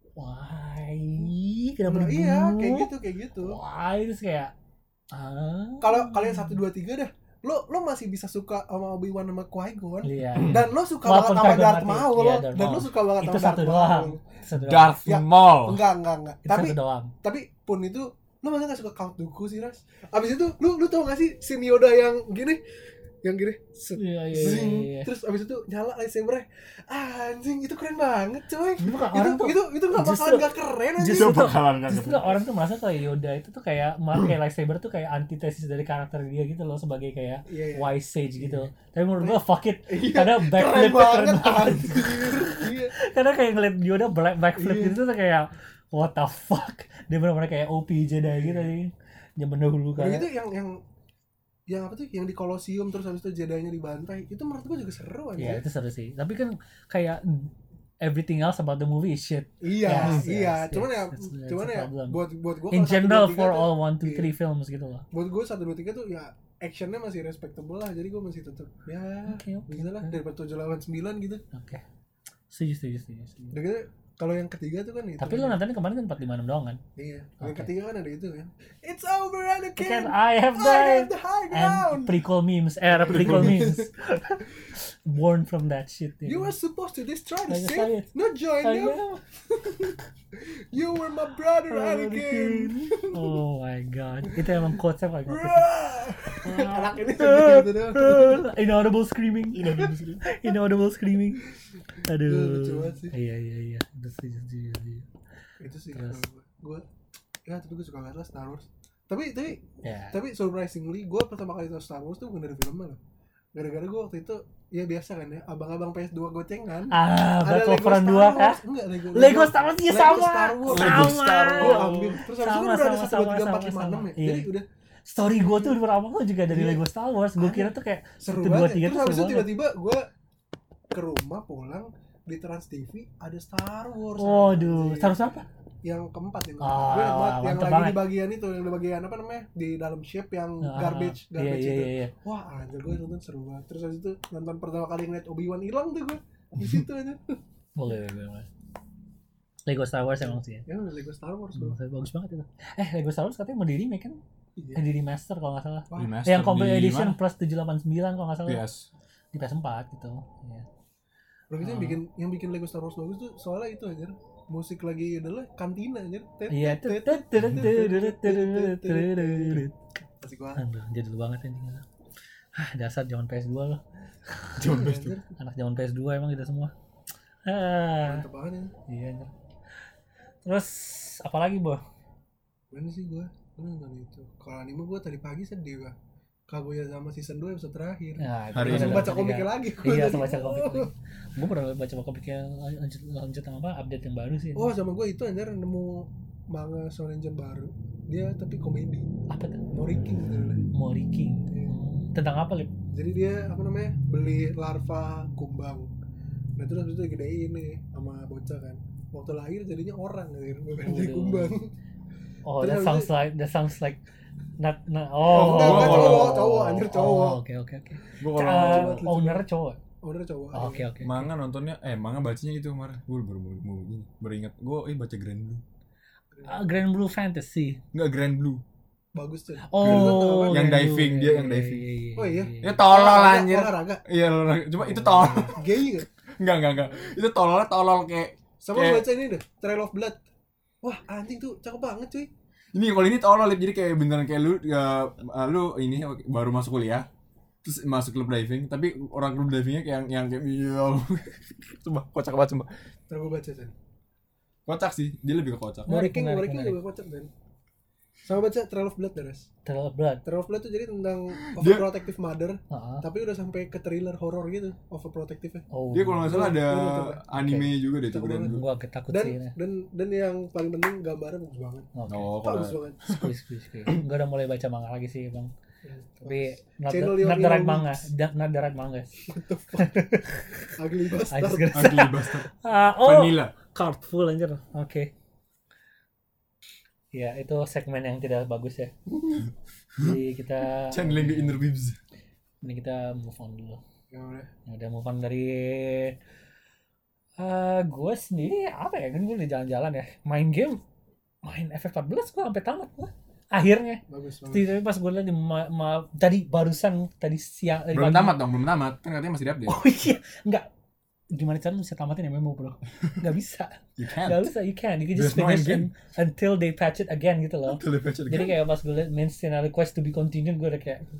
[SPEAKER 2] why kenapa
[SPEAKER 1] Nah,
[SPEAKER 2] dibunuh?
[SPEAKER 1] iya, kayak gitu kayak gitu.
[SPEAKER 2] Why terus kayak ah.
[SPEAKER 1] Kalau kalian satu dua tiga dah, lo lo masih bisa suka sama Obi-Wan sama Qui-Gon.
[SPEAKER 2] Iya.
[SPEAKER 1] Dan lo suka
[SPEAKER 2] Walaupun
[SPEAKER 1] banget sama
[SPEAKER 2] Qui-Gon
[SPEAKER 1] Darth
[SPEAKER 2] mati.
[SPEAKER 1] Maul
[SPEAKER 2] Iya,
[SPEAKER 1] lo.
[SPEAKER 2] Darth
[SPEAKER 1] Dan lo
[SPEAKER 2] Maul.
[SPEAKER 1] suka banget
[SPEAKER 2] Itu
[SPEAKER 1] sama
[SPEAKER 2] satu
[SPEAKER 1] Darth
[SPEAKER 2] doang.
[SPEAKER 1] Maul.
[SPEAKER 2] Itu satu doang.
[SPEAKER 3] Darth
[SPEAKER 1] Ya,
[SPEAKER 3] Maul.
[SPEAKER 1] Enggak, enggak, enggak.
[SPEAKER 2] Itu
[SPEAKER 1] Tapi
[SPEAKER 2] satu doang.
[SPEAKER 1] tapi pun itu lu masa gak suka Count Dooku sih, Ras? Abis itu lu lu tau gak sih scene Yoda yang gini, yang gini set,
[SPEAKER 2] Iya, iya,
[SPEAKER 1] zing,
[SPEAKER 2] iya, iya.
[SPEAKER 1] terus abis itu nyala lightsaber-nya. Anjing, itu keren banget coy.
[SPEAKER 2] Itu kan
[SPEAKER 1] Itu
[SPEAKER 2] orang tuh
[SPEAKER 1] itu itu gak bakalan
[SPEAKER 2] justru-
[SPEAKER 1] gak keren anjing.
[SPEAKER 2] justru
[SPEAKER 3] Itu bakalan gak
[SPEAKER 2] Justru orang tuh merasa kayak Yoda itu tuh kayak pakai lightsaber tuh kayak antitesis dari karakter dia gitu loh, sebagai kayak
[SPEAKER 1] Iya, iya.
[SPEAKER 2] wise sage gitu. Tapi menurut gua fuck it.
[SPEAKER 1] Iya,
[SPEAKER 2] Karena
[SPEAKER 1] keren
[SPEAKER 2] backflip
[SPEAKER 1] banget
[SPEAKER 2] keren banget.
[SPEAKER 1] anjir. Iya.
[SPEAKER 2] Karena kayak ngeliat Yoda black backflip
[SPEAKER 1] Iya.
[SPEAKER 2] gitu tuh kayak what the fuck. Dia benar-benar kayak O P Jedi gitu sih. Zaman dahulu
[SPEAKER 1] Udah
[SPEAKER 2] kan.
[SPEAKER 1] gitu yang yang yang apa tuh yang di Colosseum terus habis itu Jedi-nya dibantai. Itu menurut gua juga seru
[SPEAKER 2] Ya
[SPEAKER 1] aja.
[SPEAKER 2] itu seru sih. Tapi kan kayak everything else about the movie is shit.
[SPEAKER 1] Iya,
[SPEAKER 2] Yes,
[SPEAKER 1] iya.
[SPEAKER 2] yes,
[SPEAKER 1] Cuman
[SPEAKER 2] yes.
[SPEAKER 1] ya
[SPEAKER 2] That's- that's
[SPEAKER 1] cuman
[SPEAKER 2] the
[SPEAKER 1] ya
[SPEAKER 2] problem.
[SPEAKER 1] buat buat gua
[SPEAKER 2] In
[SPEAKER 1] kalau satu,
[SPEAKER 2] general
[SPEAKER 1] dua, tiga
[SPEAKER 2] for
[SPEAKER 1] tuh-
[SPEAKER 2] all one two
[SPEAKER 1] iya.
[SPEAKER 2] three films gitu loh.
[SPEAKER 1] buat gue satu dua tiga tuh ya actionnya masih respectable lah, jadi gue masih tetap ya
[SPEAKER 2] Oke, oke.
[SPEAKER 1] bisa lah daripada tujuh delapan sembilan gitu.
[SPEAKER 2] Oke. Setuju, setuju, setuju. setuju.
[SPEAKER 1] Udah gitu kalau yang ketiga tuh kan itu
[SPEAKER 2] Tapi lu nontonnya kemarin kan empat lima enam doang kan?
[SPEAKER 1] iya yang
[SPEAKER 2] Oke.
[SPEAKER 1] ketiga kan ada itu kan it's over Anakin,
[SPEAKER 2] Kan I have
[SPEAKER 1] I have
[SPEAKER 2] died
[SPEAKER 1] the high
[SPEAKER 2] and
[SPEAKER 1] ground,
[SPEAKER 2] prequel memes, era prequel memes. Born from that shit.
[SPEAKER 1] you were supposed to destroy the
[SPEAKER 2] Like I
[SPEAKER 1] Sith,
[SPEAKER 2] said.
[SPEAKER 1] not join
[SPEAKER 2] I
[SPEAKER 1] them.
[SPEAKER 2] know.
[SPEAKER 1] You were my brother Anakin.
[SPEAKER 2] Oh my god. Itu emang quotes apa gitu.
[SPEAKER 1] Anak ini gitu doang.
[SPEAKER 2] Inaudible screaming. Inaudible screaming. Aduh.
[SPEAKER 1] Lucu banget sih.
[SPEAKER 2] Iya iya iya. Itu setuju, setuju, setuju.
[SPEAKER 1] Itu sih
[SPEAKER 2] Terus?
[SPEAKER 1] gue ya tapi gue suka banget lah Star Wars. Tapi tapi
[SPEAKER 2] Ya.
[SPEAKER 1] Tapi surprisingly gue pertama kali tahu Star Wars tuh bukan dari filmnya loh. Gara-gara gue waktu itu ya biasa kan ya, abang-abang P S dua gocengan.
[SPEAKER 2] Ah,
[SPEAKER 1] Ada
[SPEAKER 2] Battlefront
[SPEAKER 1] Lego
[SPEAKER 2] dua
[SPEAKER 1] Star
[SPEAKER 2] kah?
[SPEAKER 1] Wars. Enggak, Lego.
[SPEAKER 2] Lego Star Wars iya
[SPEAKER 1] Lego
[SPEAKER 2] sama.
[SPEAKER 1] Star Wars.
[SPEAKER 3] Lego
[SPEAKER 2] Sama.
[SPEAKER 3] Star
[SPEAKER 1] Gue
[SPEAKER 3] Wars.
[SPEAKER 1] ambil. Terus habis itu
[SPEAKER 2] Sama,
[SPEAKER 1] kan udah ada
[SPEAKER 2] sama,
[SPEAKER 1] satu dua tiga
[SPEAKER 2] sama,
[SPEAKER 1] empat lima
[SPEAKER 2] sama,
[SPEAKER 1] enam ya.
[SPEAKER 2] iya.
[SPEAKER 1] Jadi udah
[SPEAKER 2] Story gue tuh pertama gue juga dari
[SPEAKER 1] Iya.
[SPEAKER 2] Lego Star Wars. Gue kira tuh kayak
[SPEAKER 1] seru
[SPEAKER 2] satu, dua,
[SPEAKER 1] banget.
[SPEAKER 2] tiga
[SPEAKER 1] Terus
[SPEAKER 2] tuh
[SPEAKER 1] habis itu
[SPEAKER 2] seru banget.
[SPEAKER 1] tiba-tiba gue ke rumah pulang di Trans T V ada Star Wars.
[SPEAKER 2] Waduh,
[SPEAKER 1] Anjing.
[SPEAKER 2] Star Wars apa?
[SPEAKER 1] Yang keempat yang
[SPEAKER 2] Ah,
[SPEAKER 1] keempat. Gue ingat banget yang
[SPEAKER 2] mantep
[SPEAKER 1] lagi
[SPEAKER 2] banget.
[SPEAKER 1] di bagian itu, yang di bagian apa namanya? Di dalam ship yang
[SPEAKER 2] Ah,
[SPEAKER 1] garbage,
[SPEAKER 2] Iya
[SPEAKER 1] garbage
[SPEAKER 2] iya
[SPEAKER 1] itu.
[SPEAKER 2] iya iya.
[SPEAKER 1] Wah, anjir gue nonton seru banget. Terus habis itu nonton pertama kali ngeliat Obi-Wan hilang tuh gue. Di situ aja.
[SPEAKER 2] Boleh boleh boleh. Lego Star Wars emang sih ya.
[SPEAKER 1] Ya udah Lego Star Wars bro.
[SPEAKER 2] Hmm, bagus banget itu. Eh Lego Star Wars katanya mau di remake kan?
[SPEAKER 1] Iya.
[SPEAKER 2] Eh di remaster kalau nggak salah.
[SPEAKER 1] Wah,
[SPEAKER 3] Remaster
[SPEAKER 2] Yang complete
[SPEAKER 3] di
[SPEAKER 2] edition
[SPEAKER 3] mana?
[SPEAKER 2] plus tujuh delapan sembilan kalau nggak salah.
[SPEAKER 3] P S.
[SPEAKER 2] Di P S empat gitu. Iya.
[SPEAKER 1] Bro itu yang
[SPEAKER 2] Ah.
[SPEAKER 1] bikin yang bikin Lego Star Wars bagus tuh soalnya itu aja musik lagi adalah kantina aja.
[SPEAKER 2] Iya.
[SPEAKER 1] Asik banget.
[SPEAKER 2] Aduh, jadul banget anjing. Ah, dasar zaman P S dua loh.
[SPEAKER 3] Cuman P S tuh.
[SPEAKER 2] Anak zaman P S dua emang kita semua. Ah,
[SPEAKER 1] Mantep banget ya.
[SPEAKER 2] iya anjir. Terus apa lagi, Bo?
[SPEAKER 1] Mana sih gua? Gua nonton itu. Kalau anime gua tadi pagi sedih gua. Kaguya sama season dua episode terakhir.
[SPEAKER 2] Nah,
[SPEAKER 3] Hari
[SPEAKER 1] Langsung
[SPEAKER 3] ini
[SPEAKER 1] baca komiknya lagi. gua
[SPEAKER 2] Iya,
[SPEAKER 1] tadi.
[SPEAKER 2] langsung baca komik lagi. Gue pernah baca komiknya lanjut lanjut sama apa update yang baru sih.
[SPEAKER 1] Oh, sama gua itu anjir nemu manga Shonen Jump baru. Dia tapi komedi.
[SPEAKER 2] Apa tuh?
[SPEAKER 1] Mori King gitu lah.
[SPEAKER 2] Mori King.
[SPEAKER 1] Iya.
[SPEAKER 2] Hmm. Tentang apa, Lip?
[SPEAKER 1] Jadi dia apa namanya beli larva kumbang. Nah terus habis itu digedein nih sama bocah kan. Waktu lahir jadinya orang gitu, bukan jadi
[SPEAKER 2] Waduh.
[SPEAKER 1] kumbang.
[SPEAKER 2] Oh,
[SPEAKER 1] Terus
[SPEAKER 2] that
[SPEAKER 1] habis
[SPEAKER 2] sounds
[SPEAKER 1] itu-
[SPEAKER 2] like that sounds like not not
[SPEAKER 1] Oh,
[SPEAKER 2] oh.
[SPEAKER 1] enggak, enggak,
[SPEAKER 3] oh,
[SPEAKER 1] cowok,
[SPEAKER 3] oh,
[SPEAKER 1] cowok, anjir cowok.
[SPEAKER 2] Oh, oke oke oke.
[SPEAKER 3] Gue
[SPEAKER 2] Uh,
[SPEAKER 3] kalau
[SPEAKER 1] lucu
[SPEAKER 2] owner
[SPEAKER 1] banget.
[SPEAKER 2] cowok.
[SPEAKER 1] Oh, udah cowok.
[SPEAKER 2] Oh, Oke oke.
[SPEAKER 3] manga nontonnya eh manga bacanya itu kemarin. Gue baru baru mau gini. Baru ingat. Gue eh baca Grand Blue.
[SPEAKER 2] Uh, Grand Blue Fantasy.
[SPEAKER 3] Enggak Grand Blue.
[SPEAKER 1] Bagus tuh.
[SPEAKER 2] Oh,
[SPEAKER 3] Yang
[SPEAKER 2] Grand
[SPEAKER 3] diving,
[SPEAKER 2] Blue,
[SPEAKER 3] dia
[SPEAKER 2] iya,
[SPEAKER 3] yang
[SPEAKER 2] iya,
[SPEAKER 3] diving.
[SPEAKER 2] iya, iya,
[SPEAKER 1] Oh, iya?
[SPEAKER 2] iya.
[SPEAKER 3] Ya tolol
[SPEAKER 1] Olahraga,
[SPEAKER 3] anjir.
[SPEAKER 1] Olahraga.
[SPEAKER 3] Iya, olahraga. Cuma itu tolol.
[SPEAKER 1] Gay gak?
[SPEAKER 3] Enggak, enggak, enggak. Itu tololnya tolol kayak
[SPEAKER 1] Sama
[SPEAKER 3] Kayak-
[SPEAKER 1] baca ini deh, Trail of Blood. Wah, anjing tuh cakep banget cuy.
[SPEAKER 3] ini kalau ini tolol Lip. Jadi kayak beneran kayak lu ya, uh, lu ini baru masuk kuliah terus masuk klub diving tapi orang klub divingnya kayak yang yang kayak iya coba kocak banget coba
[SPEAKER 1] Ntar gue baca kan.
[SPEAKER 3] kocak sih dia lebih ke kocak
[SPEAKER 2] Menarik,
[SPEAKER 1] King,
[SPEAKER 2] menarik,
[SPEAKER 1] King
[SPEAKER 2] menarik.
[SPEAKER 1] juga kocak kan. Sama baca Trail of Blood Daras.
[SPEAKER 2] Trail of Blood.
[SPEAKER 1] Trail of Blood tuh jadi tentang
[SPEAKER 3] Dia-
[SPEAKER 1] overprotective mother,
[SPEAKER 2] Heeh.
[SPEAKER 1] tapi udah sampai ke thriller horror gitu, overprotective-nya.
[SPEAKER 2] Oh.
[SPEAKER 3] dia kalau nggak salah ada
[SPEAKER 1] Gua nonton, Pak.
[SPEAKER 3] anime juga deh tuh
[SPEAKER 1] Cakep
[SPEAKER 3] Grand
[SPEAKER 1] banget.
[SPEAKER 3] Blue
[SPEAKER 2] Gua agak takut
[SPEAKER 1] Dan
[SPEAKER 2] sih. Nah.
[SPEAKER 1] dan dan yang paling penting gambarnya bagus banget.
[SPEAKER 2] Oke.
[SPEAKER 3] oh kalau
[SPEAKER 1] Bagus banget.
[SPEAKER 2] Squeeze, squeeze, squeeze. Gua udah mulai baca manga lagi sih, Bang. Tapi not
[SPEAKER 1] Channel
[SPEAKER 2] the,
[SPEAKER 1] your
[SPEAKER 2] not the right
[SPEAKER 1] own
[SPEAKER 2] manga,
[SPEAKER 1] weeks.
[SPEAKER 2] Da- not the right manga.
[SPEAKER 1] Ugly
[SPEAKER 2] I just
[SPEAKER 1] bastard.
[SPEAKER 2] gonna say.
[SPEAKER 3] ugly bastard
[SPEAKER 2] Ah, oh,
[SPEAKER 3] vanilla
[SPEAKER 2] card full anjir. Oke. Ya, itu segmen yang tidak bagus ya. Jadi kita
[SPEAKER 3] channeling the inner weebs
[SPEAKER 2] ini kita move on dulu.
[SPEAKER 1] Ya udah.
[SPEAKER 2] Ya udah move on dari eh gue sendiri apa ya kan gue udah jalan-jalan ya main game main F F empat belas gue sampai tamat gue akhirnya.
[SPEAKER 1] Bagus banget.
[SPEAKER 2] Tapi pas gue lihat di ma- ma- tadi barusan tadi siang tadi
[SPEAKER 3] belum
[SPEAKER 2] pagi.
[SPEAKER 3] tamat dong belum tamat kan katanya masih di-update
[SPEAKER 2] Oh iya, enggak. Gimana cara lu bisa tamatin M M O, bro? Enggak bisa.
[SPEAKER 3] you
[SPEAKER 2] Enggak
[SPEAKER 3] can't
[SPEAKER 2] bisa, you can. You can just
[SPEAKER 3] There's no
[SPEAKER 2] finish
[SPEAKER 3] end game.
[SPEAKER 2] and, until they patch it again gitu loh.
[SPEAKER 3] Until they patch it
[SPEAKER 2] Jadi
[SPEAKER 3] again.
[SPEAKER 2] kayak pas gue liat main scene request to be continued gue udah kayak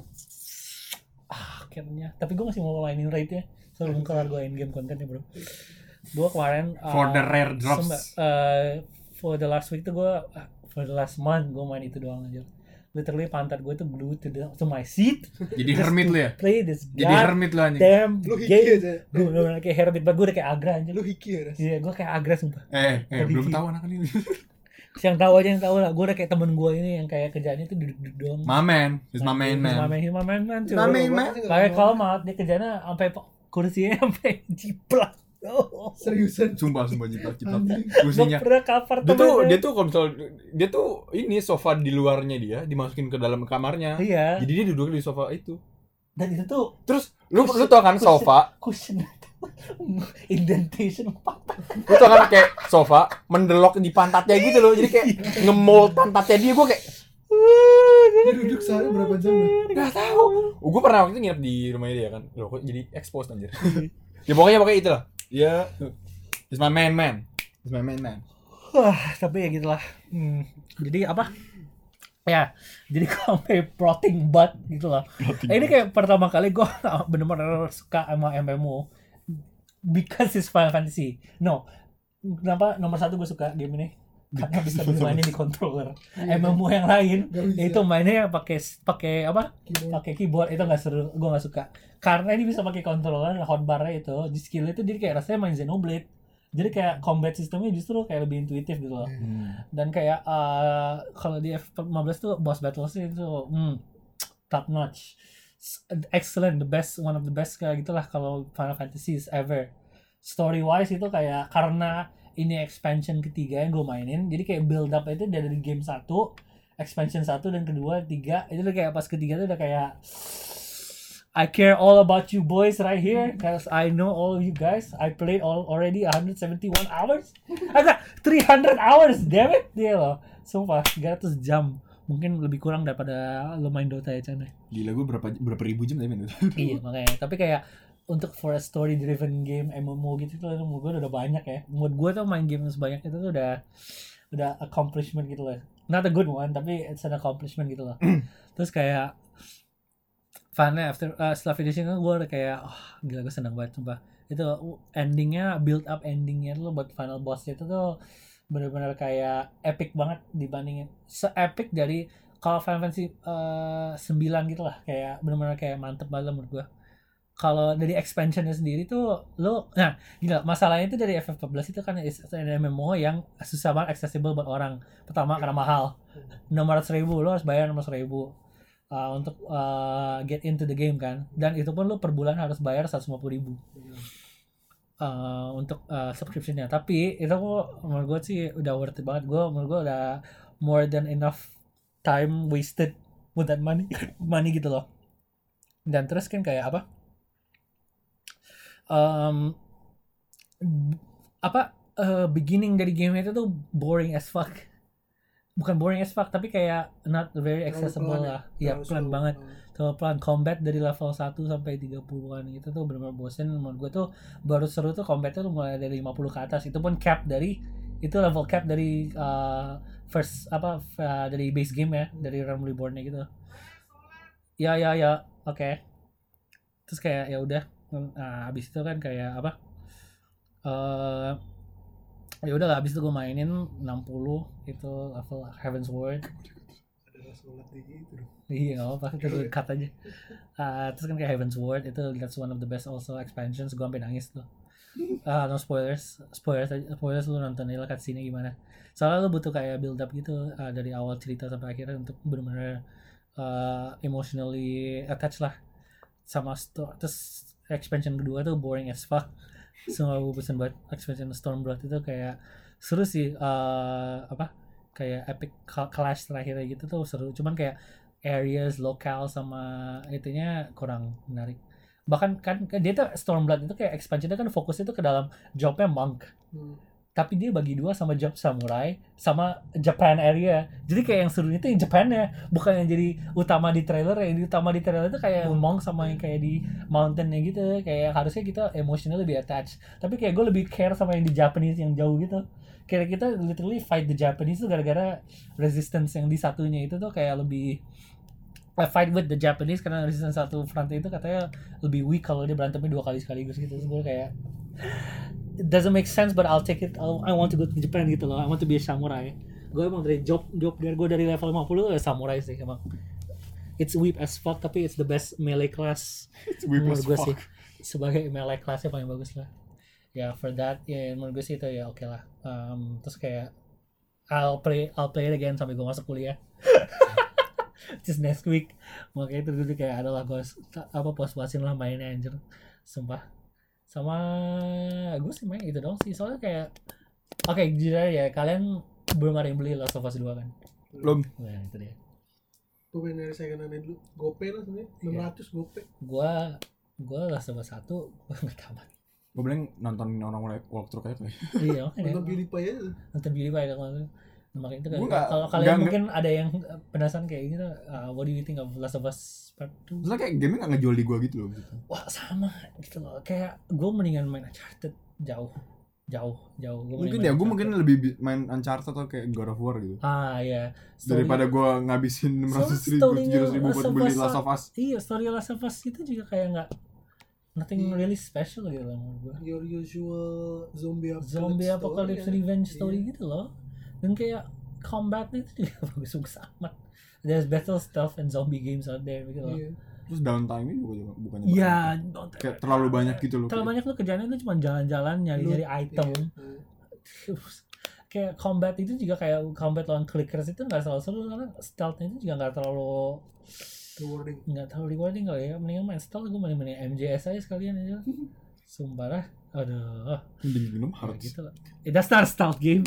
[SPEAKER 2] ah akhirnya. Tapi gue masih mau mainin raid-nya sebelum kelar gue in game kontennya, bro. Gue kemarin uh,
[SPEAKER 3] For the rare drops.
[SPEAKER 2] semba- uh, for the last week tuh gue uh, for the last month gue main itu doang aja. Literally pantat gue tuh glued to, the, to my seat.
[SPEAKER 3] Jadi hermit lu ya
[SPEAKER 2] Play this
[SPEAKER 3] jadi hermit lu anjing
[SPEAKER 2] damn
[SPEAKER 1] Lu hiki
[SPEAKER 2] game.
[SPEAKER 1] aja.
[SPEAKER 2] Gue bener-bener kayak herbit banget, gue udah kayak agra aja.
[SPEAKER 1] Lu hiki ya, Ras?
[SPEAKER 2] Iya, gue kayak agra sumpah.
[SPEAKER 3] eh eh
[SPEAKER 2] Tadi
[SPEAKER 3] belum
[SPEAKER 2] ki-
[SPEAKER 3] tahu anak ini
[SPEAKER 2] Yang tahu aja yang tahu lah. Gue udah kayak temen gue ini yang kayak kerjaannya tuh duduk-duduk doang.
[SPEAKER 3] my man is my main
[SPEAKER 2] He's my
[SPEAKER 3] man
[SPEAKER 2] man, he's my man, man, cuy.
[SPEAKER 3] My man,
[SPEAKER 1] Gua
[SPEAKER 3] man.
[SPEAKER 1] pasti nggak
[SPEAKER 2] Kayak
[SPEAKER 1] kenal.
[SPEAKER 2] kalau malah dia kerjanya sampai po- kursinya sampai jiplak. Oh.
[SPEAKER 1] Seriusan.
[SPEAKER 3] sumpah sumpah jiplak jiplak
[SPEAKER 1] Anjing.
[SPEAKER 2] Gue
[SPEAKER 3] kursinya
[SPEAKER 2] pernah cover
[SPEAKER 3] dia tuh
[SPEAKER 2] temennya.
[SPEAKER 3] dia tuh kalau misal dia tuh ini sofa di luarnya dia dimasukin ke dalam kamarnya
[SPEAKER 2] Iya.
[SPEAKER 3] jadi dia duduk di sofa itu
[SPEAKER 2] Dan itu tuh
[SPEAKER 3] terus lu
[SPEAKER 2] Cushion-
[SPEAKER 3] lu tau kan
[SPEAKER 2] cushion-
[SPEAKER 3] sofa
[SPEAKER 2] cushion indentation patah.
[SPEAKER 3] lu tau kan kayak sofa mendelok di pantatnya gitu loh jadi kayak ngemold pantatnya dia gue kayak
[SPEAKER 1] Dia duduk sehari berapa jam ya?
[SPEAKER 3] nggak tahu oh, gue pernah waktu itu nginep di rumahnya dia kan loh kok jadi expose anjir ya pokoknya pokoknya itulah ya is my man man is my man man
[SPEAKER 2] Wah, tapi ya gitulah. Hmm, jadi apa? Ya, jadi gue sampai plotting butt gitu loh. Eh, ini kayak pertama kali gue bener-bener suka sama M M O because it's Final Fantasy. No, kenapa nomor satu gue suka game ini? Karena bisa dimainin di controller. M M O yang lain
[SPEAKER 1] Gak bisa.
[SPEAKER 2] itu mainnya pakai pakai apa?
[SPEAKER 1] Keyboard.
[SPEAKER 2] Pakai keyboard itu nggak seru, gue nggak suka. Karena ini bisa pakai controller, hotbarnya itu, di skill itu jadi kayak rasanya main Xenoblade. Jadi kayak combat sistemnya justru kayak lebih intuitif gitu loh. Dan kayak uh, kalau di F lima belas tuh boss battles itu hmm, top notch, excellent, the best, one of the best kayak gitulah kalau Final Fantasy ever. Story wise itu kayak karena ini expansion ketiga yang gue mainin, jadi kayak build up itu dari game satu, expansion satu dan kedua, tiga itu udah kayak pas ketiga tuh udah kayak I care all about you boys right here because I know all of you guys. I played all already one hundred seventy-one hours. I got three hundred hours, damn it. Dia loh. Sumpah, tiga ratus jam. Mungkin lebih kurang daripada lo main Dota ya, Chan.
[SPEAKER 3] gila gue berapa berapa ribu jam tadi main itu
[SPEAKER 2] Iya, makanya. Tapi kayak untuk for a story driven game M M O gitu tuh menurut gue udah banyak ya. Menurut gue tuh main game sebanyak itu tuh udah udah accomplishment gitu loh. Not a good one, tapi it's an accomplishment gitu loh. Terus kayak finally after uh, setelah finishing gue udah kayak oh, gila gue seneng banget sumpah. Itu endingnya, build up endingnya tuh buat final boss itu tuh benar-benar kayak epic banget dibandingin se-epic dari kalau Final Fantasy uh, sembilan gitu lah, kayak benar-benar kayak mantep banget menurut gue. Kalau dari expansionnya sendiri tuh lo, nah gila masalahnya itu dari F F empat belas itu kan is an M M O yang susah banget accessible buat orang. Pertama karena mahal, enam ratus ribu lo harus bayar enam ratus ribu. uh, untuk uh, get into the game kan, dan itu pun lu per bulan harus bayar seratus lima puluh ribu uh, untuk uh, subscriptionnya. Tapi itu kok menurut gue sih udah worth it banget. Gue menurut gue udah more than enough time wasted with that money money gitu loh. Dan terus kan kayak apa um, apa uh, beginning dari game itu tuh boring as fuck. Bukan boring as fuck tapi kayak not very accessible
[SPEAKER 1] Terlalu pelan
[SPEAKER 2] lah.
[SPEAKER 1] ya?
[SPEAKER 2] Ya
[SPEAKER 1] Terlalu
[SPEAKER 2] pelan
[SPEAKER 1] slow.
[SPEAKER 2] banget.
[SPEAKER 1] Hmm.
[SPEAKER 2] Terlalu pelan. Combat dari level satu sampai tiga puluhan gitu tuh benar-benar bosen. Menurut gue tuh baru seru tuh combatnya tuh mulai dari lima puluh ke atas. Itu pun cap dari itu level cap dari uh, first apa uh, dari base game ya, dari Realm Reborn-nya gitu. Ya ya ya, oke. Okay. Terus kayak ya udah nah, habis itu kan kayak apa? Uh, ya udah lah, habis itu gue mainin enam puluh itu level Heaven's Word.
[SPEAKER 1] Ada sholat di gitu dong.
[SPEAKER 2] Iya nggak apa-apa, itu gue cut aja. Uh, terus kan kayak Heaven's Word itu that's one of the best also expansions. Gue sampai nangis tuh. Ah uh, no spoilers, spoilers spoilers lu nonton aja lah cutscene gimana. Soalnya lu butuh kayak build up gitu uh, dari awal cerita sampai akhirnya untuk benar-benar uh, emotionally attached lah sama story. Terus expansion kedua tuh boring as fuck. Semua gue pesen buat expansion Stormblood itu kayak seru sih, uh, apa kayak epic clash terakhirnya gitu tuh seru. Cuman kayak areas lokal sama itunya kurang menarik. Bahkan kan dia tuh Stormblood itu kayak expansionnya kan fokusnya tuh ke dalam jobnya monk. Hmm. Tapi dia bagi dua sama job samurai sama Japan area. Jadi kayak yang seru itu yang Japannya, bukan yang jadi utama di trailer. Yang utama di trailer itu kayak monk sama yang kayak di mountainnya gitu. Kayak harusnya kita emotional lebih attached. Tapi kayak gue lebih care sama yang di Japanese yang jauh gitu. Kayak kita literally fight the Japanese tuh gara-gara resistance yang di satunya itu tuh kayak lebih I fight with the Japanese karena resistance satu front itu katanya lebih weak kalau dia berantemnya dua kali sekaligus gitu. Terus gue kayak it doesn't make sense but I'll take it. I'll, I want to go to Japan gitu loh. I want to be a samurai. Gue emang dari job job dari gue dari level lima puluh ya samurai sih emang. It's weak as fuck tapi it's the best melee class.
[SPEAKER 3] It's weak as fuck.
[SPEAKER 2] Sih, sebagai melee classnya paling bagus lah. Ya yeah, for that ya yeah, menurut gue sih itu ya oke okay lah. Um, terus kayak I'll play I'll play it again sampai gue masuk kuliah. Just next week. Makanya itu dulu kayak adalah gue apa puas-puasin lah mainnya anjir. Sumpah. Sama gue sih main itu dong sih. Soalnya kayak oke okay, jujur ya kalian belum ada yang beli Last of Us dua kan?
[SPEAKER 3] Belum.
[SPEAKER 2] Nah itu dia.
[SPEAKER 1] Gue pengen dari second hand dulu. Gope lah sebenernya. enam ratus yeah. Gope.
[SPEAKER 2] Gue gue Last of Us satu gue gak tamat.
[SPEAKER 3] Gue bilang nonton orang walkthrough kayak tuh.
[SPEAKER 2] Iya makanya.
[SPEAKER 1] Nonton PewDiePie aja.
[SPEAKER 2] Nonton PewDiePie kan. Makanya itu kan
[SPEAKER 3] kalau
[SPEAKER 2] kalian gak, mungkin gak, ada yang penasaran kayak gitu, uh, what do you think of Last of Us Part two?
[SPEAKER 3] Soalnya kayak game-nya gak ngejual di gue gitu loh gitu.
[SPEAKER 2] Wah sama gitu loh, kayak gue mendingan main Uncharted jauh jauh jauh gua
[SPEAKER 3] mungkin ya gue mungkin lebih main Uncharted atau kayak God of War gitu.
[SPEAKER 2] Ah iya
[SPEAKER 3] story, daripada gue ngabisin enam ratus ribu tujuh ratus ribu buat beli Last of Us.
[SPEAKER 2] Iya story Last of Us itu juga kayak gak nothing yeah. really special gitu loh menurut gue.
[SPEAKER 1] Your usual zombie apocalypse
[SPEAKER 2] zombie apocalypse
[SPEAKER 1] story,
[SPEAKER 2] revenge
[SPEAKER 1] yeah.
[SPEAKER 2] story gitu loh. Dan kayak combatnya itu juga bagus-bagus amat. There's battle stuff and zombie games out there gitu loh.
[SPEAKER 1] Yeah.
[SPEAKER 3] Terus downtime-nya juga bukannya
[SPEAKER 2] Iya,
[SPEAKER 3] banyak. Kayak terlalu banyak gitu loh.
[SPEAKER 2] Terlalu banyak lu kerjaannya tuh cuma jalan-jalan nyari-nyari item. Yeah. Kayak combat itu juga kayak combat lawan clickers itu enggak selalu seru karena stealth-nya itu juga enggak terlalu
[SPEAKER 1] rewarding. Enggak
[SPEAKER 2] terlalu rewarding kali ya. Mendingan main stealth, gue main-main M J S aja sekalian aja. Sumpah lah. Aduh.
[SPEAKER 3] Mending minum harus.
[SPEAKER 2] Gitu lah. It does not stealth game.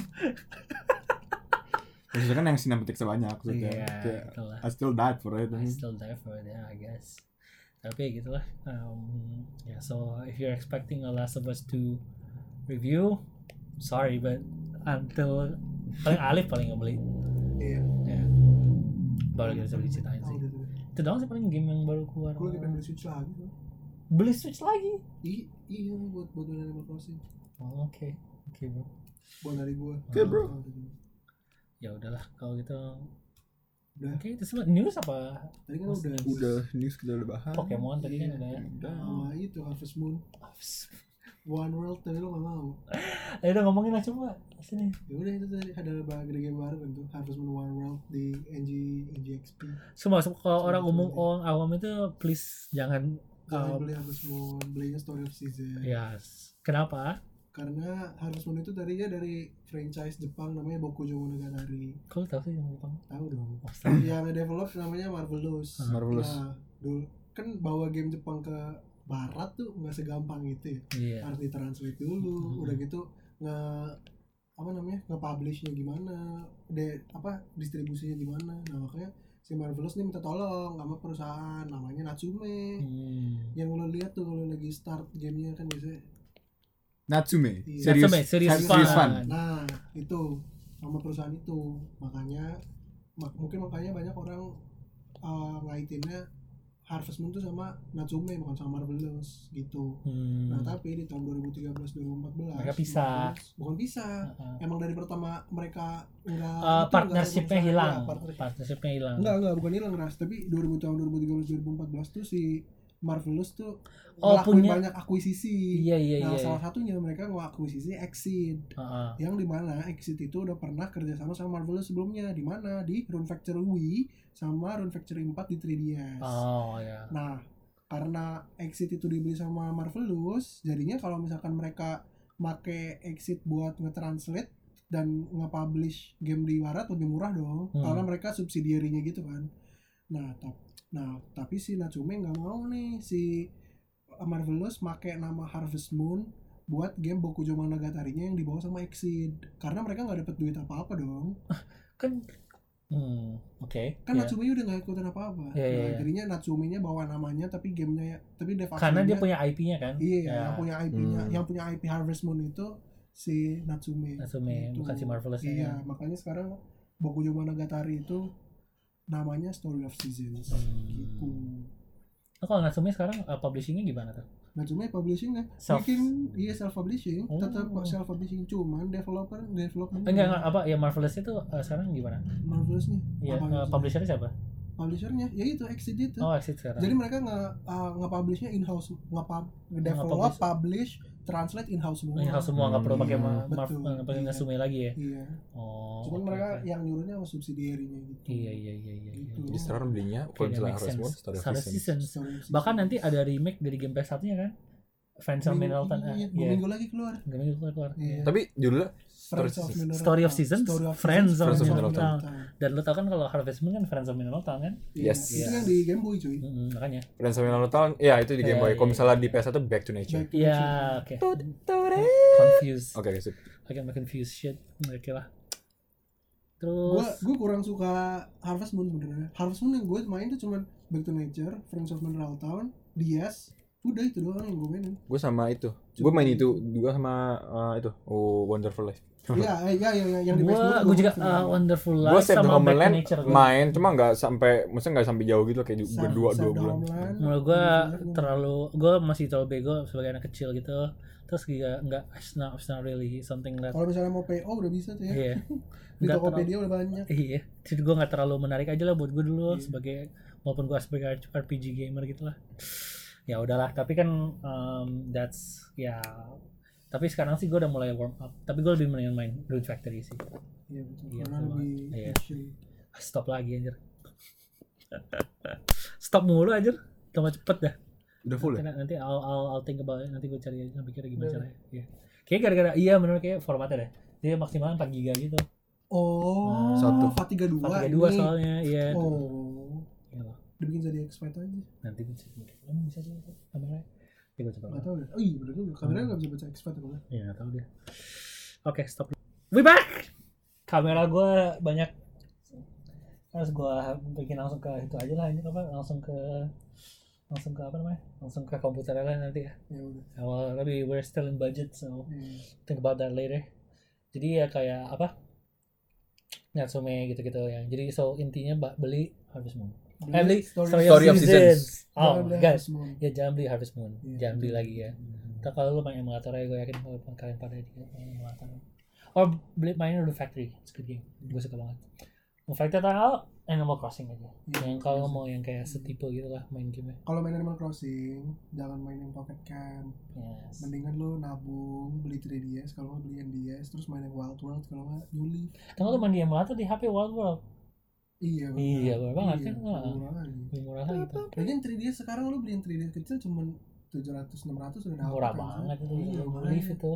[SPEAKER 3] Maksudnya kan yang sinematik sebanyak maksudnya.
[SPEAKER 2] Yeah,
[SPEAKER 3] kayak
[SPEAKER 2] itulah.
[SPEAKER 3] I still died for it.
[SPEAKER 2] I still die for it, yeah, I guess. Tapi gitu lah. Um, yeah, so if you're expecting a Last of Us two review, sorry, but until paling Alif paling nggak beli.
[SPEAKER 1] Iya.
[SPEAKER 2] Yeah. Baru kita bisa beli ceritain sih. Itu doang sih paling game yang baru keluar.
[SPEAKER 1] Gue lagi pengen beli Switch lagi.
[SPEAKER 2] Beli Switch lagi?
[SPEAKER 1] I- iya buat buat Animal Crossing.
[SPEAKER 2] Oh, oke, okay. oke okay, bro.
[SPEAKER 1] Buat dari gue.
[SPEAKER 3] Oke okay, bro.
[SPEAKER 2] Ya udahlah kalau gitu.
[SPEAKER 1] Udah.
[SPEAKER 2] Oke, okay, itu semua news apa?
[SPEAKER 1] Tadi kan udah.
[SPEAKER 3] Udah news kita udah bahas.
[SPEAKER 2] Pokemon tadi kan udah.
[SPEAKER 3] Udah.
[SPEAKER 1] Oh, itu Harvest Moon. One World tapi lo gak mau.
[SPEAKER 2] Ayo udah ngomongin lah coba sini.
[SPEAKER 1] Ya udah itu tadi ada bagian game baru kan tuh Harvest Moon One World di N G N G X P.
[SPEAKER 2] Semua kalau orang umum orang awam itu please jangan
[SPEAKER 1] jangan uh, beli Harvest Moon, belinya Story of Season.
[SPEAKER 2] Yes. Kenapa?
[SPEAKER 1] Karena Harvest Moon itu tadinya dari franchise Jepang namanya Bokujo Monogatari.
[SPEAKER 2] Kau tahu sih yang Jepang?
[SPEAKER 1] Tahu dong.
[SPEAKER 2] Astaga.
[SPEAKER 1] Yang nge-develop namanya Marvelous.
[SPEAKER 3] Marvelous.
[SPEAKER 1] Nah, dulu kan bawa game Jepang ke barat tuh nggak segampang itu ya.
[SPEAKER 2] Iya.
[SPEAKER 1] Harus ditranslate dulu,
[SPEAKER 2] Hmm.
[SPEAKER 1] udah gitu nge apa namanya nge-publishnya gimana, de apa distribusinya gimana. Nah makanya si Marvelous nih minta tolong sama perusahaan namanya Natsume.
[SPEAKER 2] Hmm.
[SPEAKER 1] Yang lo lihat tuh kalau lagi start gamenya kan biasanya.
[SPEAKER 3] Natsume.
[SPEAKER 1] Iya.
[SPEAKER 3] Serius.
[SPEAKER 2] Natsume, serious
[SPEAKER 3] serious
[SPEAKER 2] fun.
[SPEAKER 3] fun.
[SPEAKER 1] Nah itu sama perusahaan itu makanya mak- mungkin makanya banyak orang uh, ngaitinnya Harvest Moon tuh sama Natsume bukan sama Marvelous gitu.
[SPEAKER 2] Hmm.
[SPEAKER 1] Nah tapi di tahun dua ribu tiga belas dua ribu empat belas
[SPEAKER 2] Mereka pisah.
[SPEAKER 1] Marvelous- bukan pisah.
[SPEAKER 2] Uh-uh.
[SPEAKER 1] Emang dari pertama mereka enggak
[SPEAKER 2] Uh,
[SPEAKER 1] itu,
[SPEAKER 2] partnershipnya
[SPEAKER 1] enggak ada
[SPEAKER 2] hilang.
[SPEAKER 1] perusahaan, partner-
[SPEAKER 2] Partnershipnya hilang.
[SPEAKER 1] enggak enggak bukan hilang ras tapi dua ribu tahun dua ribu tiga belas dua ribu empat belas tuh si Marvelous tuh
[SPEAKER 2] Oh,
[SPEAKER 1] ngelakuin
[SPEAKER 2] punya-
[SPEAKER 1] banyak akuisisi.
[SPEAKER 2] Iya iya
[SPEAKER 1] Nah
[SPEAKER 2] iya.
[SPEAKER 1] salah satunya mereka ngakuisisi Exceed
[SPEAKER 2] Uh-uh.
[SPEAKER 1] yang dimana Exit itu udah pernah kerjasama sama Marvelous sebelumnya di mana di Rune Factory Wii sama Rune Factory empat di tiga D S.
[SPEAKER 2] Oh ya.
[SPEAKER 1] Nah karena Exit itu dibeli sama Marvelous, jadinya kalau misalkan mereka make Exit buat nge-translate dan nge-publish game di barat lebih murah dong,
[SPEAKER 2] Hmm.
[SPEAKER 1] karena mereka subsidiarinya gitu kan. Nah, tap, nah tapi si Natsume nggak mau nih si Marvelous make nama Harvest Moon buat game Bokujo Monogatari-nya yang dibawa sama Exit, karena mereka nggak dapet duit apa-apa dong.
[SPEAKER 2] Kan hmm, oke.
[SPEAKER 1] Kan
[SPEAKER 2] ya.
[SPEAKER 1] Natsume udah nggak ikutan apa-apa.
[SPEAKER 2] Iya, iya,
[SPEAKER 1] Nah,
[SPEAKER 2] iya.
[SPEAKER 1] jadinya Natsume-nya bawa namanya tapi gamenya tapi dev
[SPEAKER 2] Karena dia
[SPEAKER 1] aslinya-
[SPEAKER 2] punya I P-nya kan.
[SPEAKER 1] Iya,
[SPEAKER 2] Ya.
[SPEAKER 1] yang punya I P-nya,
[SPEAKER 3] Hmm.
[SPEAKER 1] yang punya I P Harvest Moon itu si Natsume.
[SPEAKER 2] Natsume,
[SPEAKER 1] Gitu.
[SPEAKER 2] bukan si Marvelous ya.
[SPEAKER 1] Iya, makanya sekarang Bokujo Monogatari itu namanya Story of Seasons.
[SPEAKER 2] Hmm.
[SPEAKER 1] Gitu.
[SPEAKER 2] Nah, kalau Natsume sekarang uh, publishingnya gimana tuh?
[SPEAKER 1] Natsume publishingnya
[SPEAKER 2] Self-
[SPEAKER 1] bikin iya self publishing,
[SPEAKER 2] Oh.
[SPEAKER 1] tetap self publishing cuman developer development
[SPEAKER 2] Enggak, enggak apa ya Marvelous itu uh, sekarang gimana?
[SPEAKER 1] Marvelous-nya.
[SPEAKER 2] Iya,
[SPEAKER 1] Apa
[SPEAKER 2] uh,
[SPEAKER 1] maksudnya?
[SPEAKER 2] publishernya siapa?
[SPEAKER 1] Publishernya ya itu Exit itu.
[SPEAKER 2] Oh, Exit sekarang.
[SPEAKER 1] Jadi mereka nge uh, nge-publishnya in-house, nge-pub, develop,
[SPEAKER 2] Nge-publish.
[SPEAKER 1] publish, translate in-house semua.
[SPEAKER 2] in-house semua nggak perlu
[SPEAKER 3] Hmm,
[SPEAKER 2] pakai
[SPEAKER 1] iya,
[SPEAKER 2] ma- mar-
[SPEAKER 1] betul,
[SPEAKER 2] nggak pakai
[SPEAKER 1] iya.
[SPEAKER 2] Natsume lagi ya.
[SPEAKER 1] Iya.
[SPEAKER 2] Oh.
[SPEAKER 1] Cuman
[SPEAKER 2] oke,
[SPEAKER 1] mereka
[SPEAKER 2] oke.
[SPEAKER 1] yang nyuruhnya sama subsidiarinya gitu.
[SPEAKER 2] Iya iya iya iya. iya.
[SPEAKER 1] Gitu.
[SPEAKER 3] Jadi sekarang belinya
[SPEAKER 2] Oke,
[SPEAKER 3] kalau
[SPEAKER 2] that
[SPEAKER 3] misalnya
[SPEAKER 2] makes
[SPEAKER 3] Harvest Moon,
[SPEAKER 2] sense.
[SPEAKER 3] Story of
[SPEAKER 2] Story of
[SPEAKER 3] Seasons.
[SPEAKER 2] Seasons.
[SPEAKER 1] Story of
[SPEAKER 2] Bahkan
[SPEAKER 1] Seasons.
[SPEAKER 2] nanti ada remake dari game P S satu-nya kan? Friends of
[SPEAKER 1] Minggu-
[SPEAKER 2] Mineral Town.
[SPEAKER 1] iya,
[SPEAKER 2] eh,
[SPEAKER 1] dua
[SPEAKER 2] Iya.
[SPEAKER 1] minggu lagi keluar.
[SPEAKER 2] Dua minggu keluar keluar.
[SPEAKER 1] Iya.
[SPEAKER 3] Tapi judulnya
[SPEAKER 1] Friends
[SPEAKER 3] Story
[SPEAKER 1] of
[SPEAKER 3] of
[SPEAKER 1] Mineral
[SPEAKER 2] Story of
[SPEAKER 1] Town.
[SPEAKER 2] Seasons,
[SPEAKER 1] Story of
[SPEAKER 2] Friends
[SPEAKER 1] Seasons,
[SPEAKER 2] of
[SPEAKER 3] Friends of
[SPEAKER 2] Mineral
[SPEAKER 3] Mineral
[SPEAKER 2] Town. Dan lo tau kan kalau Harvest Moon kan Friends of Mineral Town kan?
[SPEAKER 1] Iya,
[SPEAKER 3] Yes.
[SPEAKER 1] itu
[SPEAKER 2] Iya.
[SPEAKER 1] yang di Game Boy cuy.
[SPEAKER 2] Mm-mm, makanya.
[SPEAKER 3] Friends of Mineral Town, ya itu di Game
[SPEAKER 2] Iya,
[SPEAKER 3] Boy.
[SPEAKER 2] iya,
[SPEAKER 3] Kalau misalnya
[SPEAKER 2] iya.
[SPEAKER 3] di P S satu Back to Nature.
[SPEAKER 1] Back to
[SPEAKER 2] Iya,
[SPEAKER 1] Nature.
[SPEAKER 2] oke. Confused.
[SPEAKER 3] Oke, sip.
[SPEAKER 2] I get my confused shit. Oke lah.
[SPEAKER 1] Gue
[SPEAKER 2] Terus
[SPEAKER 1] gue kurang suka Harvest Moon sebenarnya. Harvest Moon yang gue main tuh cuman Back to Nature, Friends of Mineral Town, D S, udah itu doang yang gue mainin.
[SPEAKER 3] Gue sama itu. Gue main itu juga sama uh, itu. Oh, Wonderful Life.
[SPEAKER 1] Iya, eh, iya, iya, yang di
[SPEAKER 2] gua
[SPEAKER 1] Facebook
[SPEAKER 2] gua juga
[SPEAKER 1] gua
[SPEAKER 2] uh, Wonderful
[SPEAKER 3] Gue
[SPEAKER 2] Life
[SPEAKER 3] Save the
[SPEAKER 2] sama Back to
[SPEAKER 3] Homeland
[SPEAKER 2] Nature gua.
[SPEAKER 3] main, cuma nggak sampai, maksudnya nggak sampai jauh gitu kayak
[SPEAKER 1] Save-
[SPEAKER 3] berdua
[SPEAKER 1] Save
[SPEAKER 3] dua
[SPEAKER 1] the
[SPEAKER 3] bulan.
[SPEAKER 1] Homeland.
[SPEAKER 2] Menurut gua
[SPEAKER 1] Wonderful Life.
[SPEAKER 2] terlalu gua masih terlalu bego sebagai anak kecil gitu. Terus juga enggak it's not, it's not really something that
[SPEAKER 1] Kalau misalnya mau P O udah bisa tuh ya.
[SPEAKER 2] iya.
[SPEAKER 1] Di
[SPEAKER 2] Nggak
[SPEAKER 1] Tokopedia udah banyak.
[SPEAKER 2] Iya, jadi gue nggak terlalu menarik aja lah buat gue dulu
[SPEAKER 1] Iya.
[SPEAKER 2] sebagai walaupun gue sebagai R P G gamer gitu lah. Ya udahlah, tapi kan um, that's ya. Tapi sekarang sih gue udah mulai warm up. Tapi gue lebih mendingan main Rune Factory sih.
[SPEAKER 1] Iya betul.
[SPEAKER 2] Iya,
[SPEAKER 1] Karena
[SPEAKER 2] betul
[SPEAKER 1] lebih
[SPEAKER 2] banget. Iya.
[SPEAKER 1] action.
[SPEAKER 2] Stop lagi anjir. Stop mulu anjir. Tambah cepet dah.
[SPEAKER 3] Udah full ya?
[SPEAKER 2] Nanti, nanti I'll, I'll, I'll think about it. Nanti gue cari aja pikir gimana
[SPEAKER 1] Udah.
[SPEAKER 2] caranya. Iya. Kayak gara-gara iya bener kayak formatnya deh. Dia maksimal empat giga gitu.
[SPEAKER 1] Oh,
[SPEAKER 3] Satu.
[SPEAKER 1] empat tiga dua.
[SPEAKER 2] empat tiga dua
[SPEAKER 1] ini.
[SPEAKER 2] soalnya, iya.
[SPEAKER 1] Oh.
[SPEAKER 2] Iya loh.
[SPEAKER 1] Dibikin jadi X-Fight aja.
[SPEAKER 2] Nanti bisa emang bisa sih kameranya. Nanti gue coba.
[SPEAKER 1] Enggak tahu deh. Oh iya bener juga. Kameranya enggak bisa baca X-Fight apa.
[SPEAKER 2] Ya nggak tahu deh. Oke, stop. We back. Kamera gue banyak. Harus gue bikin langsung ke itu aja lah ini apa? Langsung ke langsung ke apa namanya? Langsung ke komputer lah nanti ya.
[SPEAKER 1] Ya udah.
[SPEAKER 2] Well, tapi we're still in budget, so
[SPEAKER 1] Iya.
[SPEAKER 2] think about that later. Jadi ya kayak apa? Natsume gitu-gitu yang. Jadi so intinya ba- beli Harvest Moon. Eh, beli
[SPEAKER 1] Story,
[SPEAKER 2] Story,
[SPEAKER 3] Story
[SPEAKER 2] of
[SPEAKER 3] of
[SPEAKER 2] Seasons.
[SPEAKER 3] Seasons.
[SPEAKER 2] Oh
[SPEAKER 1] Jangan
[SPEAKER 2] my
[SPEAKER 1] beli
[SPEAKER 2] god.
[SPEAKER 1] Harvest Moon.
[SPEAKER 2] Ya jangan beli Harvest Moon.
[SPEAKER 1] Iya,
[SPEAKER 2] Jangan beli
[SPEAKER 1] betul.
[SPEAKER 2] lagi ya. Ntar kalau lu main emulator ya gue yakin kalau kalian pada juga main emulator. Or beli mainin Rune Factory, it's a good game. Gue suka banget. Rune Factory atau Animal Crossing aja.
[SPEAKER 1] Iya,
[SPEAKER 2] Yang kalau
[SPEAKER 1] Crossing.
[SPEAKER 2] mau yang kayak setipe gitu lah main gamenya.
[SPEAKER 1] Kalau main Animal Crossing, jangan main yang Pocket Camp.
[SPEAKER 2] Yes.
[SPEAKER 1] Mendingan lu nabung, beli tiga D S, kalau nggak beli N D S, terus main yang Wild World, kalau nggak New Leaf.
[SPEAKER 2] Kalau lu main di emulator di H P Wild World
[SPEAKER 1] Iya, benar.
[SPEAKER 2] Iya, benar banget
[SPEAKER 1] Iya,
[SPEAKER 2] kan? Wah.
[SPEAKER 1] murah lagi.
[SPEAKER 2] lebih murah lah gitu.
[SPEAKER 1] Lagian tiga D S sekarang lu beli yang tiga D S kecil cuman tujuh ratus enam ratus udah dapet
[SPEAKER 2] Murah
[SPEAKER 1] kan,
[SPEAKER 2] banget
[SPEAKER 1] San?
[SPEAKER 2] itu
[SPEAKER 1] Iya,
[SPEAKER 2] New
[SPEAKER 1] makanya.
[SPEAKER 2] Leaf itu.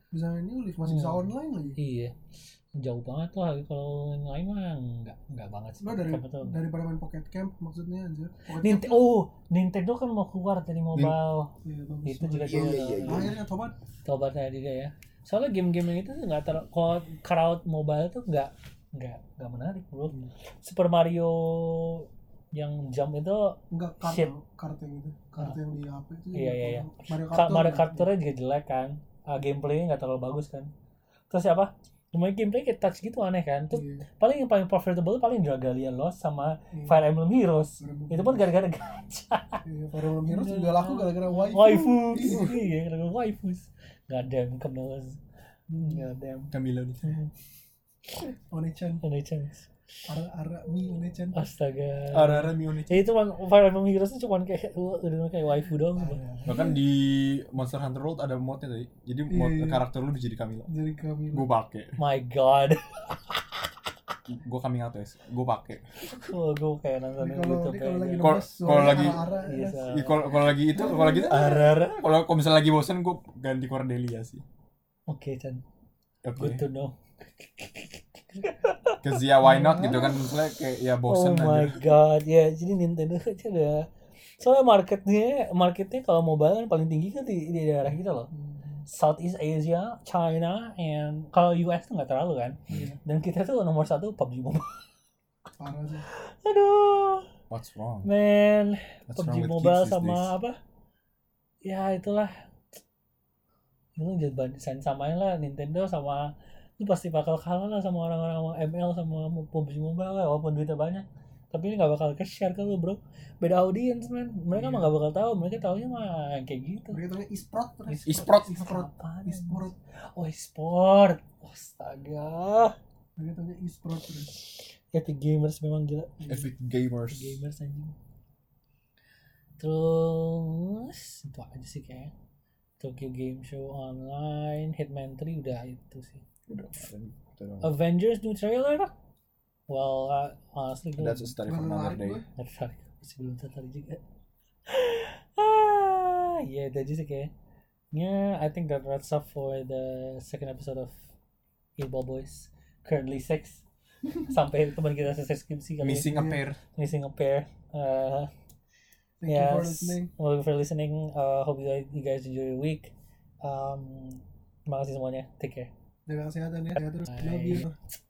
[SPEAKER 1] Bisa main New Leaf, masih bisa
[SPEAKER 2] Hmm.
[SPEAKER 1] online lagi.
[SPEAKER 2] Iya. Jauh banget lah kalau yang lain mah enggak enggak banget sih.
[SPEAKER 1] Lo dari
[SPEAKER 2] Siapa tahu.
[SPEAKER 1] daripada main Pocket Camp maksudnya anjir. Pocket
[SPEAKER 2] Nint-
[SPEAKER 1] Camp
[SPEAKER 2] oh, Nintendo kan mau keluar dari mobile.
[SPEAKER 1] iya, bagus.
[SPEAKER 2] Itu juga
[SPEAKER 3] Iya,
[SPEAKER 2] dia
[SPEAKER 3] iya, iya, iya.
[SPEAKER 1] Akhirnya tobat.
[SPEAKER 2] tobatnya juga ya. Soalnya game-game yang itu tuh nggak ter kalau crowd mobile tuh nggak nggak nggak menarik bro.
[SPEAKER 1] Hmm.
[SPEAKER 2] Super Mario yang jump itu
[SPEAKER 1] Enggak kart,
[SPEAKER 2] Shit.
[SPEAKER 1] kart yang itu. Kart yang di H P itu.
[SPEAKER 2] Iya, iya, iya.
[SPEAKER 1] Mario Kart.
[SPEAKER 2] Ka-
[SPEAKER 1] tuh
[SPEAKER 2] Mario
[SPEAKER 1] enggak.
[SPEAKER 2] Kart Tour juga jelek kan. Ah, gameplaynya nggak terlalu bagus kan. Terus apa? Lumayan gameplay kayak touch gitu aneh kan. Terus
[SPEAKER 1] Iya,
[SPEAKER 2] paling yang paling profitable paling Dragalia Lost sama
[SPEAKER 1] iya.
[SPEAKER 2] Fire Emblem Heroes.
[SPEAKER 1] Fire Emblem
[SPEAKER 2] Itu pun gara-gara gacha.
[SPEAKER 1] Iya, Fire Emblem Heroes juga laku gara-gara waifu.
[SPEAKER 2] Waifu.
[SPEAKER 1] Iya.
[SPEAKER 2] Iya, gara-gara waifus. Goddamn, kemeles. Goddamn.
[SPEAKER 3] Camilo nih.
[SPEAKER 1] One-chan,
[SPEAKER 2] Ada chance.
[SPEAKER 1] ara-ara mi One-chan.
[SPEAKER 2] Astaga.
[SPEAKER 3] Ara-ara Mione.
[SPEAKER 2] Ya itu man, Fire Emblem Heroes itu cuma kayak udah kayak waifu doang.
[SPEAKER 3] Bahkan di Monster Hunter World ada modnya tadi. Jadi mod
[SPEAKER 1] Iya, iya.
[SPEAKER 3] karakter lu bisa jadi Camilo.
[SPEAKER 1] Jadi kami
[SPEAKER 3] Gue pake.
[SPEAKER 2] My God.
[SPEAKER 3] Gue coming out guys. Gue pake.
[SPEAKER 2] Oh, gue kayak nonton
[SPEAKER 1] Ini
[SPEAKER 2] di
[SPEAKER 1] kalau
[SPEAKER 2] YouTube
[SPEAKER 1] ini kalau lagi
[SPEAKER 2] kayaknya.
[SPEAKER 3] Kalau-
[SPEAKER 1] ngebahas
[SPEAKER 3] kalau
[SPEAKER 1] suaranya
[SPEAKER 3] lagi-
[SPEAKER 1] ara-ara,
[SPEAKER 2] Iya,
[SPEAKER 1] ya.
[SPEAKER 2] so-
[SPEAKER 3] Ih, Kalau kalau lagi itu kalau lagi itu
[SPEAKER 2] Arara.
[SPEAKER 3] kalau kalau misalnya lagi bosen gue ganti Cordelia sih.
[SPEAKER 2] Oke, Chan.
[SPEAKER 3] Oke.
[SPEAKER 2] Good to know.
[SPEAKER 3] Cause ya why not gitu kan misalnya kayak ya bosen
[SPEAKER 2] Oh my
[SPEAKER 3] aja.
[SPEAKER 2] God. Ya, jadi Nintendo aja udah. Soalnya marketnya, marketnya kalau mobile kan paling tinggi kan di, di daerah kita loh. Southeast Asia, China, and kalau U S tuh nggak terlalu kan.
[SPEAKER 1] Iya,
[SPEAKER 2] Dan kita tuh nomor satu P U B G Mobile.
[SPEAKER 1] parah sih.
[SPEAKER 2] Aduh,
[SPEAKER 3] What's wrong?
[SPEAKER 2] man.
[SPEAKER 3] What's
[SPEAKER 2] P U B G
[SPEAKER 3] wrong with
[SPEAKER 2] Mobile
[SPEAKER 3] kids these
[SPEAKER 2] sama
[SPEAKER 3] days?
[SPEAKER 2] apa? Ya itulah. Lu jangan samain lah Nintendo sama lu pasti bakal kalah lah sama orang-orang M L sama P U B G Mobile lah walaupun duitnya banyak. Tapi ini gak bakal ke-share ke lu bro. Beda audience man. Mereka
[SPEAKER 1] Iya.
[SPEAKER 2] mah gak bakal tahu. Mereka taunya mah yang kayak gitu.
[SPEAKER 1] Mereka taunya e-sport terus.
[SPEAKER 3] E-sport.
[SPEAKER 1] E-sport.
[SPEAKER 2] Apaan?
[SPEAKER 1] E-sport.
[SPEAKER 2] Oh e-sport. Astaga.
[SPEAKER 1] Mereka taunya e-sport terus.
[SPEAKER 2] Epic Gamers memang gila.
[SPEAKER 3] Epic Gamers.
[SPEAKER 2] Gamers anjing. Terus itu aja sih kayak Tokyo Game Show Online, Hitman three udah itu sih.
[SPEAKER 3] Udah. udah.
[SPEAKER 2] Avengers new trailer? Well, uh, honestly gue
[SPEAKER 3] That's a story for another day.
[SPEAKER 2] nggak tertarik, masih belum tertarik juga. ah, ya itu aja sih kayak. Yeah, I think that wraps up for the second episode of Eight Ball Boys. Currently six. Sampai teman kita selesai skripsi kali ya.
[SPEAKER 3] Missing a pair.
[SPEAKER 2] Missing a pair. Uh,
[SPEAKER 1] Thank you for
[SPEAKER 2] yes.
[SPEAKER 1] listening.
[SPEAKER 2] Well, for listening. Uh, hope you guys, you guys enjoy your week. Um, terima kasih semuanya. Take care.
[SPEAKER 1] Jaga kesehatan ya. Sehat terus. Love
[SPEAKER 2] Bye.
[SPEAKER 1] you.